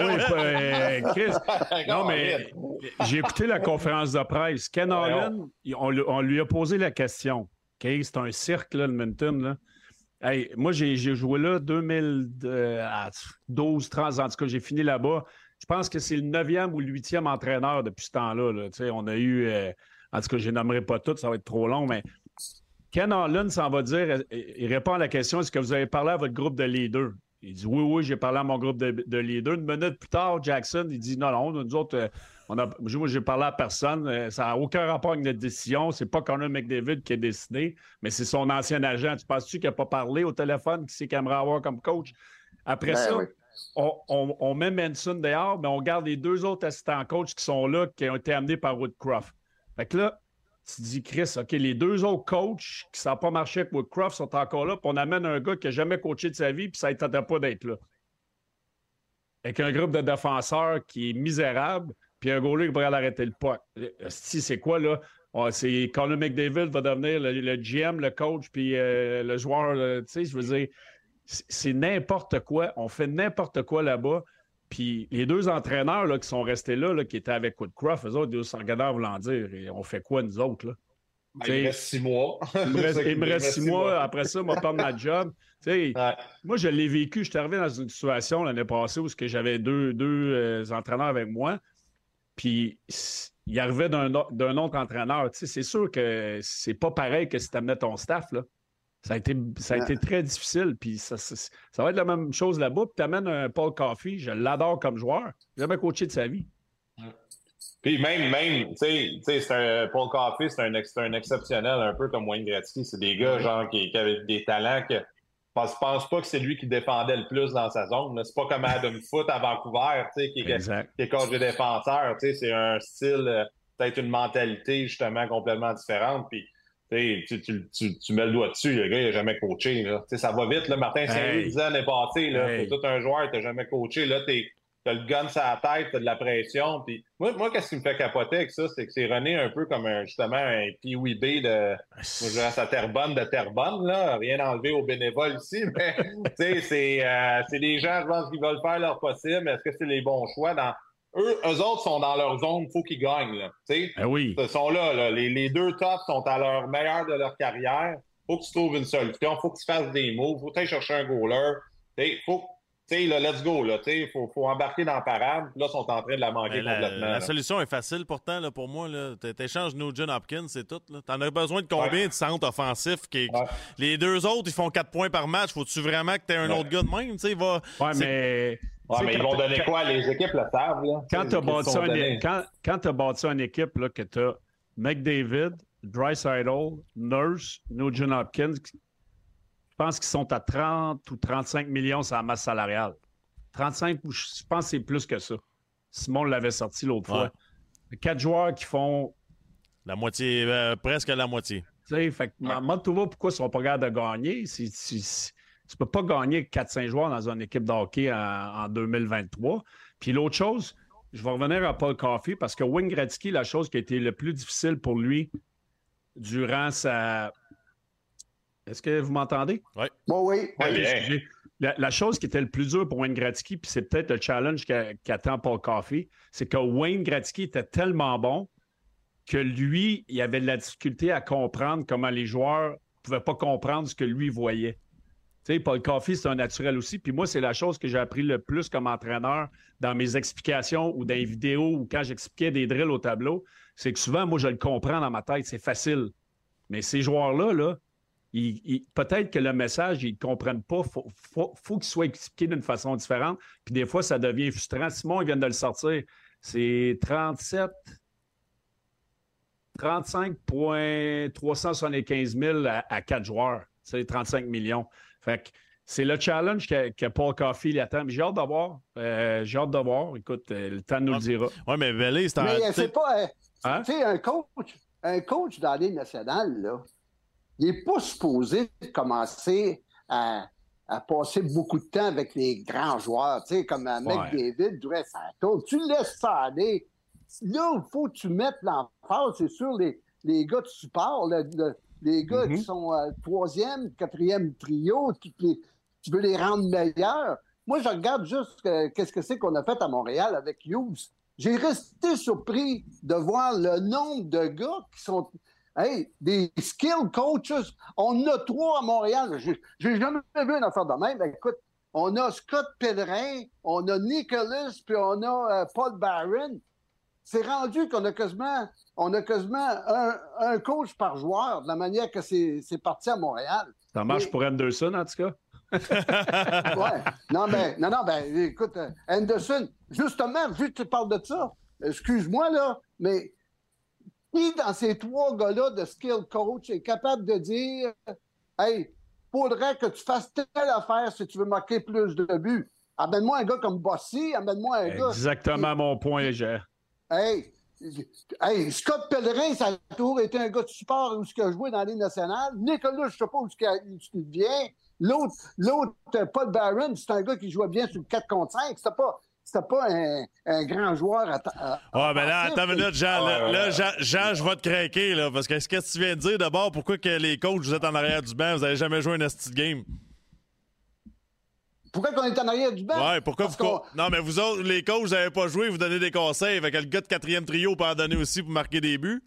Chris, non, mais j'ai écouté la conférence de presse. Ken Holland, on lui a posé la question. Okay? C'est un cirque, là, le Edmonton, là. Hey, moi, j'ai joué là 2012, 13 ans. En tout cas, j'ai fini là-bas. Je pense que c'est le 9e ou le 8e entraîneur depuis ce temps-là. Là. On a eu... en tout cas, je ne les nommerai pas toutes, ça va être trop long, mais Ken Holland s'en va dire... Il répond à la question, est-ce que vous avez parlé à votre groupe de leaders? Il dit, oui, j'ai parlé à mon groupe de leaders. Une minute plus tard, Jackson, il dit, non, nous autres, moi, j'ai parlé à personne. Ça n'a aucun rapport avec notre décision. C'est pas Connor McDavid qui a décidé, mais c'est son ancien agent. Tu penses-tu qu'il n'a pas parlé au téléphone, qui sait qu'il aimerait avoir comme coach? Après ça... Oui. On met Manson dehors, mais on garde les 2 autres assistants coach qui sont là, qui ont été amenés par Woodcroft. Fait que là, tu te dis, Chris, OK, les 2 autres coachs qui ne savent pas marcher avec Woodcroft sont encore là, puis on amène un gars qui n'a jamais coaché de sa vie, puis ça ne tentait pas d'être là. Avec un groupe de défenseurs qui est misérable, puis un goaler qui pourrait arrêter le puck. C'est quoi, là? C'est Connor McDavid va devenir le GM, le coach, puis le joueur, tu sais, je veux dire... C'est n'importe quoi. On fait n'importe quoi là-bas. Puis les deux entraîneurs là, qui sont restés là, qui étaient avec Woodcroft, eux autres, ils se regardaient voulant dire et on fait quoi, nous autres? Là? Il me reste 6 mois. Il me reste 6 mois. Après ça, je vais perdre ma job. Moi, je l'ai vécu. Je suis arrivé dans une situation l'année passée où j'avais deux entraîneurs avec moi. Puis il arrivait d'un autre entraîneur. C'est sûr que c'est pas pareil que si tu amenais ton staff. Là. Ça a été très difficile. Puis ça va être la même chose là-bas. Puis tu amènes un Paul Coffey. Je l'adore comme joueur. Il n'a jamais coaché de sa vie. Puis même Paul Coffey, c'est un exceptionnel, un peu comme Wayne Gretzky. C'est des gars genre qui avaient des talents que je pense pas que c'est lui qui défendait le plus dans sa zone. C'est pas comme Adam Foote à Vancouver, qui est coach de défenseur. C'est un style, peut-être une mentalité justement complètement différente. Puis tu mets le doigt dessus, le gars il n'a jamais coaché. Là. Ça va vite. Là. Martin Saint-Louis disait l'année passée, t'es tout un joueur, tu n'as jamais coaché. Là, t'as le gun sur la tête, t'as de la pression. Puis moi, qu'est-ce qui me fait capoter avec ça, c'est que c'est René un peu comme justement un Pee-wee B moi, je reste à Terrebonne de Terrebonne, là. Rien enlevé aux bénévoles ici, mais c'est des gens, je pense, qui veulent faire leur possible. Est-ce que c'est les bons choix? Eux autres sont dans leur zone, il faut qu'ils gagnent. Là, oui. Ils sont là. Les deux tops sont à leur meilleur de leur carrière. Faut que tu trouves une solution. Faut que tu fasses des moves. Faut que tu ailles chercher un goaler. Let's go, là, faut embarquer dans la parade. Là, ils sont en train de la manquer complètement. La solution est facile pourtant, là, pour moi. T'échanges Nugent Hopkins, c'est tout. T'en as besoin de combien de centres offensifs? Les deux autres, ils font 4 points par match. Faut-tu vraiment que t'aies un autre gars de même? Mais ils vont donner quoi? Les équipes le savent. Là. Quand tu as bâti une équipe là, que tu as McDavid, Draisaitl, Nurse, Nugent Hopkins, je pense qu'ils sont à 30 ou 35 millions sur la masse salariale. 35, je pense que c'est plus que ça. Simon l'avait sorti l'autre fois. 4 joueurs qui font... La moitié, presque la moitié. Tu sais, demande-toi pourquoi ils ne sont pas capables de gagner. Tu ne peux pas gagner 4-5 joueurs dans une équipe de hockey en 2023. Puis l'autre chose, je vais revenir à Paul Coffey parce que Wayne Gretzky, la chose qui a été le plus difficile pour lui durant sa... Est-ce que vous m'entendez? Oui. Oui. Excusez. La chose qui était le plus dur pour Wayne Gretzky, puis c'est peut-être le challenge qu'attend Paul Coffey, c'est que Wayne Gretzky était tellement bon que lui, il avait de la difficulté à comprendre comment les joueurs ne pouvaient pas comprendre ce que lui voyait. Tu sais, Paul Coffey, c'est un naturel aussi. Puis moi, c'est la chose que j'ai appris le plus comme entraîneur dans mes explications ou dans les vidéos ou quand j'expliquais des drills au tableau, c'est que souvent, moi, je le comprends dans ma tête, c'est facile. Mais ces joueurs-là, peut-être que le message, ils ne comprennent pas. Faut qu'il soit expliqué d'une façon différente. Puis des fois, ça devient frustrant. Simon, il vient de le sortir. C'est 35,375 000 à 4 joueurs. C'est 35 millions. Fait que c'est le challenge que Paul Coffey il attend. Mais j'ai hâte de voir. Écoute, le temps nous le dira. Oui, mais Vélé, c'est Mais c'est pas... Tu sais, un coach dans la Ligue nationale, là, il n'est pas supposé commencer à passer beaucoup de temps avec les grands joueurs, tu sais, comme McDavid, Draisaitl. Tu laisses ça aller. Là, il faut que tu mettes l'emphase, c'est sûr, les gars de support, les gars qui sont troisième, quatrième trio, tu veux les rendre meilleurs. Moi, je regarde juste qu'est-ce que c'est qu'on a fait à Montréal avec Hughes. J'ai resté surpris de voir le nombre de gars qui sont... des skill coaches, on en a 3 à Montréal. J'ai jamais vu une affaire de même. Écoute, on a Scott Pellerin, on a Nicholas, puis on a Paul Barron. C'est rendu qu'on a quasiment un coach par joueur, de la manière que c'est parti à Montréal. Ça marche pour Anderson, en tout cas. Ouais. Non, écoute, Anderson, justement, vu que tu parles de ça, excuse-moi, là, mais qui dans ces 3 gars-là de skill coach est capable de dire hey, faudrait que tu fasses telle affaire si tu veux marquer plus de buts. Amène-moi un gars comme Bossy, amène-moi un gars. Exactement mon point, Gérard. Hey, Scott Pellerin, ça a toujours été un gars de support où il a joué dans la Ligue nationale. Nicolas, je ne sais pas où il vient. L'autre, Paul Barron, c'est un gars qui jouait bien sur le 4 contre 5. C'était pas un grand joueur ben là, attends une minute, Jean. Jean, je vais te craquer, là, parce que ce que tu viens de dire, d'abord, pourquoi que les coachs, vous êtes en arrière du banc, vous n'avez jamais joué un esti de game? Pourquoi qu'on est en arrière du banc? Ouais, pourquoi Non, mais vous autres, les coachs, vous n'avez pas joué, vous donnez des conseils. Fait que le gars de 4e trio peut en donner aussi pour marquer des buts.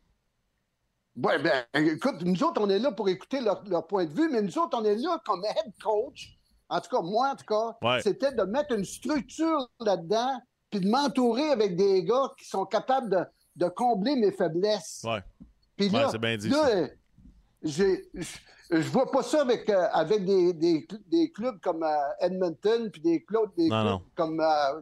Oui, bien, écoute, nous autres, on est là pour écouter leur point de vue, mais nous autres, on est là comme head coach. En tout cas, moi, c'était de mettre une structure là-dedans puis de m'entourer avec des gars qui sont capables de combler mes faiblesses. Oui. Puis là, c'est bien dit, là je vois pas ça avec des clubs comme Edmonton puis des clubs comme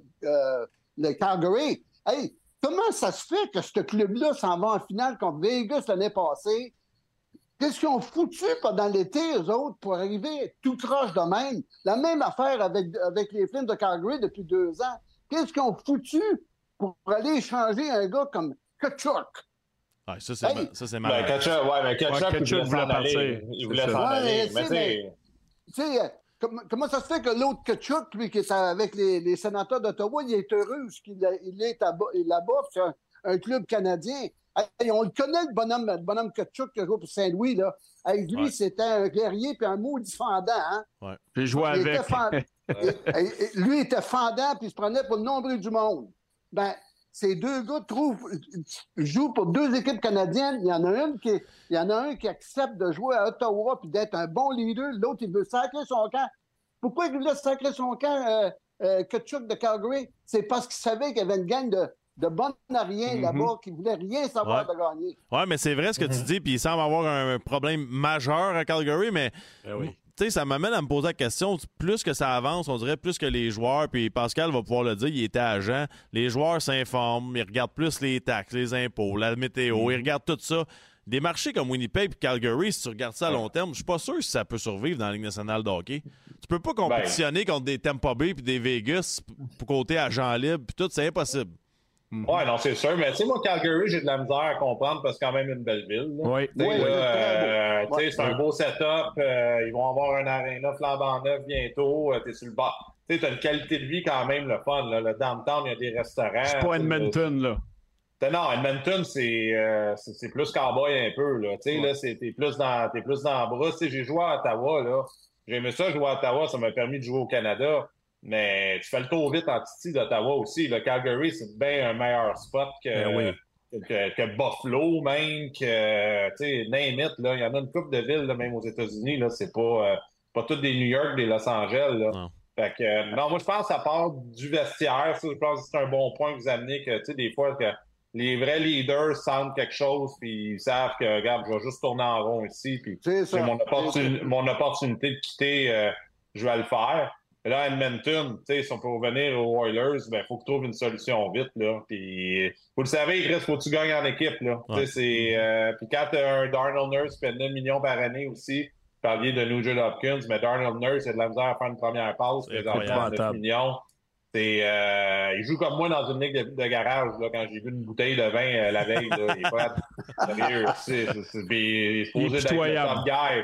le Calgary. Hey, comment ça se fait que ce club-là s'en va en finale contre Vegas l'année passée? Qu'est-ce qu'ils ont foutu pendant l'été, eux autres, pour arriver tout croche de même? La même affaire avec les Flames de Calgary depuis 2 ans. Qu'est-ce qu'ils ont foutu pour aller échanger un gars comme Tkachuk? Ouais, ça, c'est malade. Tkachuk voulait partir. Il voulait s'en aller. Tu sais, comment ça se fait que l'autre Tkachuk, lui, qui est avec les sénateurs d'Ottawa, il est heureux qu'il est là-bas, c'est un club canadien. Hey, on le connaît, le bonhomme Tkachuk qui a joué pour Saint-Louis. Là. Hey, lui, c'était un guerrier puis un maudit fendant. Hein? Ouais. J'ai joué avec. Lui était fendant puis il se prenait pour le nombril du monde. Ben, ces deux gars jouent pour 2 équipes canadiennes. Il y en a un qui accepte de jouer à Ottawa puis d'être un bon leader. L'autre, il veut sacrer son camp. Pourquoi il voulait sacrer son camp, Tkachuk de Calgary? C'est parce qu'il savait qu'il y avait une gang de bonnes à rien là-bas qui ne voulaient rien savoir de gagner. Oui, mais c'est vrai ce que tu dis, puis il semble avoir un problème majeur à Calgary, mais tu sais, ça m'amène à me poser la question, plus que ça avance, on dirait plus que les joueurs, puis Pascal va pouvoir le dire, il était agent, les joueurs s'informent, ils regardent plus les taxes, les impôts, la météo, ils regardent tout ça. Des marchés comme Winnipeg et Calgary, si tu regardes ça à long terme, je suis pas sûr si ça peut survivre dans la Ligue nationale de hockey. Tu peux pas compétitionner contre des Tampa Bay et des Vegas pour côté agent libre, puis tout, c'est impossible. Oui, non, c'est sûr. Mais tu sais, moi, Calgary, j'ai de la misère à comprendre parce que c'est quand même une belle ville. Oui. C'est un beau setup. Ils vont avoir un aréna flambant neuf bientôt. T'es sur le bord. Tu sais, t'as une qualité de vie quand même, le fun. Là. Le downtown, il y a des restaurants. C'est pas Edmonton, là. Non, Edmonton, c'est plus cowboy un peu. Là. Tu sais, là, t'es plus dans la brousse. Tu sais, j'ai joué à Ottawa. Là. J'ai aimé ça, jouer à Ottawa. Ça m'a permis de jouer au Canada. Mais tu fais le tour vite en Titi d'Ottawa aussi. Le Calgary, c'est bien un meilleur spot que Buffalo, même, que, tu sais, name it, là. Il y en a une couple de villes, là, même aux États-Unis, là. C'est pas toutes des New York, des Los Angeles, là. Non. Fait que, non, moi, je pense que ça part du vestiaire. Ça, je pense que c'est un bon point que vous amenez, que, tu sais, des fois, que les vrais leaders sentent quelque chose, puis ils savent que, regarde, je vais juste tourner en rond ici, puis c'est mon opportunité de quitter, je vais le faire. Là, Edmonton, tu sais, si on peut revenir aux Oilers, ben, faut que tu trouves une solution vite, là. Puis, vous le savez, Chris, faut que tu gagnes en équipe, là. Ouais. Tu sais, puis quand t'as un Darnell Nurse qui fait 9 millions par année aussi, vous parliez de Nugent Hopkins, mais Darnell Nurse, il a de la misère à faire une première passe, présentement, 9 millions. Il joue comme moi dans une ligue de garage, là, quand j'ai vu une bouteille de vin la veille, là. Il est pas sérieux, il est supposé d'être le top guy.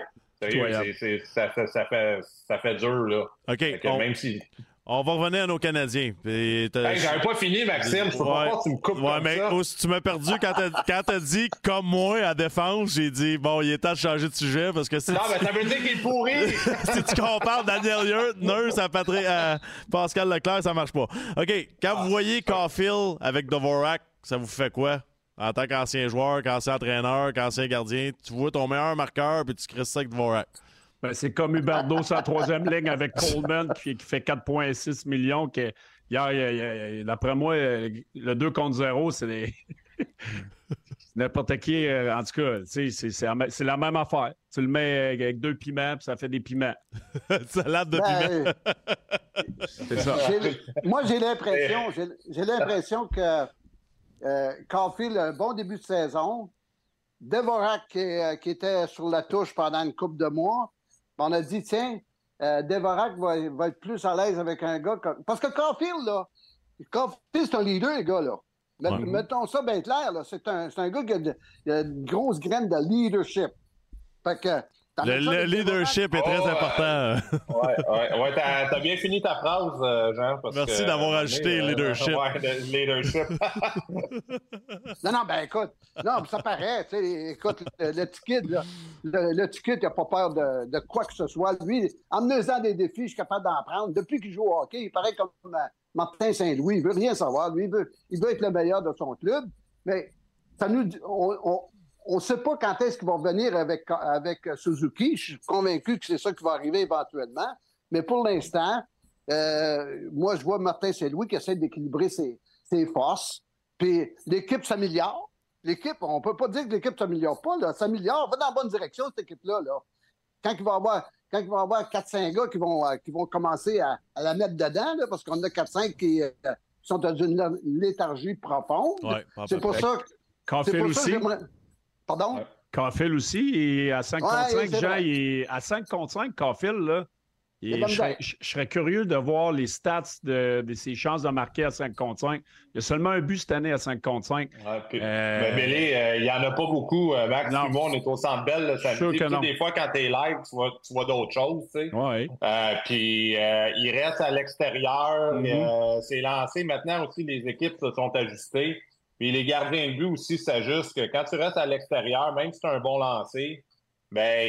Ça fait dur, là. OK. Même si... On va revenir à nos Canadiens. J'avais pas fini, Maxime. Je peux pas que tu me coupes comme mais ça. Tu m'as perdu quand t'as dit « comme moi » à défense. J'ai dit « bon, il est temps de changer de sujet parce que Non, mais ça veut dire qu'il est pourri! Si tu compares Daniel Nurse à Pascal Leclerc, ça marche pas. OK. Quand vous voyez Caulfield avec Dvorak, ça vous fait quoi? En tant qu'ancien joueur, qu'ancien entraîneur, qu'ancien gardien, tu vois ton meilleur marqueur puis tu crisses ça avec Dvorak. Ben, c'est comme Huberdeau sur la 3e ligne avec Coleman qui fait 4,6 millions. D'après moi, le 2 contre 0, c'est n'importe qui. En tout cas, c'est la même affaire. Tu le mets avec 2 piments puis ça fait des piments. Salade de piments. C'est ça. Moi, j'ai l'impression que Caulfield a un bon début de saison. Dvorak qui était sur la touche pendant une couple de mois. On a dit, tiens, Dvorak va être plus à l'aise avec un gars comme... Parce que Caulfield, c'est un leader, les gars, là. Mettons ça bien clair, là. C'est un gars qui a une grosse graine de leadership. Fait que Le leadership est très important. Ouais, t'as bien fini ta phrase, Jean. Merci d'avoir ajouté le leadership. Le leadership. Non, ben écoute, ça paraît. Écoute, le petit kid, là, le petit kid, il n'a pas peur de quoi que ce soit. Lui, en menant des défis, je suis capable d'en prendre. Depuis qu'il joue au hockey, il paraît comme Martin Saint-Louis. Il veut rien savoir. Lui, il veut être le meilleur de son club. Mais ça nous on ne sait pas quand est-ce qu'il va revenir avec Suzuki. Je suis convaincu que c'est ça qui va arriver éventuellement. Mais pour l'instant, moi, je vois Martin Saint-Louis qui essaie d'équilibrer ses forces. Puis l'équipe s'améliore. L'équipe, on ne peut pas dire que l'équipe ne s'améliore pas. Là. S'améliore, va dans la bonne direction, cette équipe-là. Là. Quand il va y avoir 4-5 gars qui vont commencer à la mettre dedans, là, parce qu'on a 4-5 qui sont dans une léthargie profonde. Ouais, c'est pour ça que... Caulfield aussi. Pardon? Caulfield aussi, il est à 5 contre 5. Jean, vrai. il est à 5 contre 5, Caulfield, là. Je serais curieux de voir les stats de ses chances de marquer à 5 contre 5. Il y a seulement un but cette année à 5 contre 5. Mais Billy, il n'y en a pas beaucoup. Max, puis moi, on est au Centre Bell. Des fois, quand tu es live, tu vois d'autres choses. Tu sais. Ouais. Puis il reste à l'extérieur. C'est lancé. Maintenant aussi, les équipes se sont ajustées. Puis les gardiens de but aussi s'ajustent. Que quand tu restes à l'extérieur, même si tu as un bon lancer, ben,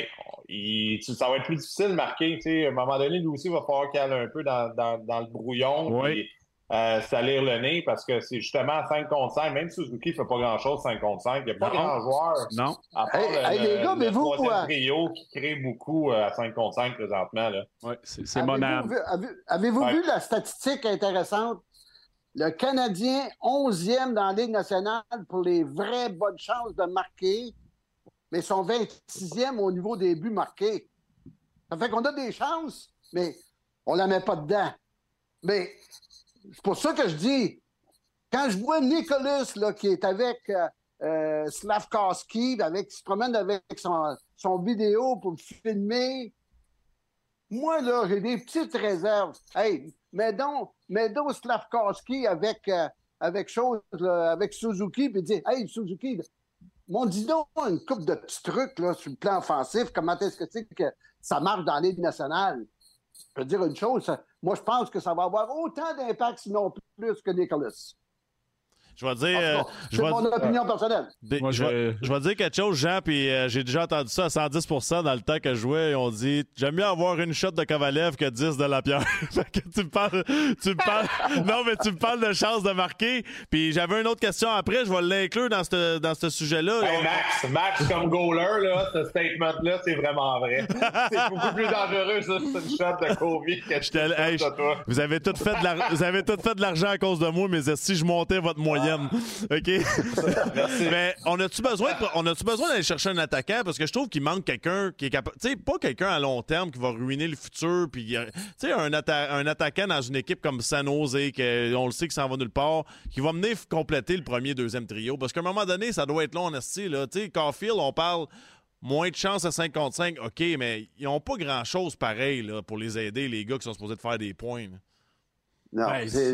ça va être plus difficile de marquer. Tu sais, à un moment donné, lui aussi, il va falloir qu'il aille un peu dans le brouillon. Puis salir le nez parce que c'est justement à 5 contre 5. Même Suzuki ne fait pas grand-chose 5 contre 5. Il n'y a pas grand joueur. Non. À part les gars, mais vous, troisième trio qui crée beaucoup à 5 contre 5 présentement. Là. Oui, c'est mon âme. Avez-vous vu la statistique intéressante? Le Canadien, 11e dans la Ligue nationale pour les vraies bonnes chances de marquer, mais son 26e au niveau des buts marqués. Ça fait qu'on a des chances, mais on ne la met pas dedans. Mais c'est pour ça que je dis, quand je vois Nicholas là, qui est avec Slavkovski, qui se promène avec son vidéo pour me filmer, moi, là, j'ai des petites réserves. Hey, mets donc Slavkovski avec Suzuki, puis dire, hey, Suzuki, dis donc une couple de petits trucs là, sur le plan offensif, comment est-ce que tu sais que ça marche dans la Ligue nationale? Je peux dire une chose, moi, je pense que ça va avoir autant d'impact, sinon plus que Nicholas. Je vais dire. C'est mon opinion personnelle. Je vais dire quelque chose, Jean, puis j'ai déjà entendu ça à 110% dans le temps que je jouais. On dit j'aime mieux avoir une shot de Kovalev que 10 de Lapierre. Fait que tu me parles. Non, mais tu me parles de chance de marquer. Puis j'avais une autre question après, je vais l'inclure dans ce sujet-là. Hey, Max, comme goaler, là, ce statement-là, c'est vraiment vrai. C'est beaucoup plus dangereux, ça, c'est une shot de Kobe que de toi. Vous avez tout fait de l'argent à cause de moi, mais si je montais votre moyenne. OK? Mais on a-tu besoin d'aller chercher un attaquant? Parce que je trouve qu'il manque quelqu'un qui est capable. Tu sais, pas quelqu'un à long terme qui va ruiner le futur. Puis, tu sais, un attaquant dans une équipe comme San Jose, on le sait que ça en va nulle part, qui va venir compléter le premier, deuxième trio. Parce qu'à un moment donné, ça doit être long en esti, là. Tu sais, Caulfield, on parle moins de chance à 5 contre 5. OK, mais ils n'ont pas grand-chose pareil là, pour les aider, les gars qui sont supposés de faire des points. Là. Non,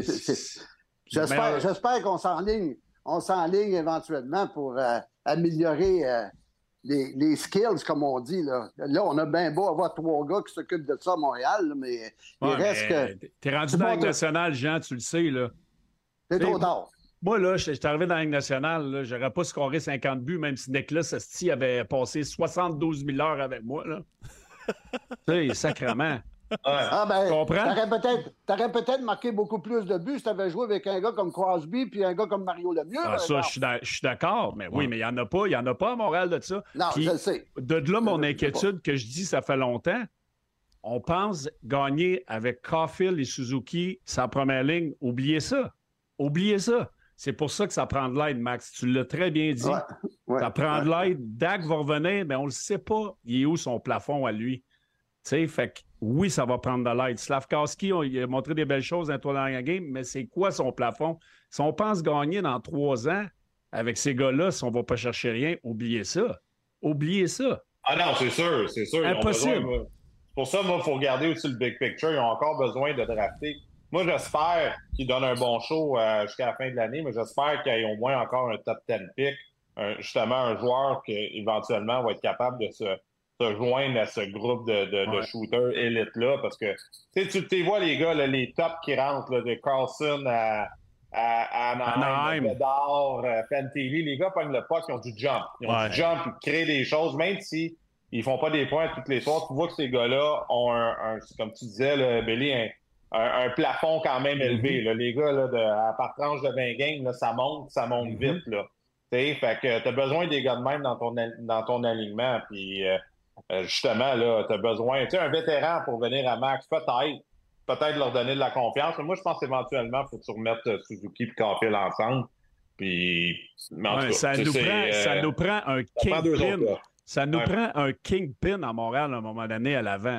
J'espère qu'on s'enligne éventuellement pour améliorer les skills, comme on dit. Là, on a bien beau avoir 3 gars qui s'occupent de ça à Montréal, là, mais il reste que... T'es rendu dans la Ligue nationale, Jean, tu le sais. Là. C'est trop tard. Moi, là, j'étais arrivé dans la Ligue nationale, là, j'aurais pas scoré 50 buts, même si Nicolas Asti avait passé 72 000 heures avec moi. Là. Tu sais, sacrément. Ah ben, comprends? T'aurais peut-être marqué beaucoup plus de buts si t'avais joué avec un gars comme Crosby puis un gars comme Mario Lemieux. Ça, je suis d'accord, mais oui, mais il n'y en a pas. Il n'y en a pas à Montréal de ça. Non, puis, je le sais. De là, mon inquiétude que je dis, ça fait longtemps. On pense gagner avec Caulfield et Suzuki sa première ligne. Oubliez ça. Oubliez ça. C'est pour ça que ça prend de l'aide, Max. Tu l'as très bien dit. Ça prend de l'aide. Dak va revenir, mais on ne le sait pas. Il est où son plafond à lui? Tu sais, fait que oui, ça va prendre de l'aide. Slavkovski, il a montré des belles choses dans la game, mais c'est quoi son plafond? Si on pense gagner dans 3 ans avec ces gars-là, si on ne va pas chercher rien, oubliez ça. Oubliez ça. Ah non, c'est sûr. Impossible. Pour ça, moi, il faut regarder aussi le big picture. Ils ont encore besoin de drafter. Moi, j'espère qu'ils donnent un bon show jusqu'à la fin de l'année, mais j'espère qu'il y ait au moins encore un top 10 pick. Justement, un joueur qui éventuellement va être capable de se te joindre à ce groupe de shooters élites-là, parce que tu vois les gars, là, les tops qui rentrent, là, de Carlson à Anaheim, Bedard, Fantilli, les gars pognent le puck, ils ont du jump. Ils ont du jump, ils créent des choses, même si ils font pas des points toutes les soirs. Tu vois que ces gars-là ont comme tu disais, là, Billy, un plafond quand même élevé. Là. Les gars, là, par tranche de 20 games, là, ça monte vite. Là. Fait que tu as besoin des gars de même dans ton alignement. Puis justement, là, tu as besoin, un vétéran pour venir à max, peut-être leur donner de la confiance. Mais moi, je pense éventuellement, il faut que tu remettes Suzuki et Caulfield ensemble. Puis, ça nous prend un kingpin. Ça nous prend un kingpin à Montréal à un moment donné à l'avant.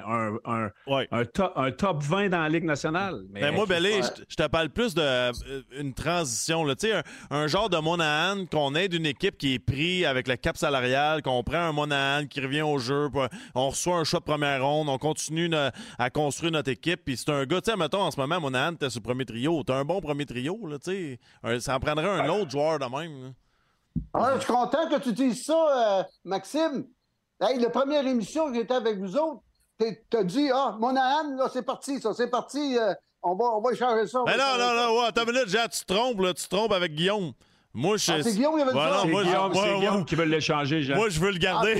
Un top 20 dans la Ligue nationale. Mais moi, Bellé, je te parle plus d'une transition. Tu sais, un genre de Monahan qu'on aide une équipe qui est pris avec le cap salarial, qu'on prend un Monahan qui revient au jeu, on reçoit un choix de première ronde, on continue à construire notre équipe. Puis c'est un gars, tu sais, mettons, en ce moment, Monahan, t'es sur le premier trio. T'as un bon premier trio, là, tu sais. Ça en prendrait un autre joueur de même, là. Je suis content que tu dises ça, Maxime. Hey, la première émission que j'étais avec vous autres, t'as dit, Monahan, là, c'est parti, c'est parti, on va échanger ça. Mais non, attends une minute, Jean, tu te trompes avec Guillaume. Moi, c'est Guillaume qui veut le dire. C'est Guillaume qui veut l'échanger, Jean. Moi, je veux le garder.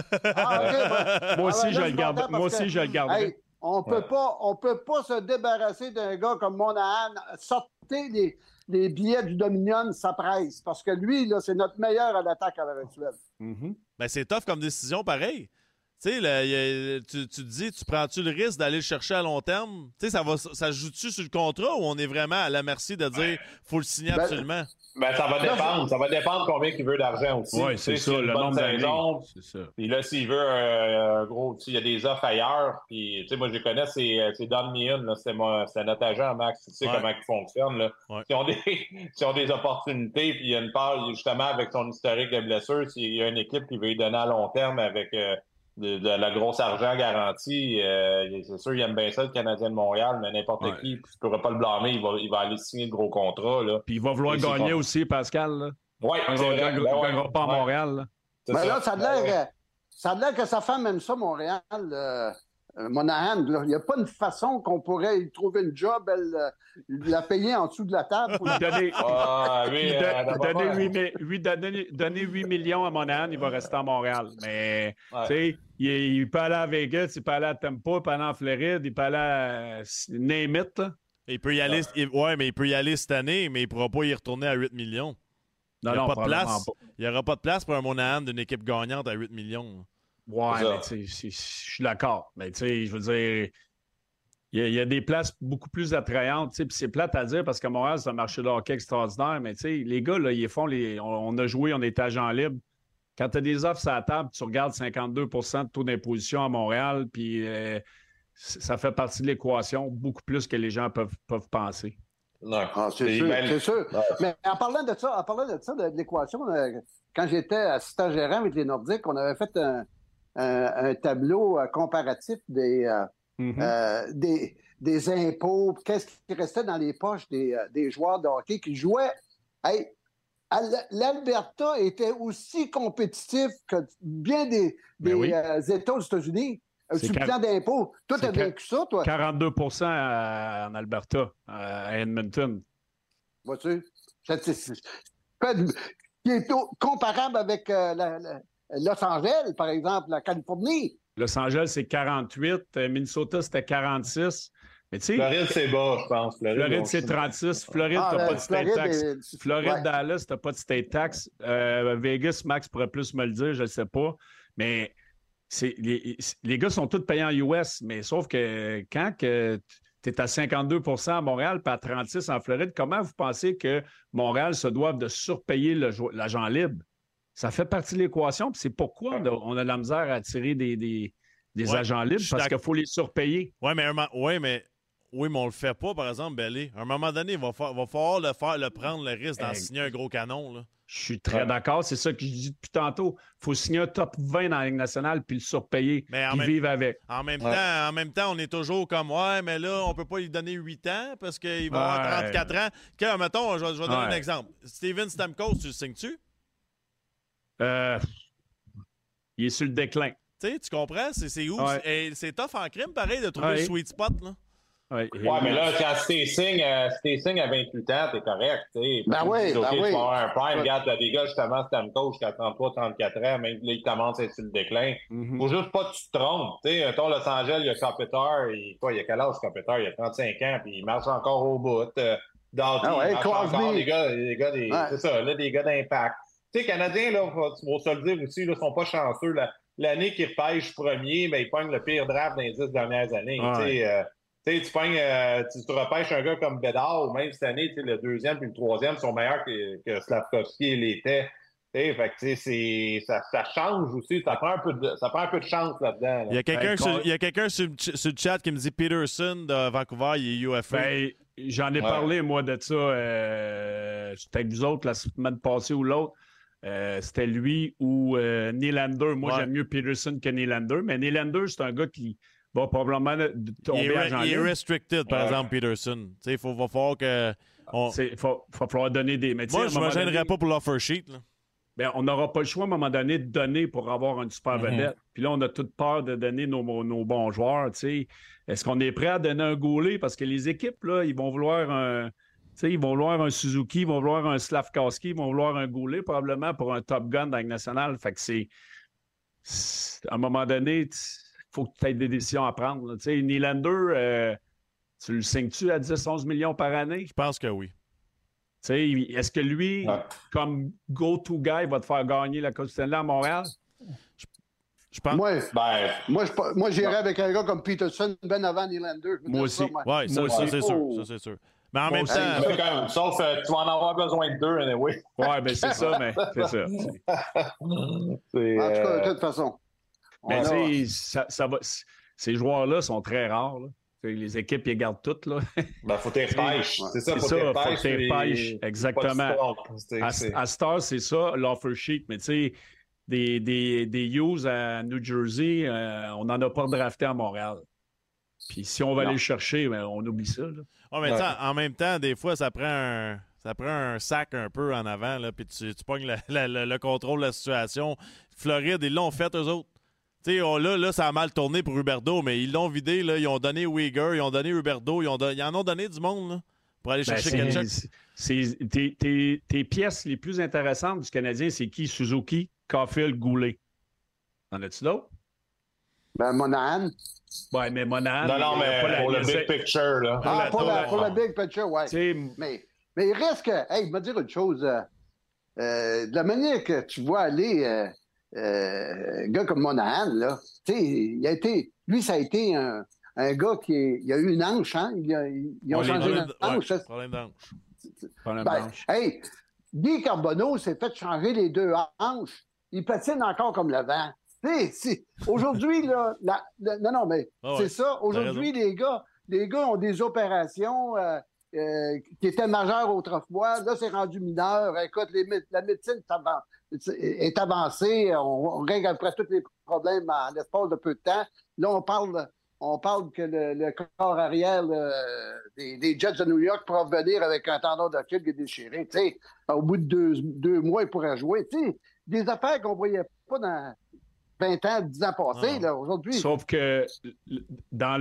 Moi aussi, je le garde. Hey, on peut pas se débarrasser d'un gars comme Monahan. Sortez les billets du Dominion, ça presse. Parce que lui, là, c'est notre meilleur à l'attaque à l'heure actuelle. Ben, c'est tough comme décision, pareil. Tu sais, tu te dis, tu prends-tu le risque d'aller le chercher à long terme? Tu sais, ça joue-tu sur le contrat ou on est vraiment à la merci de dire faut le signer absolument? Ben, ça va dépendre. Ça va dépendre combien il veut d'argent aussi. Oui, c'est ça, le nombre d'années. C'est ça. Puis là, s'il veut un gros, il y a des offres ailleurs. Puis, tu sais, moi, je les connais, c'est Don Meehan, c'est notre agent, Max. Tu sais comment il fonctionne, là. Ouais. S'ils ont des opportunités, puis il y a une part, justement, avec son historique de blessure, s'il y a une équipe qui veut lui donner à long terme avec de la grosse argent garantie, c'est sûr, il aime bien ça, le Canadien de Montréal, mais n'importe qui, tu ne pourras pas le blâmer, il va aller signer le gros contrat. Là. Puis il va vouloir gagner aussi, Pascal. Oui, il ne gagnera pas à Montréal. Là. Mais là, ça a l'air que sa femme aime ça, Montréal. Monahan, il n'y a pas une façon qu'on pourrait y trouver une job, la payer en dessous de la table. Pour donner 8 millions à Monahan, il va rester à Montréal. Mais tu sais, il peut aller à Vegas, il peut aller à Tampa, il peut aller en Floride, il peut aller à name it, là. Il peut y aller, mais il peut y aller cette année, mais il ne pourra pas y retourner à 8 millions. Il n'y aura pas de place pour un Monahan d'une équipe gagnante à 8 millions. Ouais, mais tu sais, je suis d'accord. Mais tu sais, je veux dire, il y a des places beaucoup plus attrayantes. Puis c'est plate à dire parce qu'à Montréal, c'est un marché de hockey extraordinaire. Mais tu sais, les gars, là, ils font on a joué, on est agent libre. Quand tu as des offres sur la table, tu regardes 52 % de taux d'imposition à Montréal, puis ça fait partie de l'équation beaucoup plus que les gens peuvent penser. Non, c'est sûr. Ouais. Mais en parlant de ça, de l'équation, quand j'étais assistant gérant avec les Nordiques, on avait fait un tableau comparatif des impôts, qu'est-ce qui restait dans les poches des joueurs de hockey qui jouaient. Hey, l'Alberta était aussi compétitif que bien des États aux États-Unis. Sur le plan d'impôts. Toi, tu as vécu ça, toi? 42 % en Alberta, à Edmonton. Vois-tu? Qui est comparable avec Los Angeles, par exemple, la Californie. Los Angeles, c'est 48. Minnesota, c'était 46. Mais tu sais, Floride, c'est bas, je pense. Floride, c'est 36. Floride, t'as pas de state tax. Floride, Dallas, t'as pas de state tax. Vegas, Max pourrait plus me le dire, je ne sais pas. Mais les gars sont tous payés en US, mais sauf que quand tu es à 52 % à Montréal puis à 36 en Floride, comment vous pensez que Montréal se doive de surpayer l'agent libre? Ça fait partie de l'équation, puis c'est pourquoi on a de la misère à attirer des agents libres, parce qu'il faut les surpayer. Oui, mais on ne le fait pas, par exemple, Bellé. À un moment donné, il va falloir prendre le risque d'en signer un gros canon, là. Je suis très d'accord. C'est ça que je dis depuis tantôt. Il faut signer un top 20 dans la Ligue nationale puis le surpayer puis vivre avec. En même temps, on est toujours comme mais là, on peut pas lui donner 8 ans parce qu'il va avoir 34 ans. Mettons, je vais donner un exemple. Steven Stamkos, tu le signes-tu? Il est sur le déclin. Tu sais, tu comprends? C'est où? Ouais. C'est tough en crime, pareil, de trouver le sweet spot, là. Ouais, mais là, quand si t'es signe à 28 ans, t'es correct, tu sais. Ben oui, tu vas avoir un prime. Ouais. Regarde, t'as des gars, justement, Stamkos, jusqu'à 33, 34 ans, même là, ils commencent à être sur le déclin. Faut juste pas que tu te trompes. Tu sais, mettons, Los Angeles, il y a Kopitar, il a quel âge, Kopitar? Il a 35 ans, puis il marche encore au bout. Doughty, il marche encore. C'est ça, là, des gars d'impact. Tu sais, les Canadiens, là, faut se le dire aussi, là, sont pas chanceux. L'année qu'ils repêchent premier, ben, ils pognent le pire draft dans les 10 dernières années. Tu te repêches un gars comme Bédard, ou même cette année, le deuxième puis le troisième sont meilleurs que Slavkovski l'était. Fait que ça change aussi. Ça prend un peu de chance là-dedans. Là. Il y a quelqu'un sur le chat qui me dit Peterson de Vancouver, il est UFA. Ben, j'en ai parlé, moi, de ça. J'étais avec vous autres la semaine passée ou l'autre. C'était lui ou Nylander. Moi, j'aime mieux Peterson que Nylander. Mais Nylander, c'est un gars qui va probablement tomber à Jean-Luc. Il est restricted, par exemple, Peterson. Il va falloir que... Il va falloir donner des... Mais moi, je ne me gênerais pas pour l'offer sheet. Là. Ben, on n'aura pas le choix à un moment donné de donner pour avoir une super vedette. Puis là, on a toute peur de donner nos bons joueurs. T'sais. Est-ce qu'on est prêt à donner un goalie? Parce que les équipes, là, ils vont vouloir un Suzuki, ils vont vouloir un Slavkovski, ils vont vouloir un goalie probablement pour un Top Gun dans la nationale. Fait que c'est à un moment donné, il faut que tu aies des décisions à prendre. Nylander, tu le signes-tu à 10-11 millions par année? Je pense que oui. Est-ce que lui, comme go-to guy, va te faire gagner la Coupe Stanley à Montréal? Je pense. Moi, j'irais avec un gars comme Peterson ben avant Nylander. Moi aussi. Oui, ça, c'est sûr. Ça, c'est sûr. Mais en même temps... Sauf que tu vas en avoir besoin de deux, anyway. Oui, ben c'est ça, mais c'est ça. En tout cas, de toute façon. Mais tu sais, ces joueurs-là sont très rares, là. Les équipes, ils gardent toutes, là. Ben, faut t'es pêches. C'est ça, faut t'es pêches. Exactement. À Star, c'est ça, l'offer sheet. Mais tu sais, des Hughes à New Jersey, on n'en a pas drafté à Montréal. Puis si on va aller le chercher, ben, on oublie ça, là. Oh, mais en même temps, des fois, ça prend un sac un peu en avant, là, puis tu pognes le contrôle de la situation. Floride, ils l'ont fait, eux autres. Tu sais, là, ça a mal tourné pour Huberdeau, mais ils l'ont vidé, là. Ils ont donné Uyghur, ils ont donné Huberdeau, ils en ont donné du monde, là, pour aller chercher Ketchuk. Tes pièces les plus intéressantes du Canadien, c'est qui? Suzuki, Caulfield, Goulet. En as-tu d'autres? Ben, Monahan. Oui, mais Monahan... Non, mais pour le big picture, là. Pour le big picture, oui. Mais il reste que... Hey, je vais dire une chose. De la manière que tu vois aller... un gars comme Monahan, là, tu sais, lui, ça a été un gars il a eu une hanche, hein? Ils ont changé une hanche. Problème d'hanche. Hey, Guy Carbonneau s'est fait changer les deux hanches. Il patine encore comme le vent. Aujourd'hui, là, c'est ça. Aujourd'hui, les gars ont des opérations qui étaient majeures autrefois. Là, c'est rendu mineur. Écoute, la médecine est avancée. On règle à peu près tous les problèmes en l'espace de peu de temps. Là, on parle que le corps arrière des Jets de New York pourra venir avec un tendon d'Achille qui est déchiré. T'sais, au bout de deux mois, il pourrait jouer. T'sais, des affaires qu'on ne voyait pas dans 20 ans, 10 ans passés, là, aujourd'hui. Sauf que dans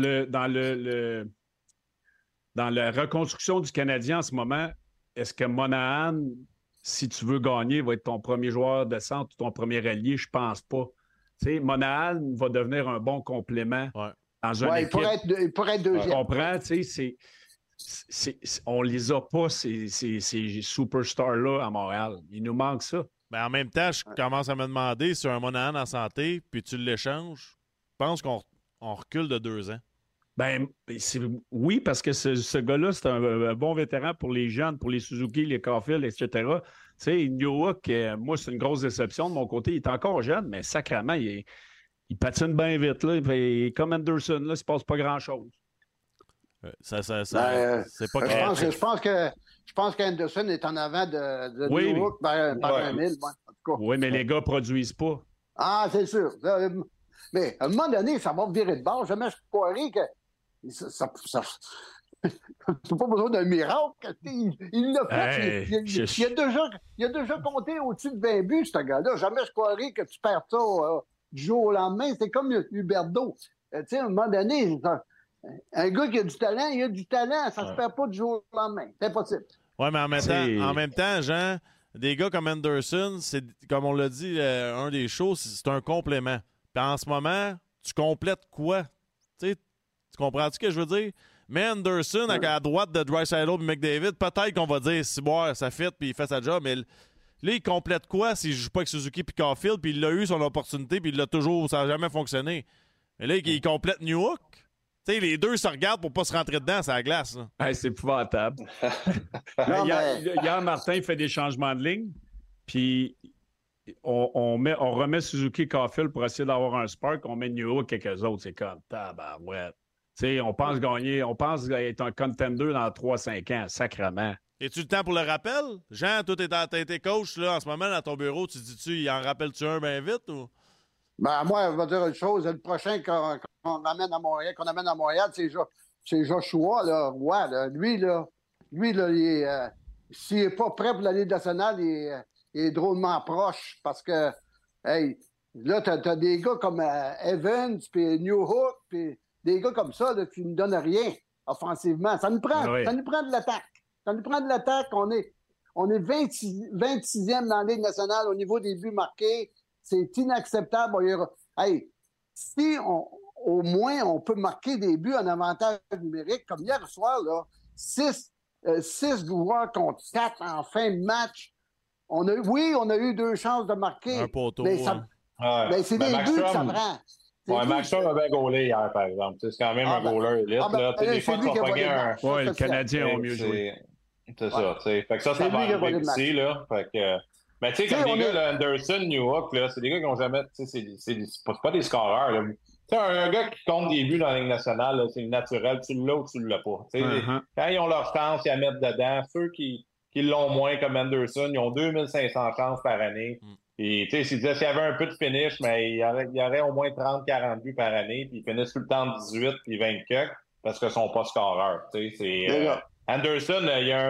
la reconstruction du Canadien en ce moment, est-ce que Monahan, si tu veux gagner, va être ton premier joueur de centre ou ton premier allié? Je pense pas. Tu sais, Monahan va devenir un bon complément dans une équipe. Il pourrait être deuxième. Tu comprends? Tu sais, on les a pas, ces superstars-là à Montréal. Il nous manque ça. Mais en même temps, je commence à me demander si un Monahan en santé, puis tu l'échanges, je pense qu'on recule de 2 ans. Ben, oui, parce que ce gars-là, c'est un bon vétéran pour les jeunes, pour les Suzuki, les Caulfield, etc. Tu sais, Newhook, moi, c'est une grosse déception de mon côté. Il est encore jeune, mais sacrément, il patine bien vite. Là. Comme Anderson, là, il ne se passe pas grand-chose. C'est pas grave. Je pense qu'Anderson est en avant de Newhook par un mille. En tout cas. Oui, mais les gars ne produisent pas. Ah, c'est sûr. Mais à un moment donné, ça va virer de bord. Jamais je croirais que c'est pas besoin d'un miracle. Il l'a fait. Il a déjà compté au-dessus de 20 buts, ce gars-là. Jamais je croirais que tu perds ça du jour au lendemain. C'est comme Huberdeau. Tu sais, à un moment donné, un gars qui a du talent, il a du talent. Ça se perd pas du jour au lendemain. C'est impossible. Oui, mais en même temps, Jean, des gars comme Anderson, c'est, comme on l'a dit, un des shows, c'est un complément. Puis en ce moment, tu complètes quoi? Tu comprends-tu ce que je veux dire? Mais Anderson, à droite de Draisaitl et McDavid, peut-être qu'on va dire, si bon, ça fit, puis il fait sa job, mais là, il complète quoi s'il joue pas avec Suzuki puis Caulfield, puis il a eu son opportunité, puis il l'a toujours, ça n'a jamais fonctionné. Mais là, il complète Newhook. Tu sais, les deux se regardent pour pas se rentrer dedans, c'est la glace. Hey, c'est épouvantable. Hier, Martin fait des changements de ligne, puis on remet Suzuki Caulfield pour essayer d'avoir un spark, on met Newhook et quelques autres. C'est comme tabarouette. T'sais, on pense gagner, on pense être un contender dans 3-5 ans, sacrément. Es-tu le temps pour le rappel? Jean, toi, t'as été coach là, en ce moment dans ton bureau. Tu dis-tu, il en rappelle-tu un bien vite? Ou? Ben, moi, je vais dire une chose. Le prochain qu'on amène à Montréal, c'est Joshua, là, Roy. Là. Lui, s'il n'est pas prêt pour la Ligue nationale, il est drôlement proche parce que, hey, là, t'as des gars comme Evans, puis Newhook, puis des gars comme ça là, qui ne donnent rien offensivement. Ça nous prend de l'attaque. Ça nous prend de l'attaque. On est 26e dans la Ligue nationale au niveau des buts marqués. C'est inacceptable. Hey, si au moins on peut marquer des buts en avantage numérique, comme hier soir, là, 6 joueurs contre 4 en fin de match. On a eu 2 chances de marquer. Un poteau. Mais c'est des buts que ça prend. Ouais, Maxstrom avait gaulé hier, par exemple. C'est quand même un goaler élite. Des fois, tu vas pogner un... Oui, le Canadien a mieux joué. C'est ça, tu sais. Fait que ça va arriver ici, là. Fait que... Mais tu sais, comme des gars, là, Anderson, Newhook, là, c'est des gars qui n'ont jamais... Tu sais, c'est pas des scoreurs, là. Tu sais, un gars qui compte des buts dans la Ligue nationale, là, c'est naturel. Tu l'as ou tu l'as pas. Tu sais, quand ils ont leur chance, ils la mettent dedans. Ceux qui l'ont moins, comme Anderson, ils ont 2500 chances par année. Et tu sais, s'il y avait un peu de finish, mais il y aurait au moins 30-40 buts par année, puis ils finissent tout le temps 18 puis 20 cucks parce qu'ils sont pas scoreurs. Tu sais, c'est Anderson, il y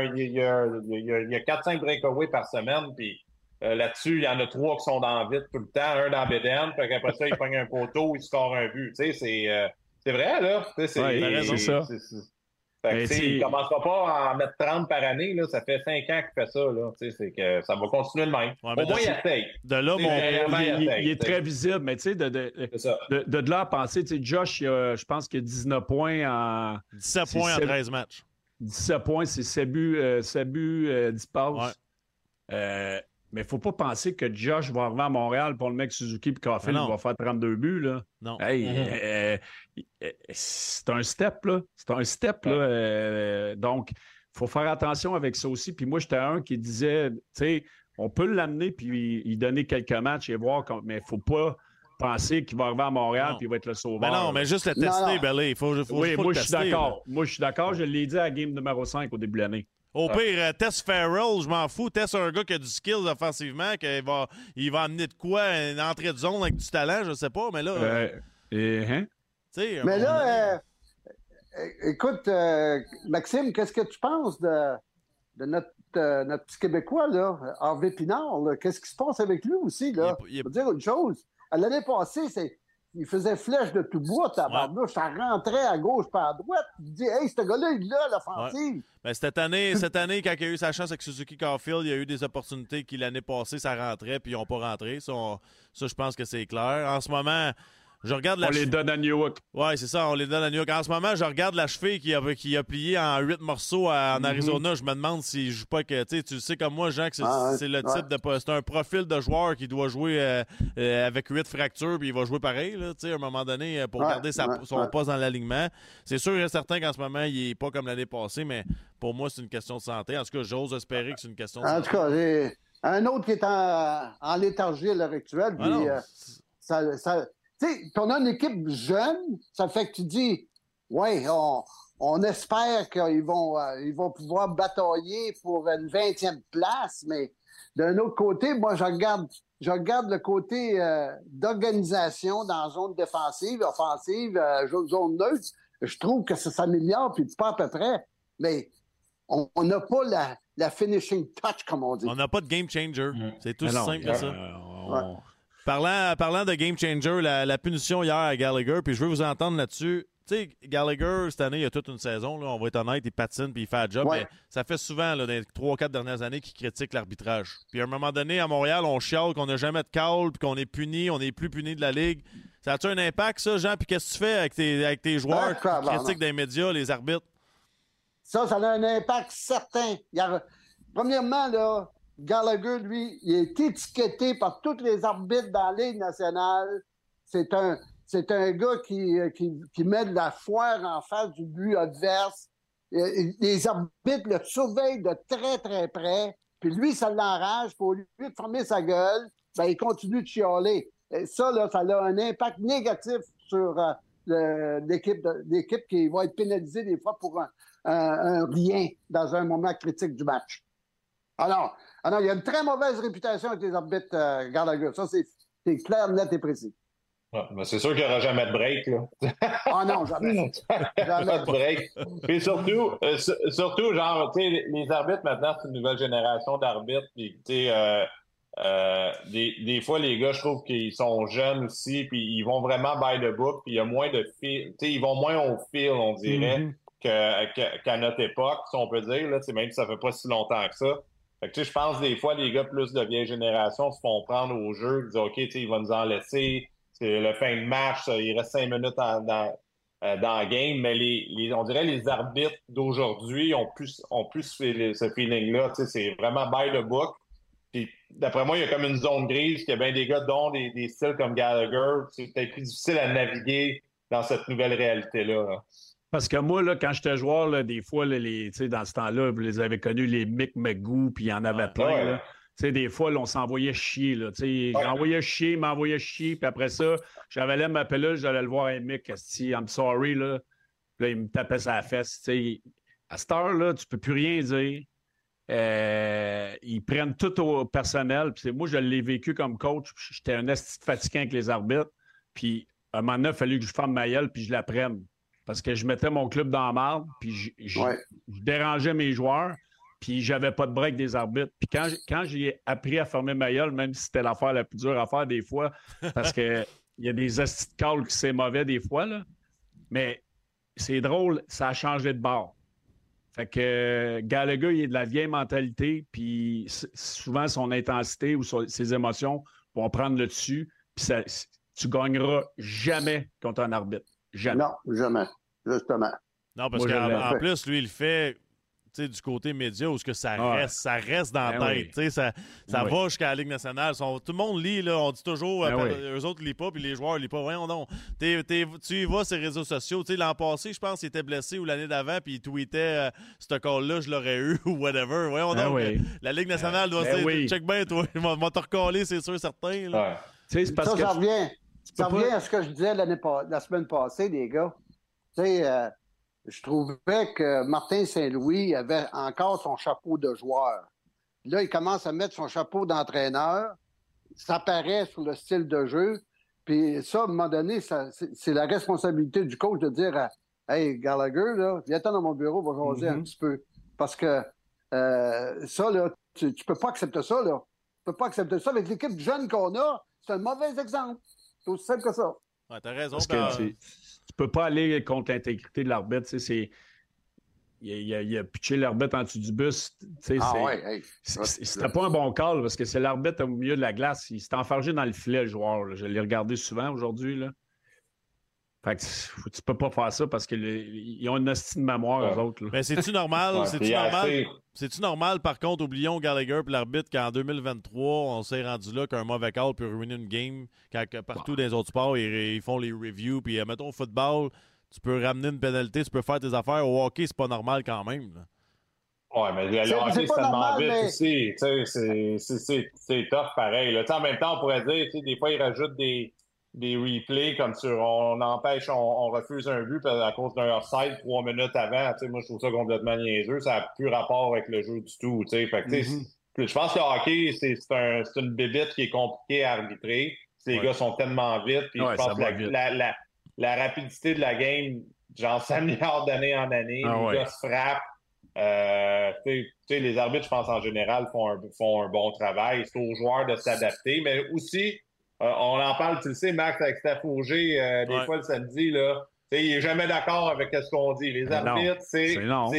a 4-5 breakaways par semaine, puis là-dessus, il y en a 3 qui sont dans vite tout le temps, un dans Bédène, puis après ça, il pogne un poteau, il score un but. Tu sais, c'est vrai, là. C'est ça. Fait que, il ne commencera pas à en mettre 30 par année. Là. Ça fait 5 ans qu'il fait ça. Là. C'est que ça va continuer le même. Ouais, au moins, il essaye. De là, il est très visible. Mais tu sais, de là à penser, tu sais, Josh, je pense qu'il a 19 points en... 17 points en 13 matchs. 17 points, c'est 7 buts, 10 passes. Ouais. Mais il ne faut pas penser que Josh va arriver à Montréal pour le mec Suzuki et Caulfield va faire 32 buts. Là. Non. Hey, c'est un step, là. C'est un step, là. Donc, il faut faire attention avec ça aussi. Puis moi, j'étais un qui disait, tu sais, on peut l'amener puis lui donner quelques matchs et voir, mais il ne faut pas penser qu'il va arriver à Montréal et il va être le sauveur. Mais non, mais juste le tester, Belly. Oui, moi, je suis d'accord. Moi, je suis d'accord. Je l'ai dit à la game numéro 5 au début de l'année. Au pire, test Farrell, je m'en fous. Test un gars qui a du skills offensivement, qu'il va amener de quoi, une entrée de zone avec du talent, je sais pas, mais là... Mais là, écoute, Maxime, qu'est-ce que tu penses de notre petit Québécois, là, Harvey Pinard? Là? Qu'est-ce qui se passe avec lui aussi, là? Je veux dire une chose. L'année passée, il faisait flèche de tout bois, tabarnouche. Ça rentrait à gauche par à droite. Tu dis, hey, ce gars-là, il a l'offensive. Ouais. Ben, cette année, quand il a eu sa chance avec Suzuki Caulfield, il y a eu des opportunités qui, l'année passée, ça rentrait, puis ils n'ont pas rentré. Ça, je pense que c'est clair. En ce moment, je regarde on les donne à Newhook. Oui, c'est ça, on les donne à Newhook. En ce moment, je regarde la cheville qui a plié en 8 morceaux en Arizona. Je me demande s'il joue pas que... Tu sais comme moi, Jean, que c'est le type de... C'est un profil de joueur qui doit jouer avec 8 fractures, puis il va jouer pareil, là, à un moment donné, pour garder son poste dans l'alignement. C'est sûr et certain qu'en ce moment, il n'est pas comme l'année passée, mais pour moi, c'est une question de santé. En tout cas, j'ose espérer que c'est une question de santé. En tout cas, j'ai un autre qui est en léthargie à l'heure actuelle, puis tu sais, on a une équipe jeune, ça fait que tu dis, ouais, on espère qu'ils vont pouvoir batailler pour une 20e place, mais d'un autre côté, moi, je regarde le côté d'organisation dans la zone défensive, offensive, zone neutre. Je trouve que ça s'améliore, puis pas à peu près, mais on n'a pas la finishing touch, comme on dit. On n'a pas de game changer. C'est tout simple que ça. Parlant de game changer, la punition hier à Gallagher, puis je veux vous entendre là-dessus. Tu sais, Gallagher, cette année, il y a toute une saison, là, on va être honnête, il patine puis il fait le job, mais ça fait souvent, là, dans les 3-4 dernières années, qu'il critique l'arbitrage. Puis à un moment donné, à Montréal, on chiale qu'on n'a jamais de call, puis qu'on est puni, on n'est plus puni de la Ligue. Ça a-tu un impact, ça, Jean? Puis qu'est-ce que tu fais avec tes joueurs qui critiquent des médias, les arbitres? Ça a un impact certain. Premièrement, là, Gallagher, lui, il est étiqueté par tous les arbitres dans la Ligue nationale. C'est un gars qui met de la foire en face du but adverse. Les arbitres le surveillent de très, très près. Puis lui, ça l'enrage. Pour lui de fermer sa gueule, ben, il continue de chialer. Et ça, là, ça a un impact négatif sur l'équipe qui va être pénalisée des fois pour un rien dans un moment critique du match. Alors, il y a une très mauvaise réputation avec les arbitres Gallagher. Ça, c'est clair, net et précis. Ouais, mais c'est sûr qu'il n'y aura jamais de break, là. Ah non, jamais. Jamais de break. Puis surtout, genre, tu sais, les arbitres, maintenant, c'est une nouvelle génération d'arbitres. Puis, tu sais, des fois, les gars, je trouve qu'ils sont jeunes aussi, puis ils vont vraiment by the book, puis il y a moins de fil. Tu sais, ils vont moins au fil, on dirait, qu'à notre époque, si on peut dire, là, même si ça fait pas si longtemps que ça. Fait que, tu sais, je pense des fois, les gars plus de vieille génération se font prendre au jeu, ils disent, OK, tu sais, il va nous en laisser. C'est le fin de match, il reste 5 minutes dans la game, mais on dirait les arbitres d'aujourd'hui ont plus ce feeling-là. C'est vraiment by the book. Puis, d'après moi, il y a comme une zone grise, qu'il y a bien des gars dont des styles comme Gallagher. C'est peut-être plus difficile à naviguer dans cette nouvelle réalité-là. Là. Parce que moi, là, quand j'étais joueur, là, des fois, là, dans ce temps-là, vous les avez connus, les Mick McGoo, puis il y en avait plein. Ouais. Là. T'sais, des fois, là, on s'envoyait chier. Là, j'envoyais chier, m'envoyais chier, puis après ça, j'avais ma pelule, j'allais le voir un Mick, I'm sorry, là. Puis là, il me tapait sa fesse. T'sais. À cette heure-là, tu peux plus rien dire. Ils prennent tout au personnel. Puis moi, je l'ai vécu comme coach. J'étais un esti fatiguant avec les arbitres. Puis à un moment donné, il a fallu que je ferme ma gueule puis je la prenne. Parce que je mettais mon club dans la marde, puis je dérangeais mes joueurs. Puis j'avais pas de break des arbitres. Puis quand j'ai appris à fermer ma gueule, même si c'était l'affaire la plus dure à faire des fois, parce qu'il y a des astuces de calls qui c'est mauvais des fois, là. Mais c'est drôle, ça a changé de bord. Fait que Gallagher, il est de la vieille mentalité, puis souvent son intensité ou ses émotions vont prendre le dessus, puis tu gagneras jamais contre un arbitre. Jamais. Non, jamais. Justement. Non, parce qu'en plus, lui, il fait... du côté média où ça reste dans la tête. Ça va jusqu'à la Ligue nationale. Tout le monde lit, là, on dit toujours, eux autres ne lisent pas, puis les joueurs ne lisent pas. Voyons donc. Tu y vas sur les réseaux sociaux. L'an passé, je pense qu'il était blessé ou l'année d'avant, puis il tweetait ce call-là, je l'aurais eu ou whatever. Voyons donc. La Ligue nationale doit se dire, check bien, toi, il va te recoller, c'est sûr, certain. Là. C'est parce que ça revient à ce que je disais la semaine passée, les gars. Tu sais, je trouvais que Martin Saint-Louis avait encore son chapeau de joueur. Là, il commence à mettre son chapeau d'entraîneur. Ça paraît sur le style de jeu. Puis ça, à un moment donné, c'est la responsabilité du coach de dire Hey, Gallagher, là, viens-t'en dans mon bureau, on va jaser un petit peu. Parce que ça, là, tu peux pas accepter ça, là. Tu peux pas accepter ça. Avec l'équipe jeune qu'on a, c'est un mauvais exemple. C'est aussi simple que ça. Ouais, t'as raison. Parce que tu peux pas aller contre l'intégrité de l'arbitre. Il a pitché l'arbitre en dessous du bus. C'était pas un bon call parce que c'est l'arbitre au milieu de la glace. Il s'est enfargé dans le filet, le joueur. Là. Je l'ai regardé souvent aujourd'hui. Là. Fait que tu peux pas faire ça parce qu'ils ont une hostie de mémoire, eux autres. Là. Mais c'est-tu normal? C'est-tu normal, par contre, oublions Gallagher et l'arbitre qu'en 2023, on s'est rendu là qu'un mauvais call peut ruiner une game quand partout dans les autres sports, ils font les reviews. Puis, mettons, au football, tu peux ramener une pénalité, tu peux faire tes affaires. Au hockey, c'est pas normal quand même. Là. Ouais, mais le hockey, c'est tellement vite aussi. C'est tough pareil. Là. En même temps, on pourrait dire, des fois, ils rajoutent des replays comme on empêche, on refuse un but à cause d'un offside 3 minutes avant. Moi, je trouve ça complètement niaiseux. Ça n'a plus rapport avec le jeu du tout. Fait que, je pense que le hockey, c'est une bébite qui est compliquée à arbitrer. Les gars sont tellement vite. Puis je pense que la rapidité de la game, genre, s'améliore d'année en année. Les gars se frappent. Les arbitres, je pense, en général, font un bon travail. C'est aux joueurs de s'adapter. Mais aussi, on en parle, tu le sais, Max, avec Steph Auger, des fois le samedi, là. Il n'est jamais d'accord avec ce qu'on dit. Les arbitres, c'est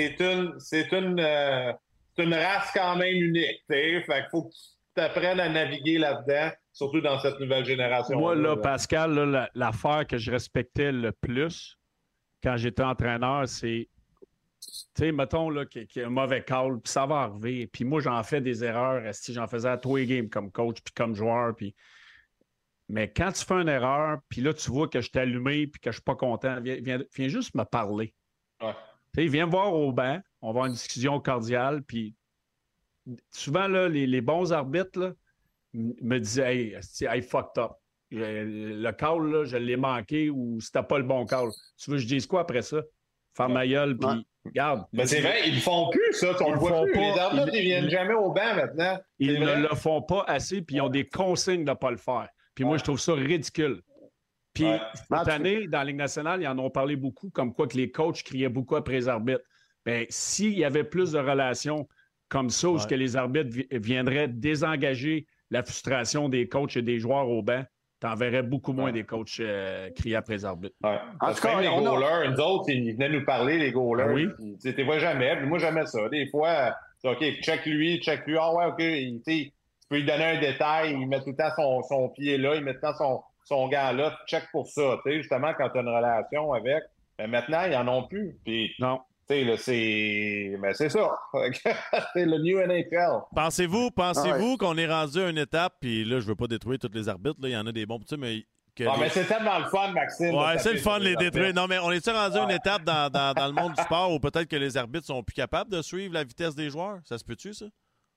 une race quand même unique. Fait qu'il faut que tu apprennes à naviguer là-dedans, surtout dans cette nouvelle génération. Moi, là, Pascal, là, l'affaire que je respectais le plus quand j'étais entraîneur, c'est, tu sais, mettons là, qu'il y a un mauvais call, puis ça va arriver. Puis moi, j'en fais des erreurs. Si j'en faisais à tous les games comme coach, puis comme joueur, puis... Mais quand tu fais une erreur, puis là, tu vois que je t'ai allumé puis que je suis pas content, viens juste me parler. Ouais. Tu sais, viens me voir au banc, on va avoir une discussion cordiale, puis souvent, là, les bons arbitres là, me disaient « Hey, fucked up. Le call, là, je l'ai manqué ou c'était pas le bon call. » Tu veux que je dise quoi après ça? Faire ma gueule, puis regarde. Mais c'est vrai, ils le font plus, ça. On le voit plus. Les arbitres, ils viennent jamais au banc maintenant. Ils ne le font pas assez, puis ils ont des consignes de ne pas le faire. Puis moi, je trouve ça ridicule. Puis cette année, dans la Ligue nationale, ils en ont parlé beaucoup, comme quoi que les coachs criaient beaucoup après les arbitres. Bien, s'il y avait plus de relations comme ça, où que les arbitres viendraient désengager la frustration des coachs et des joueurs au banc, t'en verrais beaucoup moins des coachs crier après les arbitres. En tout cas, les goalers, nous autres, ils venaient nous parler, les goalers. Oui. Tu ne vois jamais. Puis moi, j'aimais ça. Des fois, OK, check lui. Ah ouais, OK. Tu peux lui donner un détail. Il met tout le temps son pied là. Il met tout le temps son gant là. Check pour ça. Justement, quand tu as une relation avec. Mais maintenant, ils n'en ont plus. Puis, non. Là, c'est ça. C'est le New NHL. Pensez-vous qu'on est rendu à une étape, puis là, je veux pas détruire tous les arbitres, il y en a des bons petits, mais... mais c'est tellement le fun, Maxime. Ouais, c'est le fun de les détruire. Non, mais on est-tu rendu à une étape dans le monde du sport où peut-être que les arbitres sont plus capables de suivre la vitesse des joueurs? Ça se peut-tu, ça?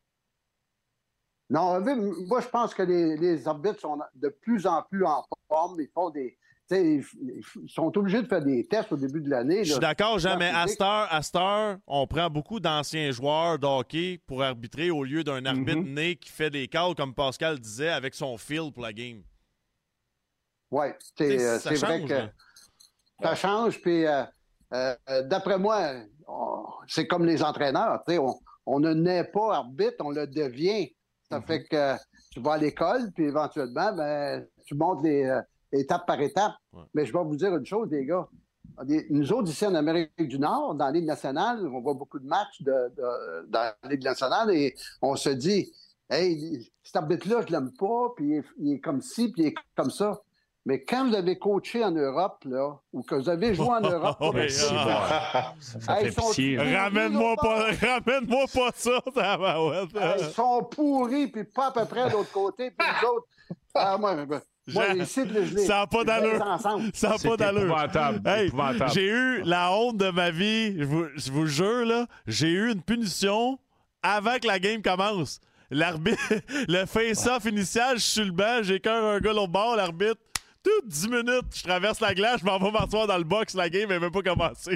Non, moi, je pense que les arbitres sont de plus en plus en forme. Ils font des... Ils sont obligés de faire des tests au début de l'année. Je suis d'accord, Jean, mais à cette heure, on prend beaucoup d'anciens joueurs de hockey pour arbitrer au lieu d'un arbitre né qui fait des calls, comme Pascal disait, avec son feel pour la game. Oui, c'est vrai que ça change. Puis, d'après moi, c'est comme les entraîneurs. On ne naît pas arbitre, on le devient. Ça fait que tu vas à l'école, puis éventuellement, tu montes étape par étape. Ouais. Mais je vais vous dire une chose, les gars. Nous autres, ici en Amérique du Nord, dans la Ligue nationale, on voit beaucoup de matchs dans la Ligue nationale et on se dit, hey, cet arbitre-là, je l'aime pas, puis il est comme ci, puis il est comme ça. Mais quand vous avez coaché en Europe, là, ou que vous avez joué en Europe, ramène-moi pas ça, ils sont pourris, puis pas à peu près de l'autre côté, puis nous autres, ça n'a pas d'allure. Ça n'a pas d'allure. Hey, j'ai eu la honte de ma vie. Je vous jure, là, j'ai eu une punition avant que la game commence. L'arbitre, le face-off initial, je suis sur le banc, j'écœure un gars l'autre bord, l'arbitre. Toutes 10 minutes, je traverse la glace, je m'en vais m'asseoir dans le box, la game n'est même pas commencée.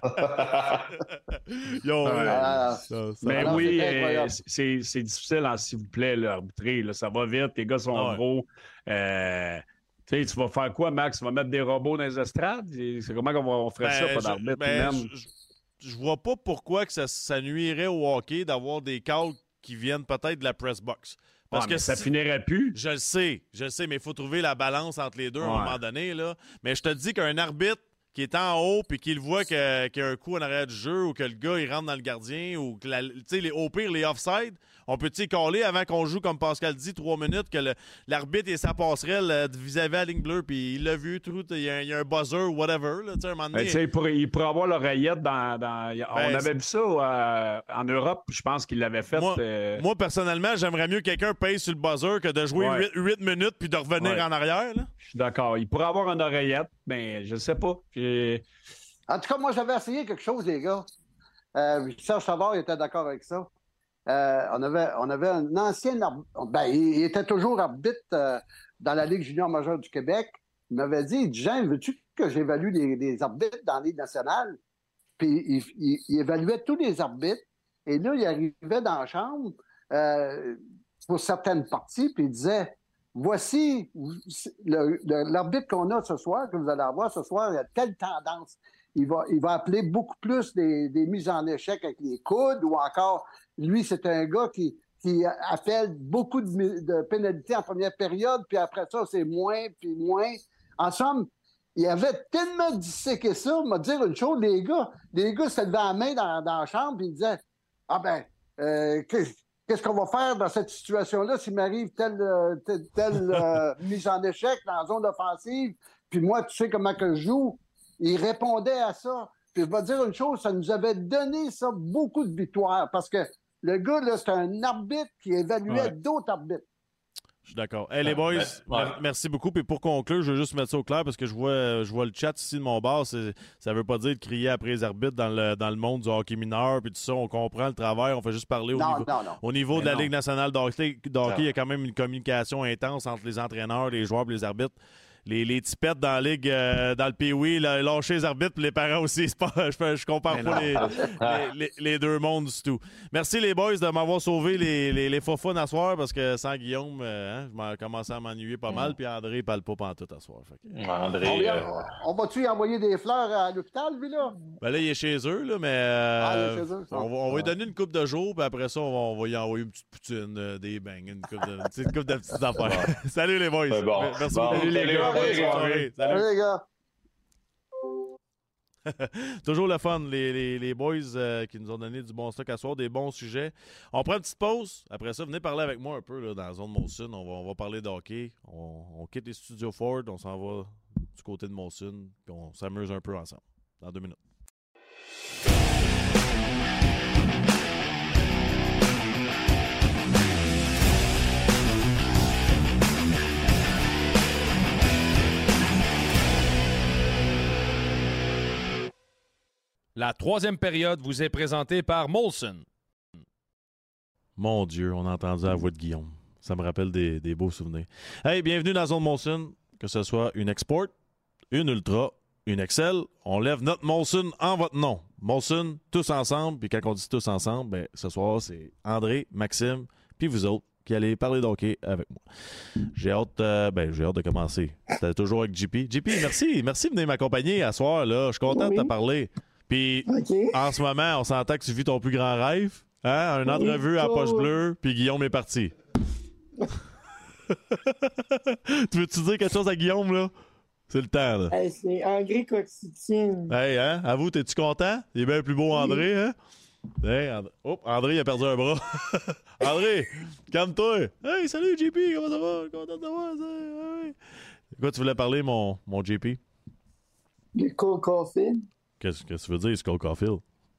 Mais oui, c'est difficile, s'il vous plaît, l'arbitrer. Ça va vite, les gars sont gros. Tu vas faire quoi, Max? Tu vas mettre des robots dans les estrades? C'est comment on ferait ça, pas d'arbitre? Je vois pas pourquoi que ça nuirait au hockey d'avoir des calls qui viennent peut-être de la press box. Parce que ça finirait plus. Je le sais, mais il faut trouver la balance entre les deux à un moment donné. Là. Mais je te dis qu'un arbitre qui est en haut puis qu'il voit qu'il y a un coup en arrière du jeu ou que le gars il rentre dans le gardien ou que au pire les offside, on peut-y caller avant qu'on joue comme Pascal dit 3 minutes que l'arbitre et sa passerelle vis-à-vis la ligne bleue puis il l'a vu il y a un buzzer ou whatever là, un moment donné. Il pourrait avoir l'oreillette on avait vu ça en Europe, je pense qu'il l'avait fait. Moi personnellement, j'aimerais mieux que quelqu'un paye sur le buzzer que de jouer 8 minutes puis de revenir en arrière là. Je suis d'accord, il pourrait avoir une oreillette, mais je ne sais pas. En tout cas, moi, j'avais essayé quelque chose, les gars. Serge Savard était d'accord avec ça. On avait un ancien arbitre. Il était toujours arbitre dans la Ligue junior majeure du Québec. Il m'avait dit, Jean, veux-tu que j'évalue les arbitres dans la Ligue nationale? Puis il évaluait tous les arbitres. Et là, il arrivait dans la chambre pour certaines parties, puis il disait, voici l'arbitre qu'on a ce soir, que vous allez avoir ce soir, il a telle tendance. Il va appeler beaucoup plus des mises en échec avec les coudes ou encore, lui, c'est un gars qui qui appelle beaucoup de pénalités en première période, puis après ça, c'est moins, puis moins. En somme, il avait tellement disséqué ça. On m'a dit une chose, les gars se levaient la main dans la chambre, puis ils disaient « Ah ben, qu'est-ce qu'on va faire dans cette situation-là s'il m'arrive telle mise en échec dans la zone offensive? Puis moi, tu sais comment que je joue. » Il répondait à ça. Puis je vais te dire une chose, ça nous avait donné ça beaucoup de victoires parce que le gars, là, c'est un arbitre qui évaluait d'autres arbitres. Je suis d'accord. Hey, les boys, merci beaucoup. Puis pour conclure, je veux juste mettre ça au clair parce que je vois le chat ici de mon bar. Ça ne veut pas dire de crier après les arbitres dans le monde du hockey mineur. Puis tout ça, on comprend le travail. On fait juste parler au niveau de la Ligue nationale de hockey. Il y a quand même une communication intense entre les entraîneurs, les joueurs et les arbitres. Les tipettes dans la ligue, dans le Pee-Wee, lâcher les arbitres et les parents aussi. Je compare pas les deux mondes du tout. Merci les boys de m'avoir sauvé les faux fun à soir parce que sans Guillaume, je commençais à m'ennuyer pas mal. Puis André ne parle pas pantoute à soir. André, on va-tu y envoyer des fleurs à l'hôpital, lui, là? Ben là, il est chez eux, là, mais on va lui donner une coupe de jours, puis après ça, on va y envoyer une petite poutine, des bangs, une coupe de petites affaires. Salut les boys. Merci beaucoup. Salut les gars. Salut les gars. Toujours le fun, les boys qui nous ont donné du bon stock à soir, des bons sujets. On prend une petite pause. Après ça, venez parler avec moi un peu là, dans la zone Molson. On va parler de hockey. On quitte les studios Ford. On s'en va du côté de Molson. On s'amuse un peu ensemble. Dans 2 minutes. La troisième période vous est présentée par Molson. Mon Dieu, on a entendu la voix de Guillaume. Ça me rappelle des beaux souvenirs. Hey, bienvenue dans la zone Molson. Que ce soit une Export, une Ultra, une Excel, on lève notre Molson en votre nom. Molson, tous ensemble. Puis quand on dit tous ensemble, ben, ce soir, c'est André, Maxime, puis vous autres qui allez parler d'hockey avec moi. J'ai hâte de commencer. C'était toujours avec JP. JP, merci de venir m'accompagner à soir. Là. Je suis content de te parler. Puis, en ce moment, on s'entend que tu vis ton plus grand rêve. Hein? Une entrevue à poche bleue, puis Guillaume est parti. Tu veux-tu dire quelque chose à Guillaume, là? C'est le temps, là. Hey, c'est André Coxitine. Hey, hein? Avoue, t'es-tu content? Il est bien plus beau, André, hein? Hey, André, il a perdu un bras. André, calme-toi. Hey, salut, JP, comment ça va? Content de te voir. Hey. Quoi, tu voulais parler, mon JP? Le Cole Caulfield. Qu'est-ce que tu veux dire, Cole Caulfield?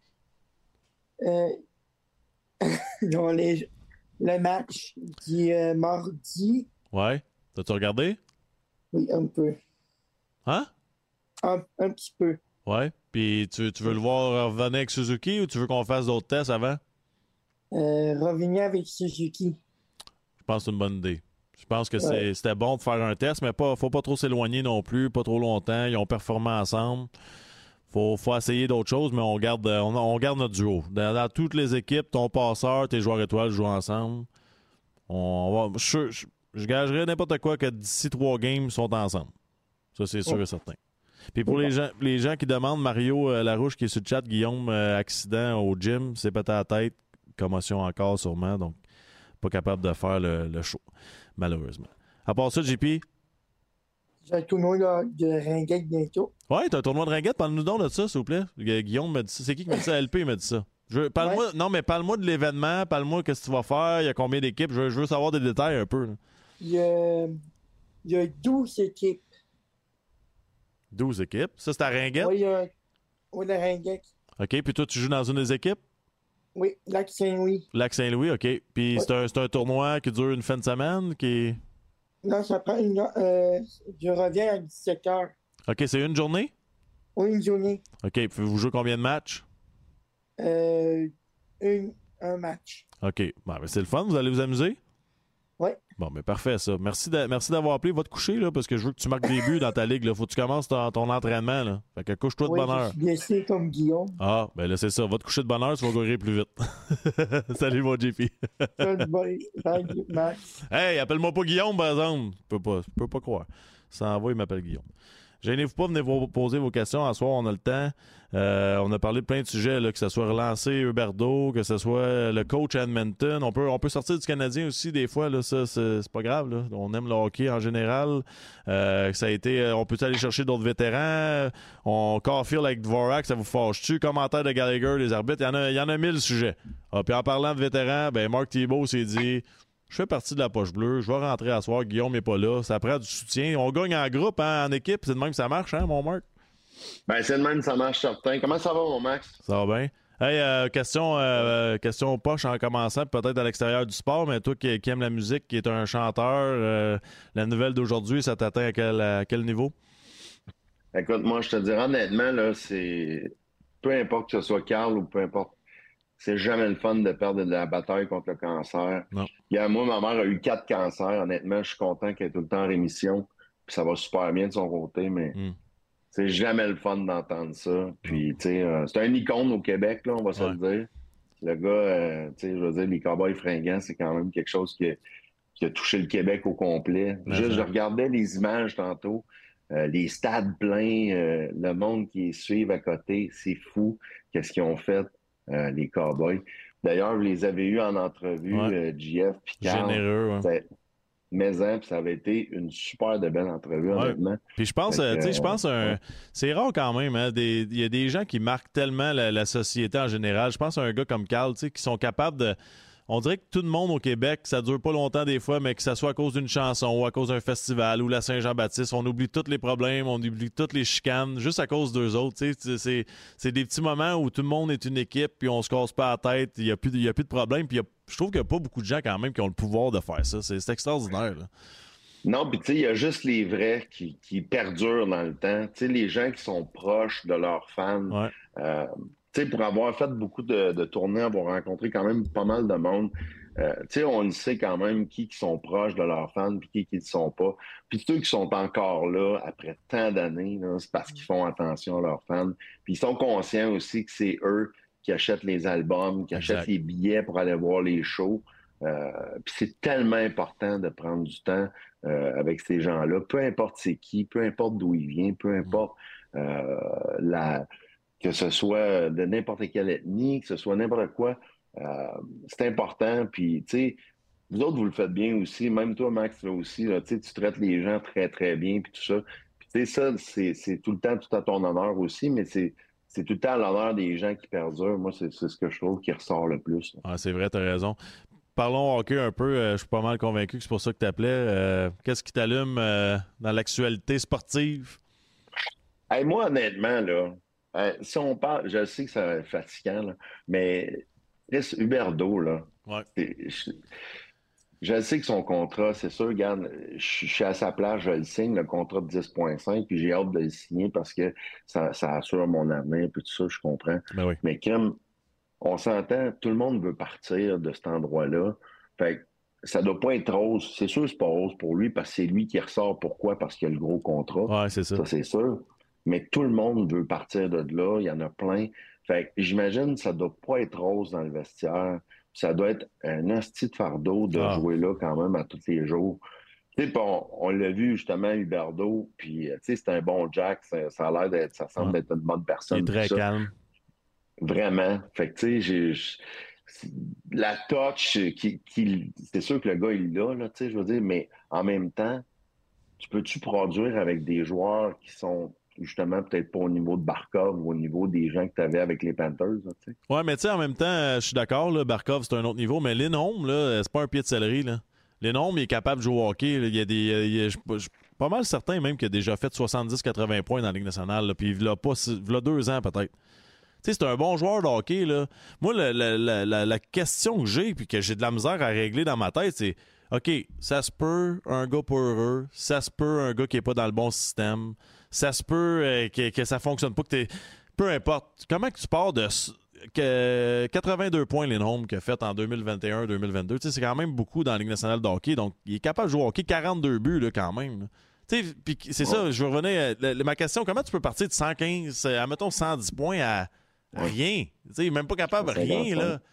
Le match du mardi. Ouais. T'as-tu regardé? Oui, un peu. Hein? Un petit peu. Ouais. Puis tu veux le voir revenir avec Suzuki ou tu veux qu'on fasse d'autres tests avant? Revenir avec Suzuki. Je pense que c'est une bonne idée. Je pense que c'était bon de faire un test, mais faut pas trop s'éloigner non plus, pas trop longtemps. Ils ont performé ensemble. Faut essayer d'autres choses, mais on garde notre duo. Dans toutes les équipes, ton passeur, tes joueurs étoiles jouent ensemble. Je gagerais n'importe quoi que d'ici 3 games, ils sont ensemble. Ça, c'est sûr et certain. Puis pour les gens qui demandent, Mario Larouche qui est sur le chat, Guillaume, accident au gym, s'est pété la tête, commotion encore sûrement, donc pas capable de faire le show, malheureusement. À part ça, JP? J'ai un tournoi de ringuette bientôt. Ouais, t'as un tournoi de ringuette. Parle-nous donc de ça, s'il vous plaît. Guillaume m'a dit ça. C'est qui m'a dit ça? LP m'a dit ça. Parle-moi de l'événement. Parle-moi de ce que tu vas faire. Il y a combien d'équipes? Je veux savoir des détails un peu. Là. Il y a 12 équipes. 12 équipes? Ça, c'est à ringuette? Oui, la ringuette. OK. Puis toi, tu joues dans une des équipes? Oui, Lac-Saint-Louis. Lac-Saint-Louis, OK. Puis c'est un tournoi qui dure une fin de semaine? Non, ça prend je reviens à 17h. OK, c'est une journée? Oui, une journée. OK, puis vous jouez combien de matchs? Un match. OK, bon, ben c'est le fun, vous allez vous amuser? Oui. Bon, mais parfait, ça. Merci d'avoir appelé. Va te coucher, là, parce que je veux que tu marques des buts dans ta ligue. Là. Faut que tu commences ton entraînement. Là. Fait que couche-toi de bonne heure. Je suis blessé comme Guillaume. Ah, ben là, c'est ça. Va te coucher de bonne heure, tu vas guérir plus vite. Salut, mon JP. Salut, Max. Hey, appelle-moi pas Guillaume, par exemple. Je peux pas croire. Ça envoie, il m'appelle Guillaume. Gênez-vous pas, venez vous poser vos questions. À soir, on a le temps. On a parlé de plein de sujets, là, que ce soit relancer Huberdeau, que ce soit le coach à Edmonton. On peut sortir du Canadien aussi des fois. Là, ça, c'est pas grave. Là. On aime le hockey en général. Ça a été, on peut aller chercher d'autres vétérans. On Caulfield avec Dvorak, ça vous fâche-tu? Commentaire de Gallagher, les arbitres. Il y en a 1000 sujets. Puis en parlant de vétérans, Mark Thibault s'est dit... Je fais partie de la poche bleue. Je vais rentrer à soir. Guillaume n'est pas là. Ça prend du soutien. On gagne en groupe, hein, en équipe. C'est de même que ça marche, hein, mon Marc? C'est de même que ça marche, certain. Comment ça va, mon Max? Ça va bien. Hey, question poche en commençant, peut-être à l'extérieur du sport, mais toi qui aimes la musique, qui est un chanteur, la nouvelle d'aujourd'hui, ça t'atteint à quel niveau? Écoute, moi, je te dirais honnêtement, là, c'est... Peu importe que ce soit Carl ou peu importe, c'est jamais le fun de perdre de la bataille contre le cancer. Non. Moi, ma mère a eu 4 cancers. Honnêtement, je suis content qu'elle est tout le temps en rémission. Puis ça va super bien de son côté, mais c'est jamais le fun d'entendre ça. Puis, tu sais, c'est un icône au Québec, là, on va se le dire. Le gars, tu sais, je veux dire, les Cowboys fringants, c'est quand même quelque chose qui a touché le Québec au complet. Je regardais les images tantôt. Les stades pleins, le monde qui les suit à côté, c'est fou. Qu'est-ce qu'ils ont fait? Les Cowboys. D'ailleurs, vous les avez eus en entrevue, JF puis Carl. Généreux, puis ça avait été une super de belle entrevue, honnêtement. Puis je pense, c'est rare quand même. Hein, il y a des gens qui marquent tellement la société en général. Je pense à un gars comme Carl, qui sont capables de... On dirait que tout le monde au Québec, ça dure pas longtemps des fois, mais que ça soit à cause d'une chanson ou à cause d'un festival ou la Saint-Jean-Baptiste, on oublie tous les problèmes, on oublie toutes les chicanes, juste à cause d'eux autres. C'est des petits moments où tout le monde est une équipe, puis on se casse pas la tête, il y a plus de problème. Puis je trouve qu'il n'y a pas beaucoup de gens quand même qui ont le pouvoir de faire ça. C'est extraordinaire. Là. Non, puis tu sais, il y a juste les vrais qui perdurent dans le temps. Tu sais, les gens qui sont proches de leurs fans. Tu sais, pour avoir fait beaucoup de tournées, avoir rencontré quand même pas mal de monde, tu sais, on le sait quand même qui sont proches de leurs fans puis qui ne le sont pas. Puis ceux qui sont encore là après tant d'années, c'est parce qu'ils font attention à leurs fans. Puis ils sont conscients aussi que c'est eux qui achètent les albums, qui achètent les billets pour aller voir les shows. Puis c'est tellement important de prendre du temps avec ces gens-là. Peu importe c'est qui, peu importe d'où il vient, peu importe que ce soit de n'importe quelle ethnie, que ce soit n'importe quoi, c'est important. Puis, tu sais, vous autres, vous le faites bien aussi. Même toi, Max, là aussi, là, tu traites les gens très, très bien, puis tout ça. Puis, tu sais, ça, c'est tout le temps tout à ton honneur aussi, mais c'est tout le temps à l'honneur des gens qui perdurent. Moi, c'est ce que je trouve qui ressort le plus. Ah, c'est vrai, t'as raison. Parlons hockey un peu. Je suis pas mal convaincu que c'est pour ça que tu appelais. Qu'est-ce qui t'allume dans l'actualité sportive? Hey, moi, honnêtement, là, si on parle, je sais que ça va être fatigant, là, mais Huberdeau, là, je sais que son contrat, c'est sûr, regarde, je suis à sa place, je le signe, le contrat de 10,5, puis j'ai hâte de le signer parce que ça assure mon avenir, puis tout ça, je comprends. Mais comme on s'entend, tout le monde veut partir de cet endroit-là. Fait que ça doit pas être rose. C'est sûr que c'est pas rose pour lui parce que c'est lui qui ressort. Pourquoi? Parce qu'il a le gros contrat. Ouais, c'est ça. Ça, c'est sûr. Mais tout le monde veut partir de là. Il y en a plein. Fait que j'imagine que ça doit pas être rose dans le vestiaire. Ça doit être un asti de fardeau de jouer là quand même à tous les jours. Tu sais, on l'a vu justement, Huberdeau, puis tu sais, c'est un bon Jack. Ça a l'air d'être, ça semble être une bonne personne. Il est très calme. Vraiment. Fait que tu sais, la touch, c'est sûr que le gars, il l'a, là, tu sais, je veux dire, mais en même temps, peux-tu produire avec des joueurs qui sont justement peut-être pas au niveau de Barkov ou au niveau des gens que tu avais avec les Panthers, tu sais? Ouais, mais tu sais, en même temps, je suis d'accord, là, Barkov, c'est un autre niveau, mais Lindholm, là, c'est pas un pied de céleri, là. Lindholm, il est capable de jouer au hockey. Là. Je suis pas mal certain même qu'il a déjà fait 70-80 points dans la Ligue nationale, là, puis il l'a 2 ans peut-être. Tu sais, c'est un bon joueur de hockey, là. Moi, la question que j'ai, puis que j'ai de la misère à régler dans ma tête, c'est OK, ça se peut un gars pas heureux, ça se peut un gars qui est pas dans le bon système, ça se peut que ça fonctionne pas, peu importe. Comment que tu pars de 82 points Lindholm qu'il a fait en 2021-2022, tu sais, c'est quand même beaucoup dans la Ligue nationale de hockey, donc il est capable de jouer au hockey, 42 buts là, quand même. Là. Puis c'est ça, je revenais ma question, comment tu peux partir de 115, admettons 110 points à rien? T'sais, même pas capable de rien, là.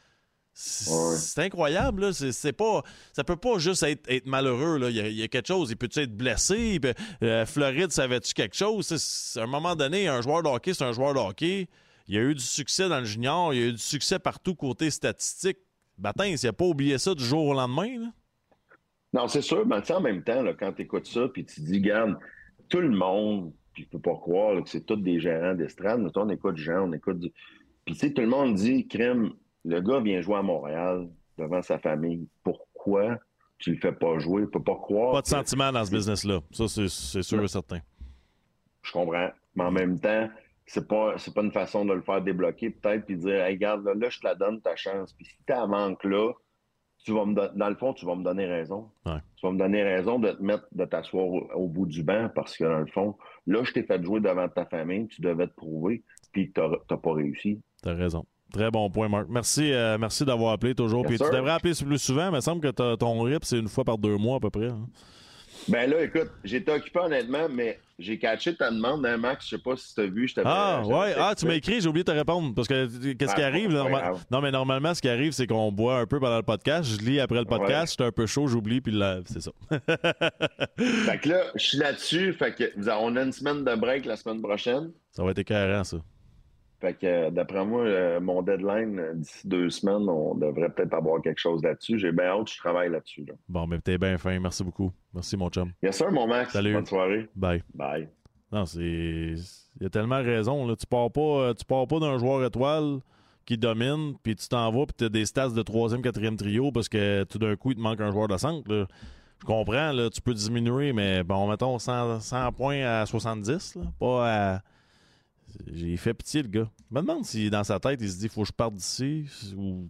C'est incroyable, là. C'est pas, ça peut pas juste être malheureux, là. Il y a quelque chose. Il peut-tu être blessé? Floride, savais-tu quelque chose? À un moment donné, un joueur de hockey, c'est un joueur de hockey. Il y a eu du succès dans le junior. Il y a eu du succès partout côté statistique. Batin, il n'a pas oublié ça du jour au lendemain, là. Non, c'est sûr. Mais en même temps, là, quand tu écoutes ça, puis tu dis, regarde, tout le monde, puis je peux pas croire là, que c'est tous des gérants d'estrade. Mais toi, on écoute Jean, on écoute du... Puis tu sais, tout le monde dit, crème, le gars vient jouer à Montréal devant sa famille. Pourquoi tu le fais pas jouer? Tu peux pas croire. Pas de sentiment dans ce business-là. Ça, c'est sûr et certain. Je comprends. Mais en même temps, c'est pas une façon de le faire débloquer, peut-être, puis dire, hey, regarde, là, je te la donne ta chance. Puis si tu en manques là, dans le fond, tu vas me donner raison. Ouais. Tu vas me donner raison de t'asseoir au bout du banc parce que, dans le fond, là, je t'ai fait jouer devant ta famille, tu devais te prouver, puis t'as pas réussi. T'as raison. Très bon point, Marc. Merci d'avoir appelé toujours. Puis tu devrais appeler plus souvent. Il me semble que ton RIP, c'est une fois par 2 mois à peu près. Hein? Ben là, écoute, j'étais occupé honnêtement, mais j'ai catché ta demande, hein, Max. Je sais pas si tu as vu. Tu m'as écrit, j'ai oublié de te répondre. Parce que qu'est-ce qui arrive? Non, mais normalement, ce qui arrive, c'est qu'on boit un peu pendant le podcast. Je lis après le podcast, j'étais un peu chaud, j'oublie, puis là, c'est ça. Fait que là, je suis là-dessus. Fait que on a une semaine de break la semaine prochaine. Ça va être écœurant, ça. Fait que d'après moi, mon deadline, d'ici 2 semaines, on devrait peut-être avoir quelque chose là-dessus. J'ai bien hâte, je travaille là-dessus. Là. Bon, mais t'es bien fin. Merci beaucoup. Merci, mon chum. Yes, sir, mon Max. Salut. Bonne soirée. Bye. Bye. Non, il y a tellement raison. Là. Tu pars pas d'un joueur étoile qui domine, puis tu t'en vas, puis tu as des stats de 3e, 4e trio parce que tout d'un coup, il te manque un joueur de centre. Là. Je comprends, là, tu peux diminuer, mais bon, mettons 100 points à 70, là, pas à... J'ai fait pitié, le gars. Je me demande si dans sa tête, il se dit « faut que je parte d'ici » ou...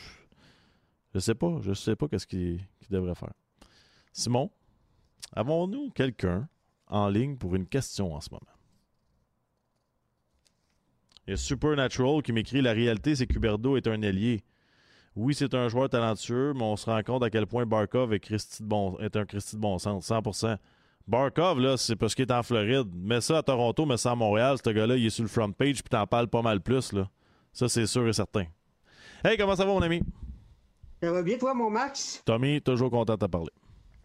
Je sais pas qu'est-ce qu'il devrait faire. Simon, avons-nous quelqu'un en ligne pour une question en ce moment? Il y a Supernatural qui m'écrit « La réalité, c'est qu'Huberdeau est un ailier. Oui, c'est un joueur talentueux, mais on se rend compte à quel point Barkov est un Christy de bon sens. 100%. Barkov, là, c'est parce qu'il est en Floride. Mets ça à Toronto, mets ça à Montréal. Ce gars-là, il est sur le front page puis t'en parles pas mal plus, là. Ça, c'est sûr et certain. Hey, comment ça va, mon ami? Ça va bien, toi, mon Max? Tommy, toujours content de te parler.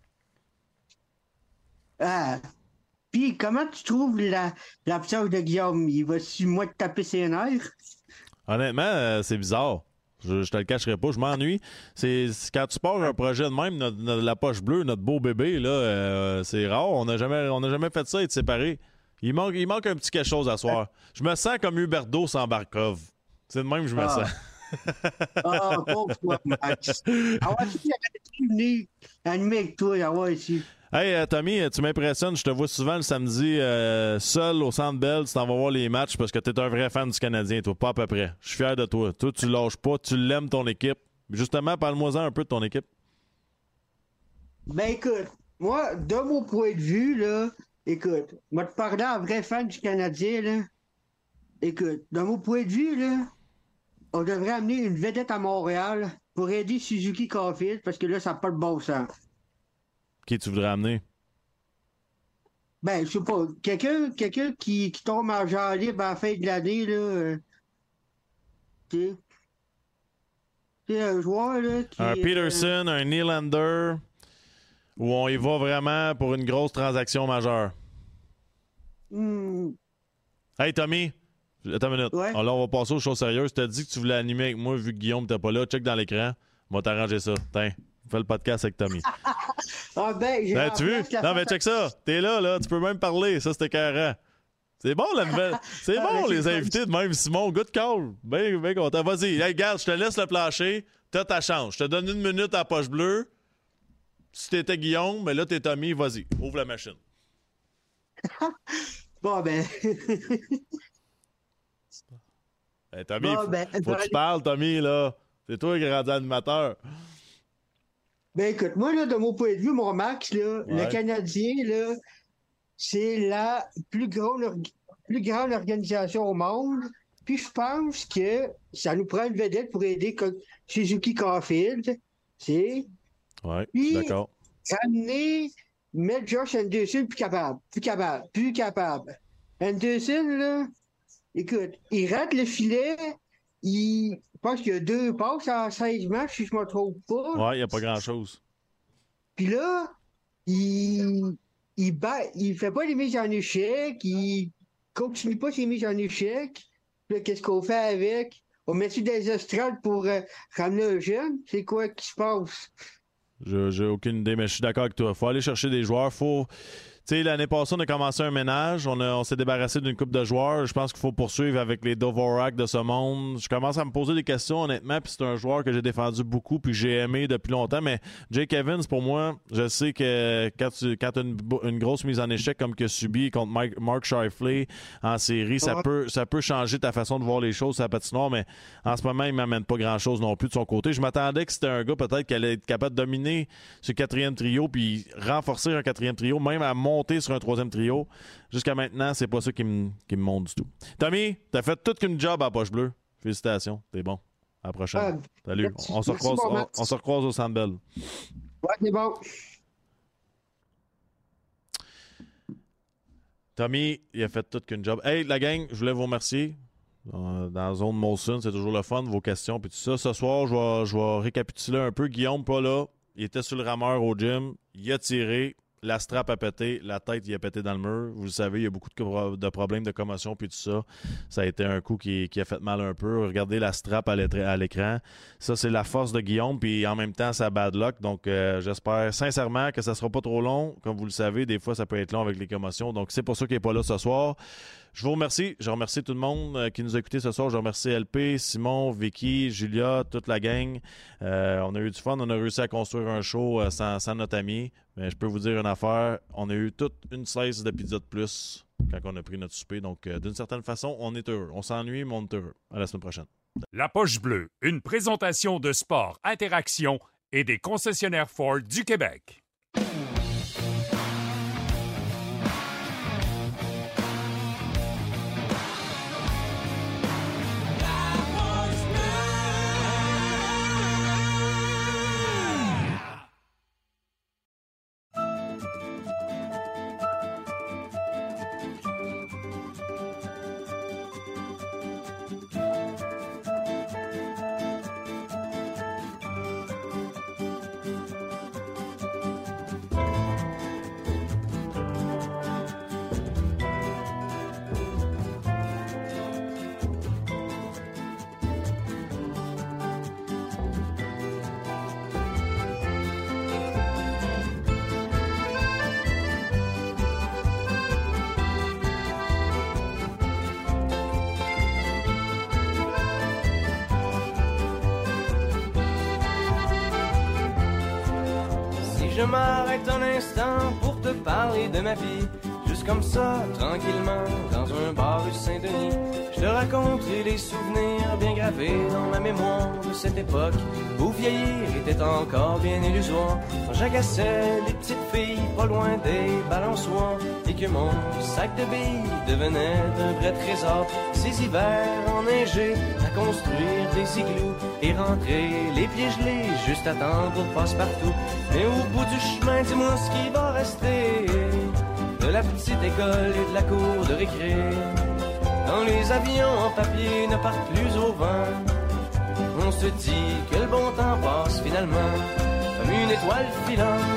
Puis, comment tu trouves l'absence de Guillaume? Il va-tu, moi, te taper ses nerfs? Honnêtement, c'est bizarre. Je te le cacherai pas, je m'ennuie. C'est quand tu pars un projet de même, la poche bleue, notre beau bébé, là, c'est rare. On n'a jamais fait ça, être séparés. Il manque un petit quelque chose à soir. Je me sens comme Huberdeau sans Barkov. C'est de même que je me sens. Pauvre toi, Max. Ah ouais, si j'avais venu animer avec toi, ah ouais, ici. Hey, Tommy, tu m'impressionnes. Je te vois souvent le samedi seul au Centre Bell. Tu t'en vas voir les matchs parce que tu es un vrai fan du Canadien, toi. Pas à peu près. Je suis fier de toi. Toi, tu lâches pas. Tu l'aimes, ton équipe. Justement, parle-moi-en un peu de ton équipe. Ben, écoute, moi, de mon point de vue, là, écoute, moi, te parler en vrai fan du Canadien, là, écoute, de mon point de vue, là, on devrait amener une vedette à Montréal pour aider Suzuki Caulfield parce que là, ça n'a pas de bon sens. Qui tu voudrais amener? Ben, je sais pas. Quelqu'un qui tombe en genre libre à la fin de l'année, là. Tu sais, un joueur, là. Un Peterson, un Nylander, où on y va vraiment pour une grosse transaction majeure. Hey, Tommy, attends une minute. Ouais. Alors, on va passer aux choses sérieuses. Tu t'as dit que tu voulais animer avec moi vu que Guillaume n'était pas là. Check dans l'écran. On va t'arranger ça. Tiens. Fais le podcast avec Tommy. Tu veux? Non, mais check ça. T'es là. Tu peux même parler. Ça, c'était carré. C'est bon, la nouvelle. C'est bon, les invités de même. Simon, good call. Bien content. Vas-y, hey, regarde, je te laisse le plancher. T'as ta chance. Je te donne 1 minute à la poche bleue. Si t'étais Guillaume, mais là, t'es Tommy. Vas-y, ouvre la machine. Bon, ben... Hey, Tommy, faut que tu parles, Tommy, là. C'est toi qui es rendu animateur. Ben écoute, moi, là, de mon point de vue, mon Max, là, le Canadien, là, c'est la plus grande organisation au monde. Puis je pense que ça nous prend une vedette pour aider Suzuki Caulfield. Oui, d'accord. Mettre Josh Anderson plus capable. Anderson, là, écoute, il rate le filet, il pense qu'il y a 2 passes en 16 matchs, si je me trompe pas. Ouais, il n'y a pas grand-chose. Puis là, il fait pas les mises en échec, il continue pas ses mises en échec. Puis là, qu'est-ce qu'on fait avec? On met-tu des estrades pour ramener un jeune? C'est quoi qui se passe? J'ai aucune idée, mais je suis d'accord avec toi. Faut aller chercher des joueurs. Tu sais, l'année passée, on a commencé un ménage. On s'est débarrassé d'une couple de joueurs. Je pense qu'il faut poursuivre avec les Dvorak de ce monde. Je commence à me poser des questions, honnêtement. Puis c'est un joueur que j'ai défendu beaucoup puis que j'ai aimé depuis longtemps. Mais Jake Evans, pour moi, je sais que quand tu as une grosse mise en échec comme qu'il a subi contre Mark Scheifele en série, ça peut changer ta façon de voir les choses sur la patinoire. Mais en ce moment, il ne m'amène pas grand-chose non plus de son côté. Je m'attendais que c'était un gars peut-être qui allait être capable de dominer ce 4e trio puis renforcer un 4e trio, même à monter sur un 3e trio. Jusqu'à maintenant, c'est pas ça qui me monte du tout. Tommy, t'as fait toute qu'une job à Poche Bleue. Félicitations, t'es bon. À la prochaine. Salut. On se recroise au Centre Bell. Ouais, c'est bon. Tommy, il a fait toute qu'une job. Hey, la gang, je voulais vous remercier. Dans la zone Molson, c'est toujours le fun, vos questions puis tout ça. Ce soir, je vais récapituler un peu. Guillaume, pas là. Il était sur le rameur au gym. Il a tiré. La strap a pété, la tête il a pété dans le mur. Vous le savez, il y a beaucoup de problèmes de commotion puis tout ça. Ça a été un coup qui a fait mal un peu. Regardez la strap à l'écran. Ça, c'est la force de Guillaume, puis en même temps, ça bad luck. Donc, j'espère sincèrement que ça sera pas trop long. Comme vous le savez, des fois, ça peut être long avec les commotions. Donc, c'est pour ça qu'il n'est pas là ce soir. Je vous remercie. Je remercie tout le monde qui nous a écoutés ce soir. Je remercie LP, Simon, Vicky, Julia, toute la gang. On a eu du fun. On a réussi à construire un show sans notre ami. Mais je peux vous dire une affaire. On a eu toute une slice de pizza de plus quand on a pris notre souper. Donc, d'une certaine façon, on est heureux. On s'ennuie, mais on est heureux. À la semaine prochaine. La Poche Bleue, une présentation de Sport Interaction et des concessionnaires Ford du Québec. Je m'arrête un instant pour te parler de ma vie. Juste comme ça, tranquillement, dans un bar rue Saint-Denis. Je te raconterai les souvenirs bien gravés dans ma mémoire de cette époque où vieillir était encore bien illusoire. Quand j'agaçais les petites filles pas loin des balançoires et que mon sac de billes devenait un vrai trésor. Ces hivers enneigés à construire des igloos et rentrer les pieds gelés juste à temps pour passe-partout. Mais au bout du chemin, dis-moi ce qui va rester de la petite école et de la cour de récré. Quand les avions en papier ne partent plus au vent, on se dit que le bon temps passe finalement comme une étoile filante.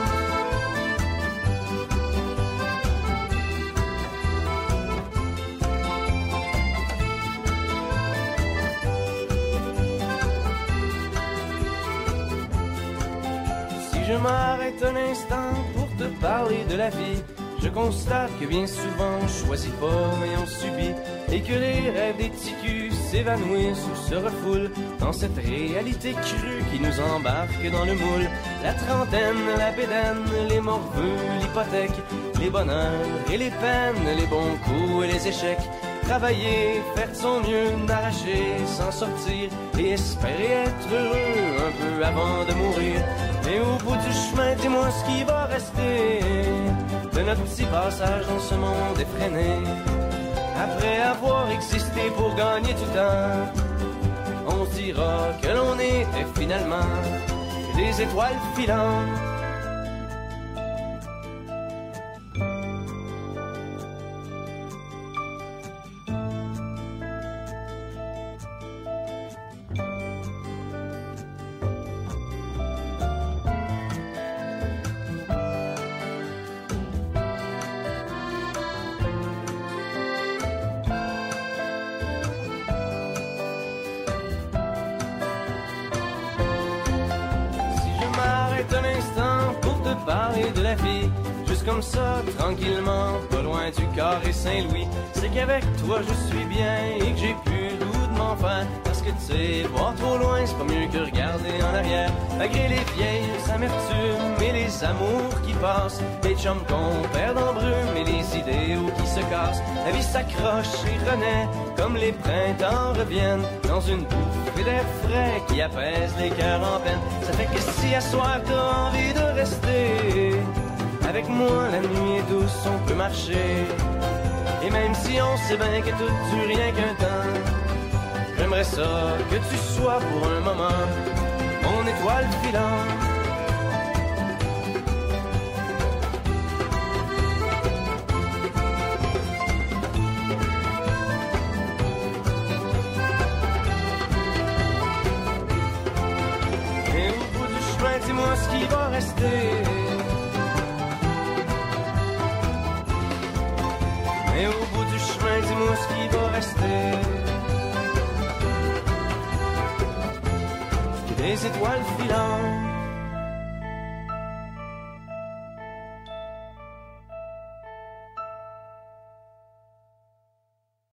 Si je m'arrête un instant pour te parler de la vie, je constate que bien souvent on choisit pas mais on subit, et que les rêves des ticus s'évanouissent ou se refoulent dans cette réalité crue qui nous embarque dans le moule. La trentaine, la bédaine, les morveux, l'hypothèque, les bonheurs et les peines, les bons coups et les échecs. Travailler, faire de son mieux, n'arracher, s'en sortir et espérer être heureux un peu avant de mourir. Mais au bout du chemin, dis-moi ce qui va rester de notre petit passage dans ce monde effréné. Après avoir existé pour gagner du temps, on se dira que l'on était finalement des étoiles filantes. ma fille. Juste comme ça, tranquillement, pas loin du carré Saint-Louis. C'est qu'avec toi je suis bien et que j'ai plus le goût de m'en faire. Parce que tu sais, voir trop loin, c'est pas mieux que regarder en arrière. Malgré les vieilles amertumes et les amours qui passent, les chums qu'on perd en brume et les idéaux qui se cassent. La vie s'accroche et renaît comme les printemps reviennent dans une bouffée d'air frais qui apaise les cœurs en peine. Ça fait que si à soir t'as envie de rester avec moi, la nuit est douce, on peut marcher. Et même si on sait bien que tout dure rien qu'un temps, j'aimerais ça que tu sois pour un moment mon étoile filante. Et au bout du chemin, dis-moi ce qui va rester. Et au bout du chemin, dis-moi ce qui va rester. Des étoiles filantes.